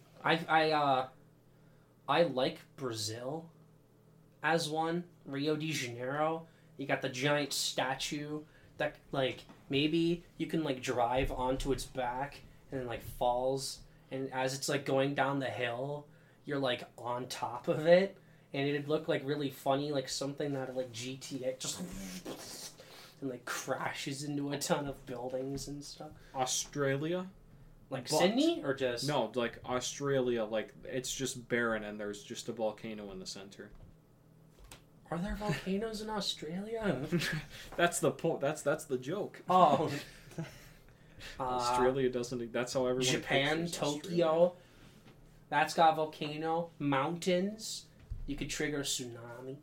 I like Brazil as one. Rio de Janeiro. You got the giant statue that like maybe you can like drive onto its back and then like falls, and as it's like going down the hill, you're like on top of it, and it'd look like really funny, like something out of like GTA, just and like crashes into a ton of buildings and stuff. Australia? Like But- Sydney or just No, like Australia, like it's just barren and there's just a volcano in the center. Are there volcanoes in Australia? That's the point. That's the joke. Oh. Australia doesn't. That's how everyone. Japan, pictures Tokyo. Australia. That's got a volcano. Mountains. You could trigger a tsunami.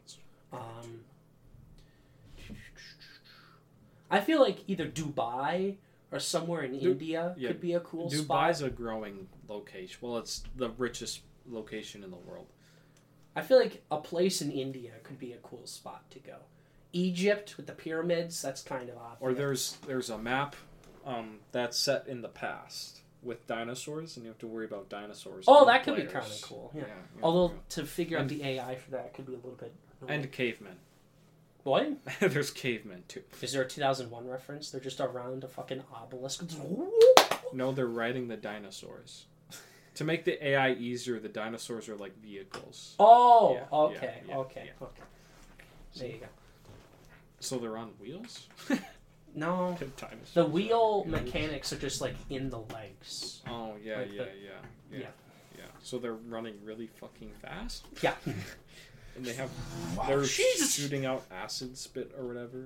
I feel like either Dubai or somewhere in India yeah. could be a cool spot. Dubai's a growing location. Well, it's the richest location in the world. I feel like a place in India could be a cool spot to go. Egypt with the pyramids, that's kind of obvious. Or there's a map that's set in the past with dinosaurs, and you have to worry about dinosaurs. Oh, and that could be players. kind of cool. Yeah. yeah, Although yeah. to figure out And- the AI for that could be a little bit. And cavemen. What? There's cavemen too. Is there a 2001 reference? They're just around a fucking obelisk. No, they're riding the dinosaurs. To make the AI easier, the dinosaurs are like vehicles. Oh, Yeah, okay, yeah, okay, yeah. okay. There you go. So they're on wheels? No, Dinosaurs the are on wheel wheels. mechanics are just like in the legs. Oh, yeah, Like yeah, the- yeah. yeah. So they're running really fucking fast? Yeah. And they have... Wow, They're Jesus. shooting out acid spit or whatever.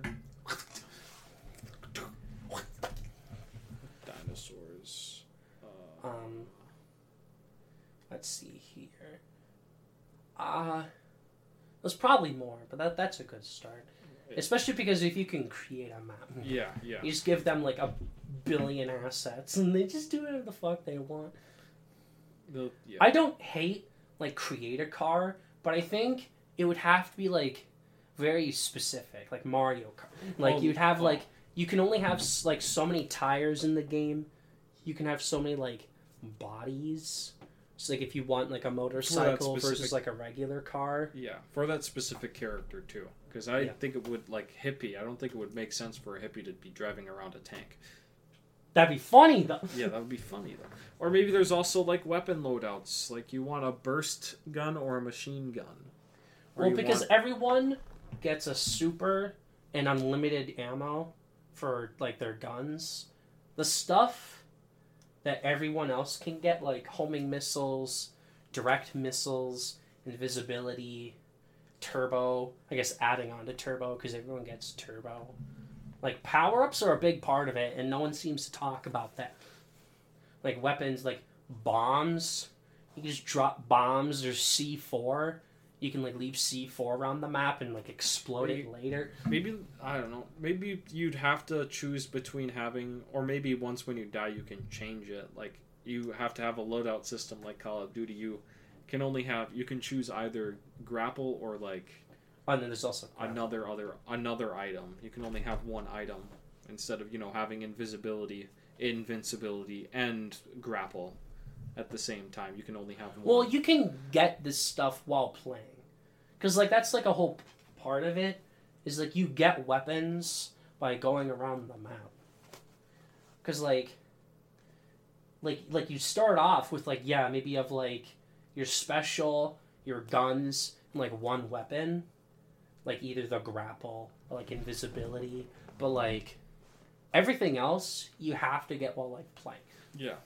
Dinosaurs. Let's see here. There's probably more, but that's a good start. Especially because if you can create a map, Yeah, yeah. you just give them like 1 billion assets, and they just do whatever the fuck they want. Yeah. I don't hate like create a car, but I think it would have to be like very specific, like Mario Kart. Like you'd have like you can only have like so many tires in the game. You can have so many like bodies. So like if you want like a motorcycle specific- versus like a regular car. Yeah, for that specific character too. Because I think it would, like, hippie. I don't think it would make sense for a hippie to be driving around a tank. That'd be funny though. Yeah, that would be funny though. Or maybe there's also like weapon loadouts. Like you want a burst gun or a machine gun. Or Well, you because want- everyone gets a super and unlimited ammo for like their guns. The stuff that everyone else can get, like homing missiles, direct missiles, invisibility, turbo. I guess adding on to turbo because everyone gets turbo. Like power-ups are a big part of it, and no one seems to talk about that. Like weapons, like bombs. You can just drop bombs. There's C4. You can like leave C4 around the map and like explode it later. Maybe, I don't know. Maybe you'd have to choose between having, or maybe once when you die you can change it. Like you have to have a loadout system like Call of Duty. You can choose either grapple or like And then there's also another item. You can only have one item instead of having invisibility, invincibility, and grapple at the same time. You can only have one. Well, you can get this stuff while playing, because like that's like a whole part of it. Is like you get weapons by going around the map. Because like you start off with like maybe you have like your special, your guns, and like one weapon. Like either the grapple or like invisibility, but like everything else you have to get while like playing. Yeah.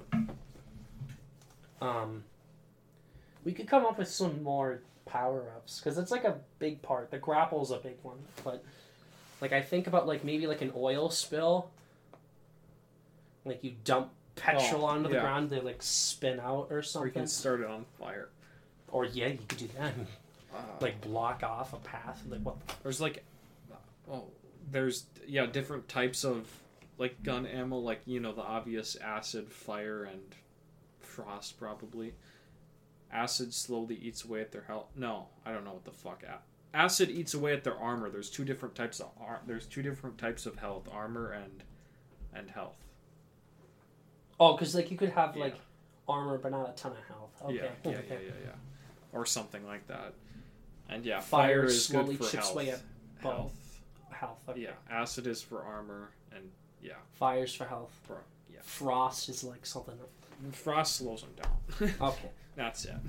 We could come up with some more power-ups because it's like a big part. The grapple's a big one, but like I think about like maybe like an oil spill. Like you dump petrol onto the ground, they like spin out or something. Or you can start it on fire. Or you could do that. Like block off a path. Like what? There's like, there's different types of like gun ammo. Like the obvious acid, fire, and frost probably. Acid slowly eats away at their health. No, I don't know what the fuck. Acid eats away at their armor. There's two different types of health: armor and health. Oh, because like you could have like armor but not a ton of health. Okay. Yeah. Or something like that. And fire is slowly good for chips health. away at Health. Health. Okay. Yeah, acid is for armor, and Fire's for health. Yeah. Frost is like something. Frost slows them down. Okay. That's it.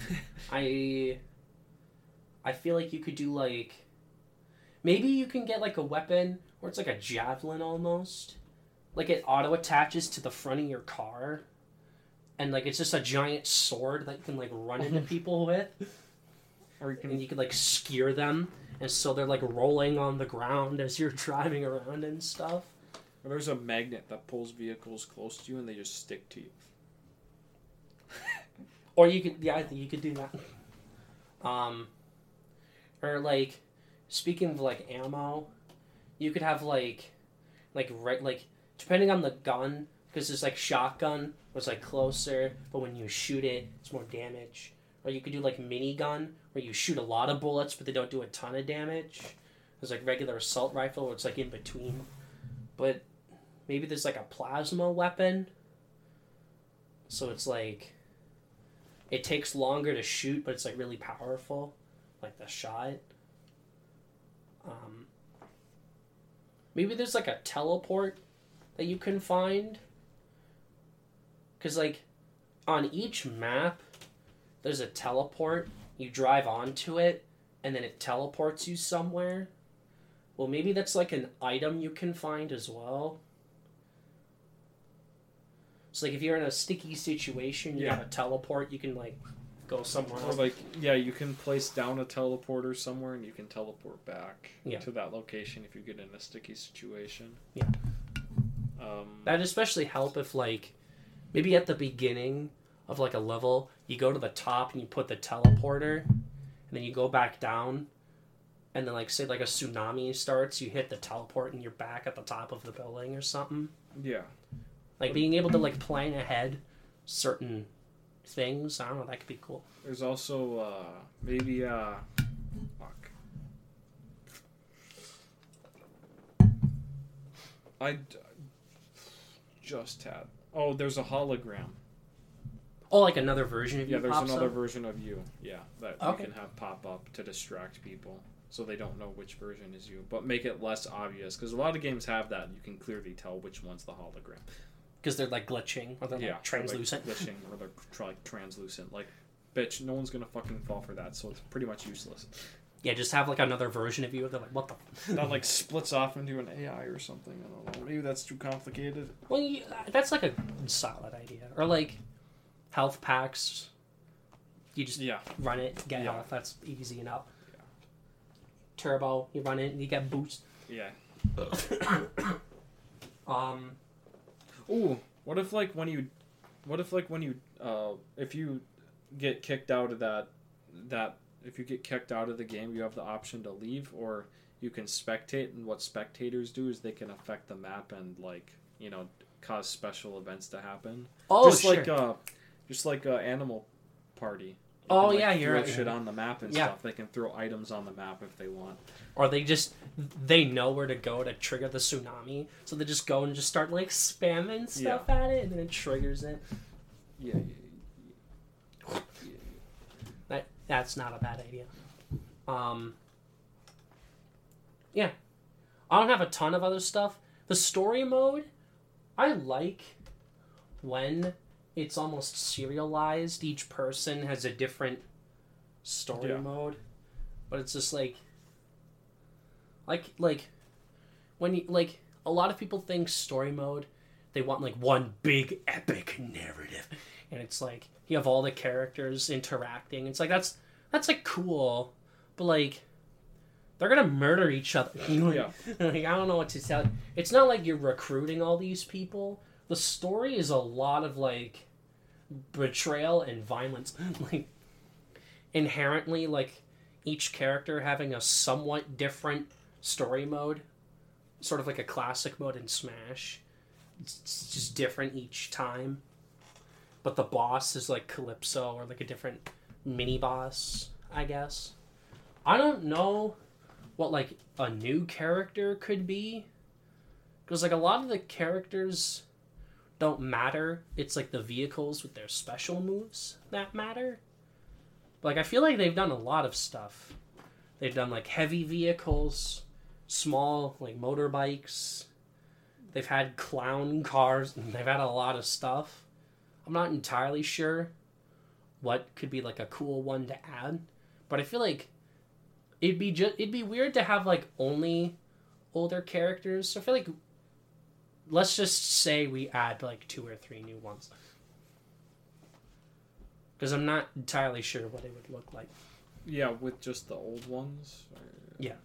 I feel like you could do like maybe you can get like a weapon where it's like a javelin almost. Like it auto attaches to the front of your car. And like it's just a giant sword that you can like run into people with. Or you can like skewer them, and so they're like rolling on the ground as you're driving around and stuff. Or there's a magnet that pulls vehicles close to you and they just stick to you. Or you could, I think you could do that. Or like, speaking of like ammo, you could have like depending on the gun, because there's like shotgun, where it's like closer, but when you shoot it, it's more damage. Or you could do like minigun, where you shoot a lot of bullets, but they don't do a ton of damage. There's like regular assault rifle, where it's like in between. But maybe there's like a plasma weapon. So it's like, it takes longer to shoot, but it's like really powerful. Like the shot. Maybe there's like a teleport that you can find. Because like, on each map, there's a teleport. You drive onto it, and then it teleports you somewhere. Well, maybe that's like an item you can find as well. So like if you're in a sticky situation, you have a teleport, you can like go somewhere else. Or like, you can place down a teleporter somewhere and you can teleport back to that location if you get in a sticky situation. Yeah. That'd especially help if like, maybe at the beginning of like a level, you go to the top and you put the teleporter, and then you go back down, and then like say like a tsunami starts, you hit the teleport and you're back at the top of the building or something. Yeah. Like being able to like plan ahead certain things, I don't know, that could be cool. There's also maybe fuck. I just had. Oh, there's a hologram. Oh, like another version of you. Yeah, there's pops another up? version of you. Yeah, that Okay. you can have pop up to distract people, so they don't know which version is you, but make it less obvious because a lot of games have that. You can clearly tell which one's the hologram. Because they're like glitching or they're like translucent. Like glitching or they're like translucent. Like, bitch, no one's gonna fucking fall for that, so it's pretty much useless. Yeah, just have like another version of you. They're like, what the? That like splits off into an AI or something. I don't know. Maybe that's too complicated. Well, that's like a solid idea. Or like health packs. You just run it, get health. That's easy enough. Yeah. Turbo, you run it, and you get boost. Yeah. Ooh, what if if you get kicked out of if you get kicked out of the game, you have the option to leave, or you can spectate, and what spectators do is they can affect the map and cause special events to happen. Oh, just like Animal Party. Oh, can, yeah, you're throw right. shit on the map and stuff. They can throw items on the map if they want. Or they know where to go to trigger the tsunami, so they just go and just start like spamming stuff at it, and then it triggers it. Yeah. That's not a bad idea. Yeah. I don't have a ton of other stuff. The story mode, I like when it's almost serialized. Each person has a different story mode. But it's just like when you like a lot of people think story mode, they want like one big epic narrative. And it's like you have all the characters interacting. It's like that's like cool, but like they're gonna murder each other. Yeah. Like, I don't know what to tell you. It's not like you're recruiting all these people. The story is a lot of like betrayal and violence. Like inherently, like each character having a somewhat different story mode, sort of like a classic mode in Smash. It's just different each time. But the boss is like Calypso or like a different mini boss, I guess. I don't know what like a new character could be, because like a lot of the characters don't matter. It's like the vehicles with their special moves that matter. Like I feel like they've done a lot of stuff. They've done like heavy vehicles, small like motorbikes. They've had clown cars, and they've had a lot of stuff. I'm not entirely sure what could be like a cool one to add, but I feel like it'd be weird to have like only older characters. So I feel like let's just say we add like 2 or 3 new ones, because I'm not entirely sure what it would look like. Yeah, with just the old ones. Yeah.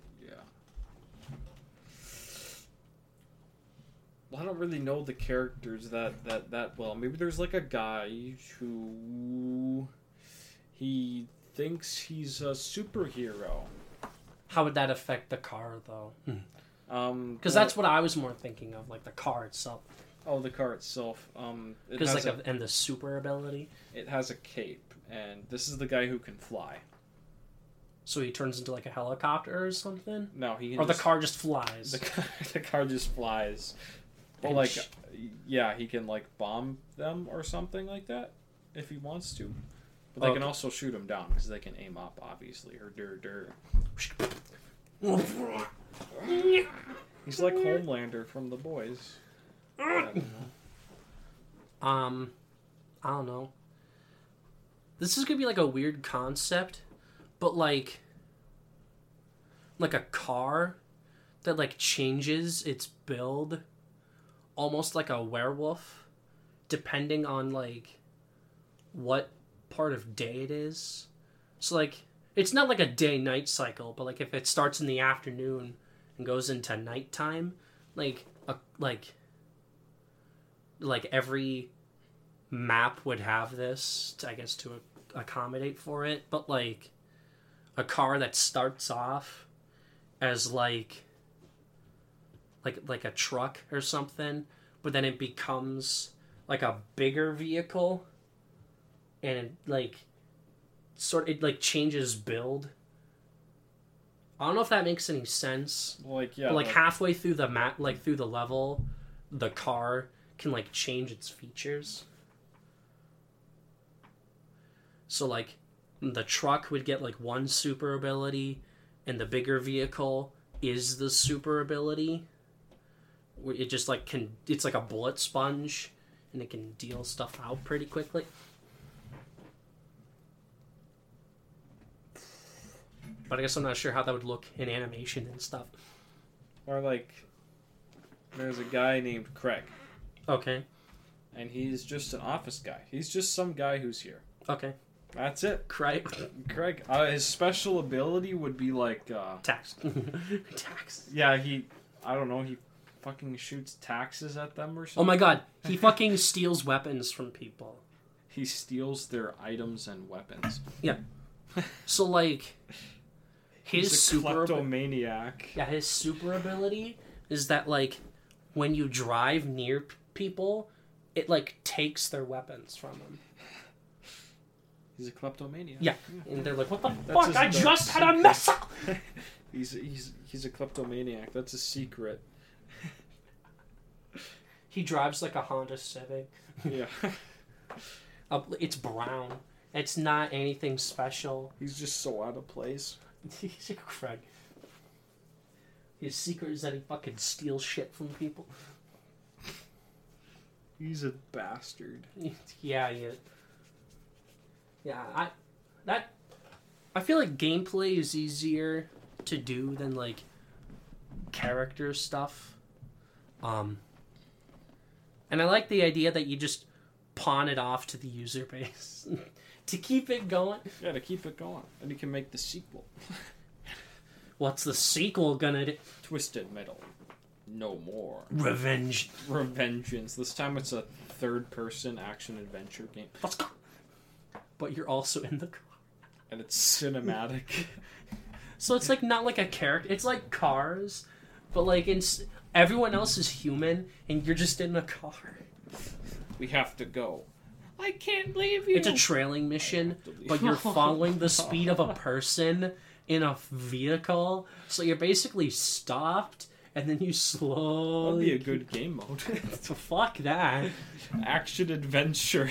I don't really know the characters that well. Maybe there's like a guy who he thinks he's a superhero. How would that affect the car though? Because Well, that's what I was more thinking of, like the car itself. Oh, the car itself. Because like and the super ability. It has a cape, and this is the guy who can fly. So he turns into like a helicopter or something. No, he can or the car just flies. The car just flies. Well, like, yeah, he can like bomb them or something like that if he wants to. But they can also shoot him down because they can aim up, obviously. Or He's like Homelander from The Boys. I don't know. This is gonna be like a weird concept, but like a car that like changes its build almost like a werewolf, depending on like what part of day it is. So like it's not like a day-night cycle, but like if it starts in the afternoon and goes into nighttime, like every map would have this, I guess, to accommodate for it. But like a car that starts off as like a truck or something, but then it becomes like a bigger vehicle, and it changes build. I don't know if that makes any sense. Like, yeah, but like halfway through the map, like through the level, the car can like change its features. So, like, the truck would get, like, one super ability, and the bigger vehicle is the super ability. It just, like, it's like a bullet sponge, and it can deal stuff out pretty quickly. But I guess I'm not sure how that would look in animation and stuff. Or, like, there's a guy named Craig. Okay. And he's just an office guy. He's just some guy who's here. Okay. That's it. Craig. His special ability would be like... Tax. Tax. Yeah, I don't know, he fucking shoots taxes at them or something. Oh my god. He fucking steals weapons from people. He steals their items and weapons. Yeah. So, like... He's a kleptomaniac. Yeah, his super ability is that, like, when you drive near people, it, like, takes their weapons from them. He's a kleptomaniac. Yeah. And they're like, what the fuck? I just had a mess up! He's a kleptomaniac. That's a secret. He drives, like, a Honda Civic. Yeah. It's brown. It's not anything special. He's just so out of place. He's a Craig. His secret is that he fucking steals shit from people. He's a bastard. Yeah, he is. Yeah, I feel like gameplay is easier to do than, like, character stuff. And I like the idea that you just pawn it off to the user base to keep it going. Yeah, to keep it going. And you can make the sequel. What's the sequel gonna do? Twisted Metal. No more. Revenge. Revengeance. This time it's a third-person action-adventure game. Let's go. But you're also in the car. And it's cinematic. So it's, like, not like a character. It's like Cars, but, like, everyone else is human, and you're just in a car. We have to go. I can't leave you. It's a trailing mission, but you're following the speed of a person in a vehicle, so you're basically stopped, and then you slowly... That'd be a good game mode. So fuck that. Action-adventure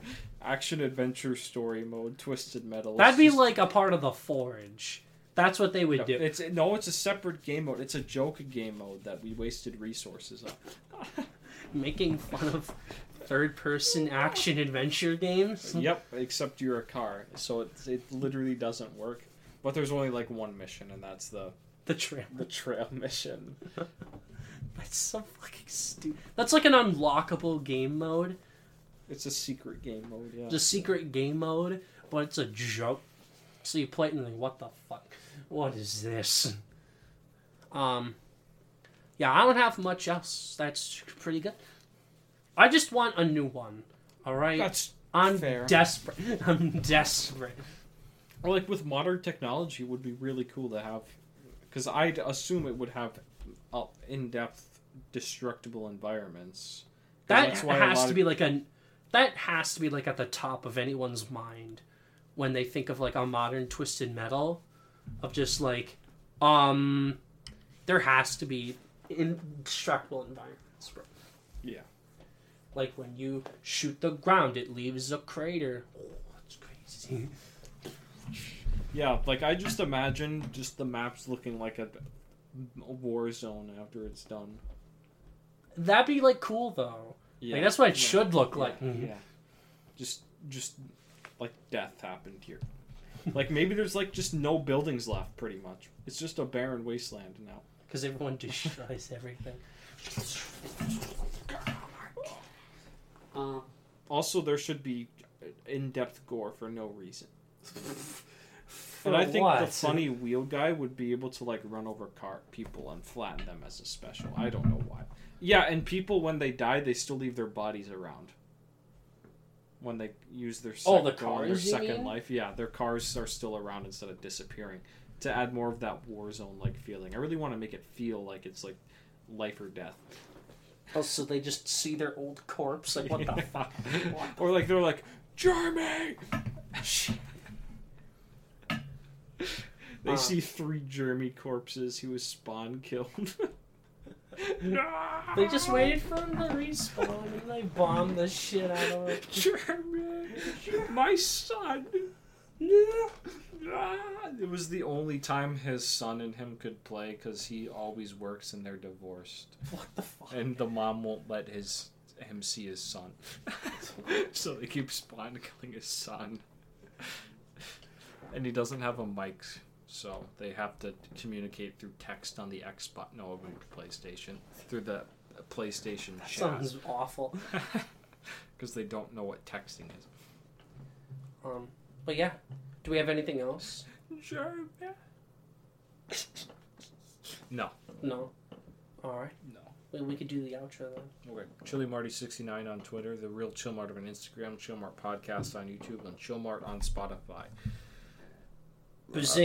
story mode, Twisted Metal. That'd be like a part of the Forge. That's what they would do. It's a separate game mode. It's a joke game mode that we wasted resources on. Making fun of third-person action-adventure games? Yep, except you're a car, so it literally doesn't work. But there's only, like, one mission, and that's the trail. The trail mission. That's so fucking stupid. That's like an unlockable game mode. It's a secret game mode, yeah. It's a secret game mode, but it's a joke. So you play it and you're like, what the fuck? What is this? Yeah, I don't have much else. That's pretty good. I just want a new one. Alright? I'm fair. Desperate. I'm desperate. Or, like, with modern technology, it would be really cool to have... Because I'd assume it would have in-depth, destructible environments. That has to be like at the top of anyone's mind when they think of, like, a modern Twisted Metal. Of just, like, there has to be indestructible environments, bro. Yeah. Like, when you shoot the ground, it leaves a crater. Oh, that's crazy. Yeah, like, I just imagine just the maps looking like a war zone after it's done. That'd be, like, cool, though. Yeah. Like, that's what it should look like. Yeah. Just, like, death happened here. Like, maybe there's, like, just no buildings left, pretty much. It's just a barren wasteland now. Because everyone destroys everything. Also, there should be in-depth gore for no reason. For and I think what? the funny wheel guy would be able to, like, run over people and flatten them as a special. I don't know why. Yeah, and people, when they die, they still leave their bodies around. When they use their second life. Yeah, their cars are still around instead of disappearing. To add more of that war zone-like feeling. I really want to make it feel like it's, like, life or death. Oh, so they just see their old corpse? Like, what the fuck? Or, like, they're like, Jeremy! They see 3 Jeremy corpses who was spawn killed. No! They just waited for him to respawn and they bombed the shit out of it. Jeremy! My son. It was the only time his son and him could play because he always works and they're divorced. What the fuck? And the mom won't let him see his son. So they keep killing his son. And he doesn't have a mic, so they have to communicate through text on the Xbox. No, it would be PlayStation. Through the PlayStation chat. Sounds awful. Because they don't know what texting is. But yeah. Do we have anything else? Sure, yeah. No. No. Alright. No. We could do the outro then. Okay. ChiliMarty69 on Twitter, The Real Chillmart on Instagram, Chillmart Podcast on YouTube, and Chillmart on Spotify. Bazing.